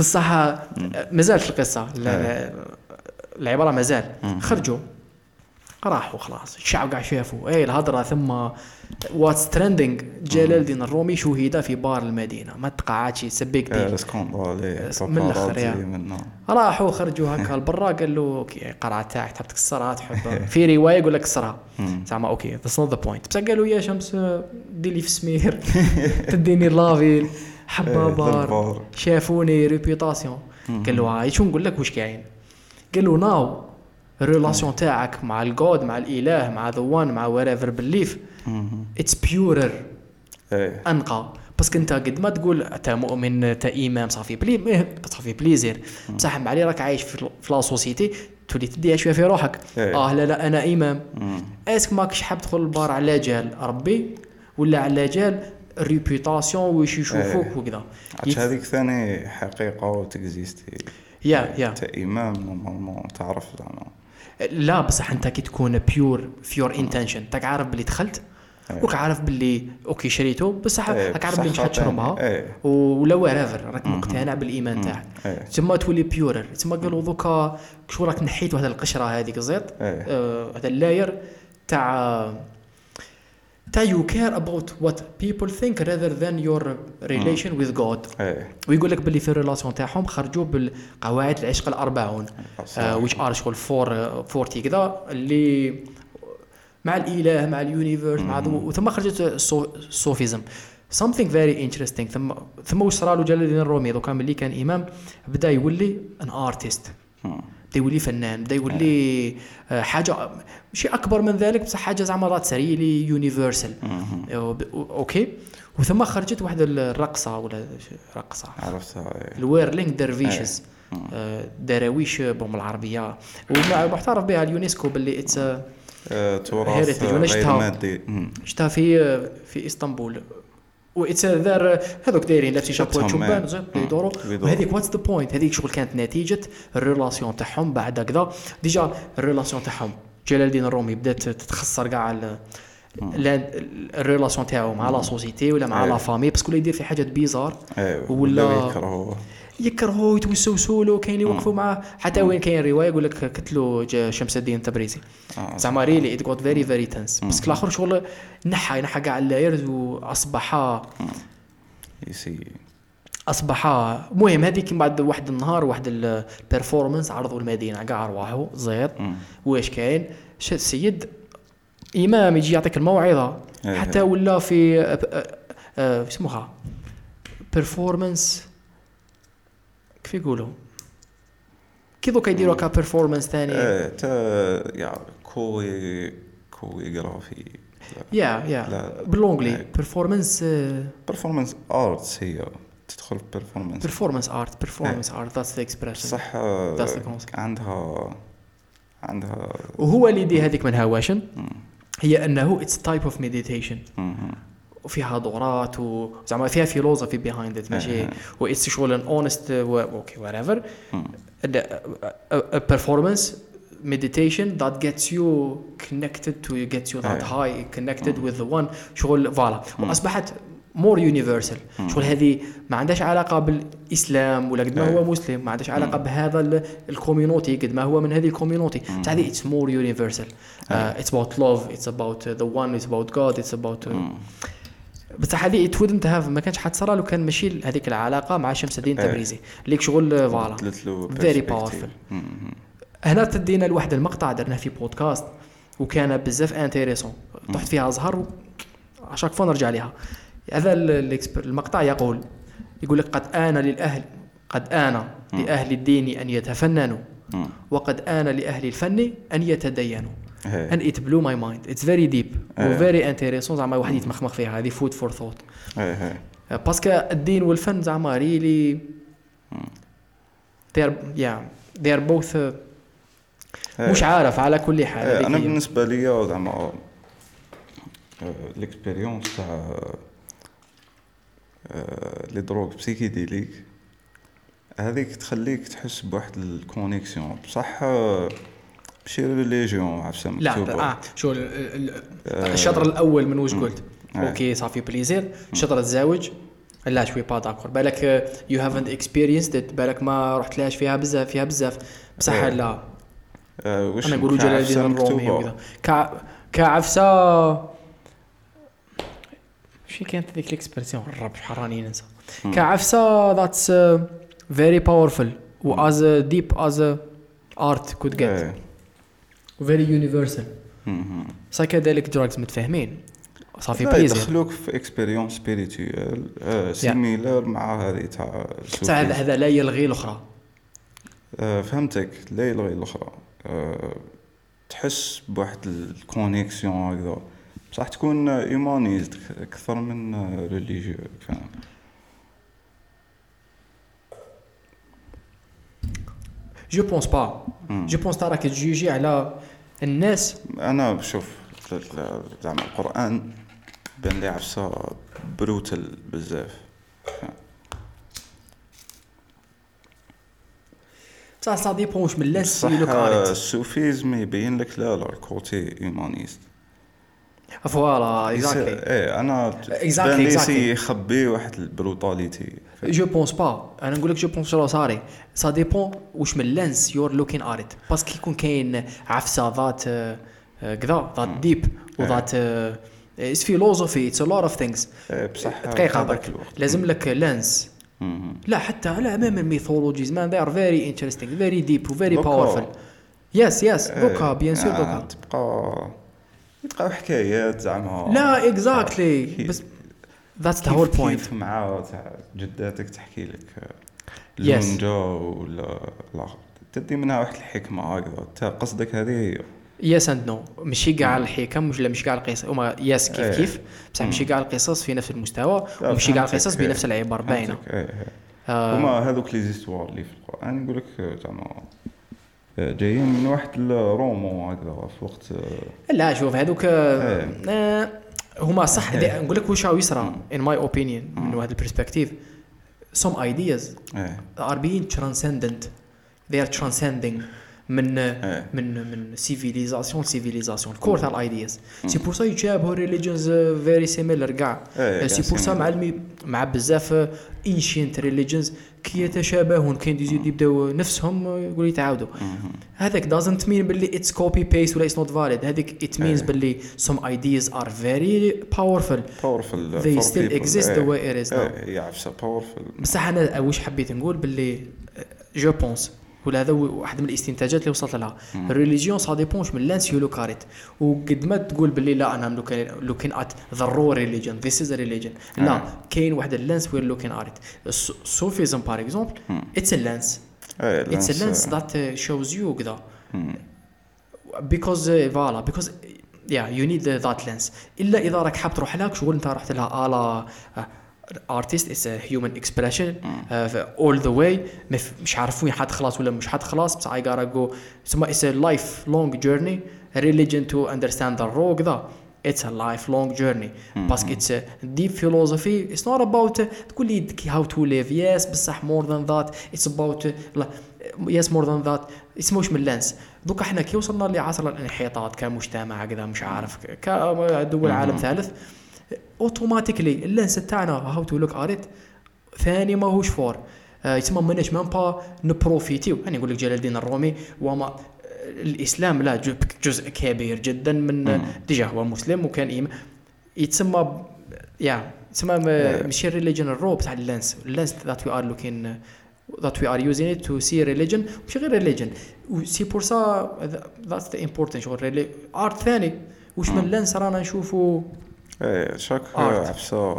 بصح مازالت القصه العباره مازال خرجوا راحوا خلاص الشعب قاعد شافوا اي الهضره. ثم واتس ترندينج جلال الدين الرومي شهد في بار المدينه، ما تقعدش سبيك دي سكوندالي من الاخر يعني. راحوا خرجوا هكا لبرا قال له اوكي قرعه تاعك تحب تكسرها تحب في روايه يقول لك كسرها زعما اوكي ذاتس نوت ذا بوينت. بصح قالوا يا شمس دير لي في سمير تديني لافيل حبه بار شافوني ريبيوتاسيون. قال له هاي شو نقول لك واش كاين. قال له ناو الريلاسيون تاعك مع الجود مع الاله مع ذا وان مع whatever belief اتس بيورر انقى. بس كنت قد ما تقول انت مؤمن انت امام صافي بلي صافي بليزير بصح معلي راك عايش في لا سوسيتي تولي تديها شويه في روحك. اه لا لا انا امام اسك ماكش حاب تدخل البار على جال ربي ولا على جال ريبيوتاسيون واش يشوفوك وكذا. هذيك ثاني حقيقه وتكزيستي يا يا انت امام نورمالمون تعرف زعما لا بصح انت كي تكون بيور فيور انتنشن تاك عارف بلي دخلت وك عارف باللي اوكي شريته بصح راك عارف بلي مش حتشربها ولا ويرافر راك مقتنع بالايمان تاعك تما تولي بيورر. تما قالوا دوكا شو راك نحيت واحد القشره هذيك الزيت هذا اللاير تاع تا you care about what people think rather than your relation with God. ويقول لك باللي في الريلاسيون تاعهم خرجوا بالقواعد العشق الأربعون which are شغل فور فورتي كذا اللي مع الإله مع اليونيفيرس مع وثم خرجت الصوفيزم something very interesting. ثم ثم واش صرالو جلال الدين الرومي دوكا ملي كان إمام بدا يولي an artist بدا يولي فنان بدا يولي حاجه شيء اكبر من ذلك بصح حاجه زعما رات سريلي يونيفرسال اوكي. وثم خرجت واحده الرقصه ولا رقصه عرفتها الويرلينج درويشز دراويش بهم العربيه ومعترف بها اليونسكو باللي اتس تراث غير مادي. شفتها في في اسطنبول وإتس ذار هذوك دايرين لابسين شابو شوبان زين يدوروا. وهذيك واتس ذا بوينت هذيك شغل كانت نتيجه الريلاسيون تاعهم بعد كذا. ديجا الريلاسيون تاعهم جلال الدين الرومي بدات تتخسر كاع الريلاسيون تاعو مع لا سوسيتي ولا مع لا فامي باسكو يدير في حاجات بيزار ولا يكرهوه يكرهوه يتوسوسوا له كاين يوقفوا معاه حتى وين كاين روايه يقول لك قتلوا شمس الدين التبريزي زعما ريلي ات غوت فيري فيري تنس بس الاخر شغل نحى نحى كاع اللايرز واصبح يسي اصبح مهم. هذيك بعد واحد النهار واحد البيرفورمانس عرضوا المدينه كاع ارواحه زيد واش كاين السيد امام يجي يعطيك الموعظه حتى ولا في اسمها بيرفورمانس كيف يقولوا كي دوكا يديروا كا بيرفورمانس ثاني اه تا يا كوي كويغرافي يا يا باللونجلي بيرفورمانس بيرفورمانس ارتس هي تدخل بيرفورمانس بيرفورمانس ارت بيرفورمانس ارت ذاتس ذا اكسبريشن صح عندها عندها وهو اللي يدي هذيك من هواشن هي انه اتس تايب اوف ميديتيشن وفيها دورات وزعما فيها فيلوزفي بيهايند ات ماشي واتس شغل ان اونست اوكي whatever a performance meditation that gets you connected to you gets you that high connected with the one شغل فوالا واصبحت more universal شغل هذه ما عندهاش علاقه بالاسلام ولا قد ما هو مسلم ما عندهاش علاقه بهذا الكوميونيتي قد ما هو من هذه الكوميونيتي هذه it's more universal uh, it's about love it's about uh, the one it's about God it's about uh, بس هذه it wouldn't have ما كانش حتصرى لو كان ماشي هذيك العلاقه مع شمس الدين التبريزي اللي شغل فوالا very powerful. هنا تدينا لواحد المقطع درناه في بودكاست وكان بزاف انتريسون طحت فيها زهر عشاك فون نرجع ليها. هذا المقطع يقول يقول لك قد آن للأهل قد آن لأهل الدين أن يتفننوا وقد آن لأهل الفن أن يتدينوا. and it blew my mind it's very deep و very interesting زعما واحد يتمخمخ فيها هذه food for thought باسكو الدين والفن زعما really they are yeah they are both مش عارف على كل حال. انا بالنسبه لي زعما الاكسبيريونس تاع لي دروغ بسيكيديليك هذيك تخليك تحس بواحد الكونيكسيون بصح ماشي ريليجيون عفسه مكتوبه. لا اه شو الشطر الاول من واش قلت اوكي صافي بليزير الشطر الزواج لا شوي با داكور بالك يو هافنت اكسبيرينسد بالك ما رحت لاش فيها بزاف فيها بزاف بصح لا آه، واش انا نقولوا جلال كعفسة الدين الرومي مكتوبة؟ وكذا كع... كعفسه. شي كانت هذيك الاكسبرسيون الرب شحال راني ننسى. كعفسه ذاتس فيري باورفul و از ديب از ارت كود جيت إيه. فيري يونيفرسال. مهم. سايكيديليك دراجز متفاهمين صافي لا بليزير. يدخلوك في اكسبيريونس سبيريتوال سيميلر مع هذه تاع بصح هذا هذا لا يلغي الاخرى. آه، فهمتك. لا يلغي الاخرى. آه، تحس بواحد الكونيكسيون هكذا بصح تكون ايمانيزد اكثر من ريليجيو. فاهم؟ جو بونس با جو بونس ترى كتجيجي على الناس. انا شوف زعما القران بان لي عفسه بروتل بزاف. بصح سا ديبون واش من الناس صح. اللي كاريت. السوفيزم يبين لك لا لا الكوتي ايمانيست. فوالا اكزاكتلي. ايه انا Exactly, بان لي exactly. سي يخبي واحد البروتاليتي. جو بونس با انا نقول لك جو بونس شنو صاري. سا ديبون واش من لانس يور لوكين اريت باسكو يكون كاين عفسه ذات كذا ذات ديب وذات اتس فيلوزوفي اتس ا لوت اوف ثينجز. بصح دقيقه برك لازم لك لانس. لا حتى على امام الميثولوجيز مان they are very interesting very deep very powerful. يس يس دوكا بيان سور دوكا تبقى يبقاو حكايات زعما. لا اكزاكتلي بس that's the whole point. كيف مع تاع جداتك تحكي لك Yes. لونجا ولا لا تدي منها واحد الحكمه هكذا. تا قصدك هذه هي. يس اند نو ماشي كاع الحكم مش لا مش كاع القصص هما يس كيف إيه. كيف بصح ماشي كاع القصص في نفس المستوى وماشي كاع القصص بنفس العبر باينه. آه. هما هذوك لي زيستوار اللي في القران نقول لك زعما جايين من واحد الرومون هكذا في وقت. لا شوف هذوك آه هما صح نقول لك واش راهو يصرى in my opinion من هذا البرسبكتيف some ideas are being transcendent they are transcending من من من civilisation civilisation كور تاع الايدياز. سي بور سا يتشابهوا ريليجنز فيري سيميلر كاع. سي بور سا مع مع بزاف انشينت ريليجنز كي يتشابهون كاين ديزي يبداو نفسهم يقول يتعاودوا. هذاك doesn't mean باللي it's copy paste ولا it's not valid. هذيك it means باللي some ideas are very powerful powerful they still exist the way it is now. يعرف powerful. بصح انا واش حبيت نقول باللي جو بونس ولا هذا واحد من الاستنتاجات اللي وصلت لها. الريليجيون سا ديبونش من لانس يولو كاريت وقد ما تقول باللي لا انا لوكين ات ذا رو ريليجن ذيس از ريليجن لا كاين واحد اللانس وير لوكين اريت. الصوفيزم بار اكزومبل اتس ا لانس اتس ا لانس ذات شوز يو كذا because فوالا because yeah you need that lens. الا اذا راك حاب تروح لها شغل انت رحت لها على artist is a human expression uh, all the way مش عارف وين حتخلص ولا مش حتخلص بس I gotta go ثم it's a lifelong journey. A religion to understand the raw كذا it's a lifelong journey بس it's a deep philosophy. It's not about uh, تقول لي how to live yes بصح more than that it's about uh, yes more than that اسموش من لانس. دوك احنا كي وصلنا لعصر الانحطاط كمجتمع كذا مش عارف كدول عالم ثالث اوتوماتيكلي اللانس تاعنا هاو تو لوك اريت ثاني ماهوش فور آه يسمى مناش مام با نبروفيتيو. انا نقول لك جلال الدين الرومي وما الاسلام لا جزء كبير جدا من ديجا هو مسلم وكان يتسمى يا يسمى ماشي ريليجن الرو بتاع اللانس اللانس ذات وي ار لوكين that we are using it to see religion ماشي غير religion وسي بور سا that's the important شغل ارت ثاني واش من لانس رانا نشوفوا. ايه شاك عفسه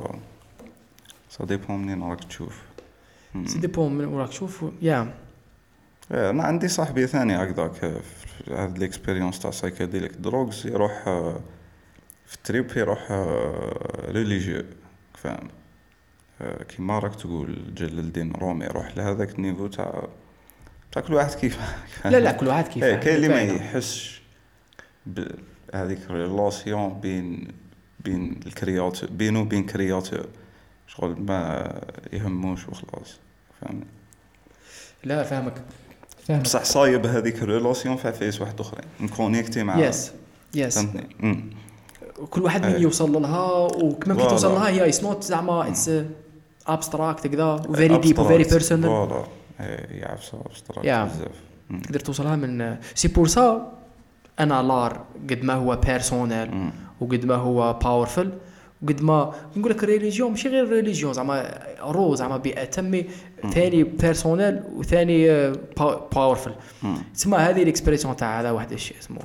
سا ديبون منين راك تشوف سي ديبون من راك تشوف يا. ايه انا عندي صاحبي ثاني هكذاك في هذه الاكسبيريونس تاع سايكيديليك دروغز يروح في التريب يروح ريليجيو فاهم كيما راك تقول جلال الدين الرومي يروح لهذاك النيفو تاع تاع كل واحد كيف. لا لا كل واحد كيف ايه كاين اللي ما يحسش بهذيك الريلاسيون بين بين الكرياتور بينه وبين كرياتور شغل ما يهموش وخلاص فاهمني. لا فاهمك فاهمك بصح صايب هذيك الريلاسيون في فيس واحد اخرين نكونيكتي مع يس يس فهمتني. كل واحد من يوصل لها وكما كي توصل لها هي اتس نوت زعما اتس ابستراكت كذا وفيري ديب وفيري بيرسونال فوالا يعرف ابستراكت بزاف تقدر توصلها من سي بور سا. انا لار قد ما هو بيرسونيل وقد ما هو باورفل وقد ما نقول لك ريليجيون ماشي غير ريليجيون زعما رو زعما بأتم ثاني بيرسونيل وثاني باورفل. تسمى هذه الاكسبريسيون تاع هذا واحد الشيء اسمه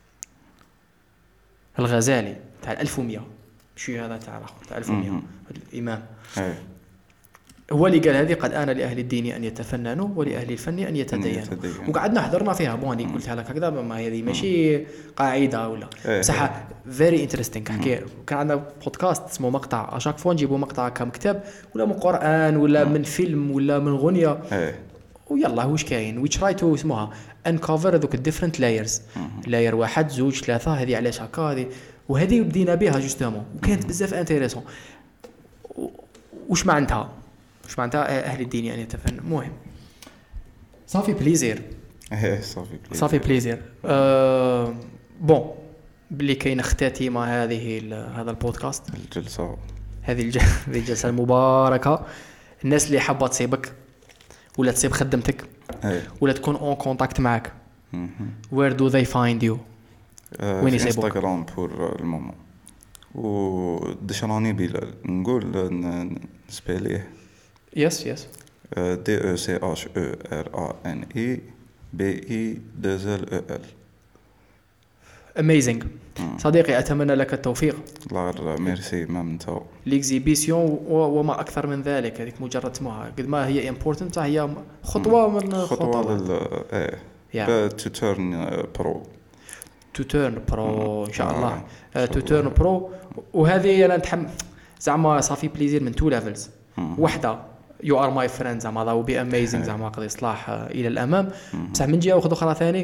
الغزالي تاع ألف ومئة ماشي هذا تاع الاخر تاع ألف ومئة الامام هو اللي قال هذه قد آن لأهل الدين أن يتفننوا ولأهل الفن أن يتدينوا. وقعدنا حضرنا فيها بوني قلتها لك هكذا ما هذه ماشي قاعدة ولا بصح فيري انتريستينغ. حكي كان عندنا بودكاست اسمه مقطع اشاك فون نجيبوا مقطع كم كتاب ولا من قرآن ولا من فيلم ولا من غنية ويلا واش كاين وي تراي تو اسمها انكفر ذوك الديفرنت لايرز لاير واحد زوج ثلاثة هذه علاش هكا هذه وهذه بدينا بها جوستومون وكانت بزاف انتريسون. واش معناتها واش معناتها أهل الدين يعني يتفنن مهم صافي بليزير ايه صافي بليزير صافي بليزير أه بون بلي كاين اختتيمه هذه هذا البودكاست الجلسه هذه الجلسه المباركه. الناس اللي حابه تصيبك ولا تصيب خدمتك ولا تكون اون كونتاكت معك where do they find you وين يصيبوك؟ انستغرام بور المومون ودشراني بلال نقول نسبيليه يس يس دي او سي اش او ار ا ان اي بي اي دزل او ال. اميزنج صديقي اتمنى لك التوفيق. الله ميرسي ما انت ليكزيبيسيون وما اكثر من ذلك. هذيك مجرد اسمها قد ما هي امبورتنت هي خطوه من خطوه لل ايه تو تيرن برو تو تيرن برو ان شاء الله تو تيرن برو. وهذه انا نتحمل زعما صافي بليزير من تو ليفلز. وحده يو ار ماي فريند زعما ذا بي اميزنج زعما قضي اصلاح الى الامام. بصح من جهه واحده اخرى ثاني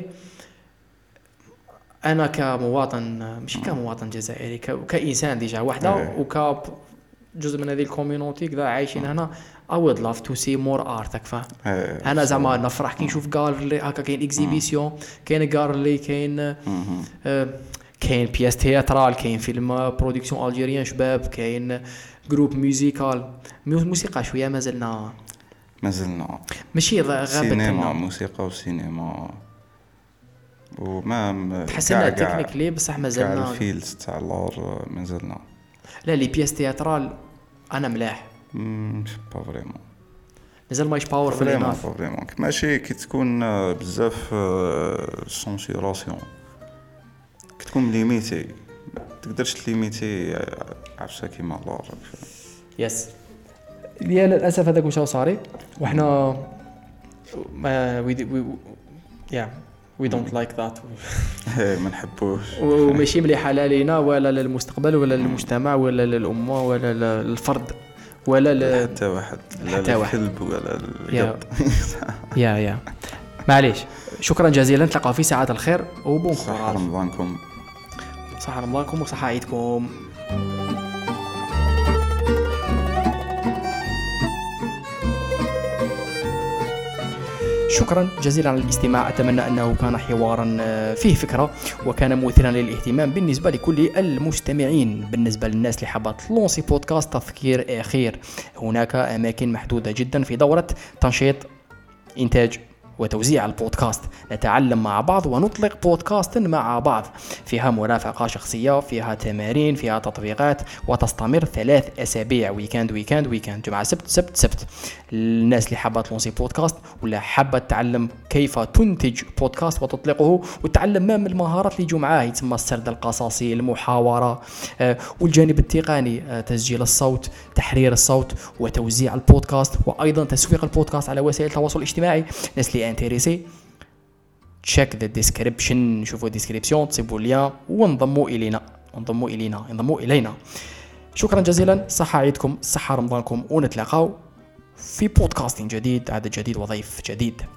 انا كمواطن مش كمواطن جزائري كانسان ديجا وحده وك جزء من هذه الكوميونيتي كذا عايشين هنا I would love to see more art. فاهم انا زعما نفرح كي نشوف غالري هكا كاين اكزيبيسيون كاين غالري كاين كاين بياس تياترال كاين فيلم برودكسيون الجيريان شباب كاين جروب موسيقال موسيقى شويه مازلنا مازلنا ماشي غابت سينما موسيقى وسينما وما تحسنا تكنيكلي بصح مازلنا الفيلز تاع اللور مازلنا. لا لي بياس تياترال انا ملاح مش با فريمون مازال مايش باور في الناس فريمون ماشي كي تكون بزاف سونسيراسيون كي تكون ليميتي تقدرش تليميتي عفسه كيما الله راك يس ديال للاسف هذاك واش صاري وحنا ما وي يا we don't like that ما نحبوش وماشي مليحه لا لينا ولا للمستقبل ولا للمجتمع ولا للامه ولا للفرد ولا حتى واحد لا الكلب ولا القط يا يا معليش. شكرا جزيلا نتلاقاو في ساعات الخير وبون صحة رمضانكم صحة رمضانكم وصحة عيدكم. شكرا جزيلا على الاستماع. أتمنى أنه كان حوارا فيه فكرة وكان مثيرا للاهتمام بالنسبة لكل المستمعين. بالنسبة للناس اللي حابة تلونسي بودكاست تذكير أخير هناك أماكن محدودة جدا في دورة تنشيط إنتاج وتوزيع البودكاست. نتعلم مع بعض ونطلق بودكاست مع بعض فيها مرافقة شخصية فيها تمارين فيها تطبيقات وتستمر ثلاث أسابيع ويكاند ويكاند ويكاند جمعة سبت سبت سبت. الناس اللي حابة تلونسي بودكاست ولا حابة تتعلم كيف تنتج بودكاست وتطلقه وتتعلم ما من المهارات اللي يجوا معاه يتسمى السرد القصصي المحاورة آه والجانب التقني آه تسجيل الصوت تحرير الصوت وتوزيع البودكاست وأيضا تسويق البودكاست على وسائل التواصل الاجتماعي. ناس اللي انتريسي تشيك ذا ديسكريبشن شوفوا ديسكريبسيون تصيبوا ليا وانضموا الينا انضموا الينا انضموا الينا. شكرا جزيلا. صحة عيدكم صحة رمضانكم ونتلاقاو في بودكاست جديد عدد جديد وضيف جديد.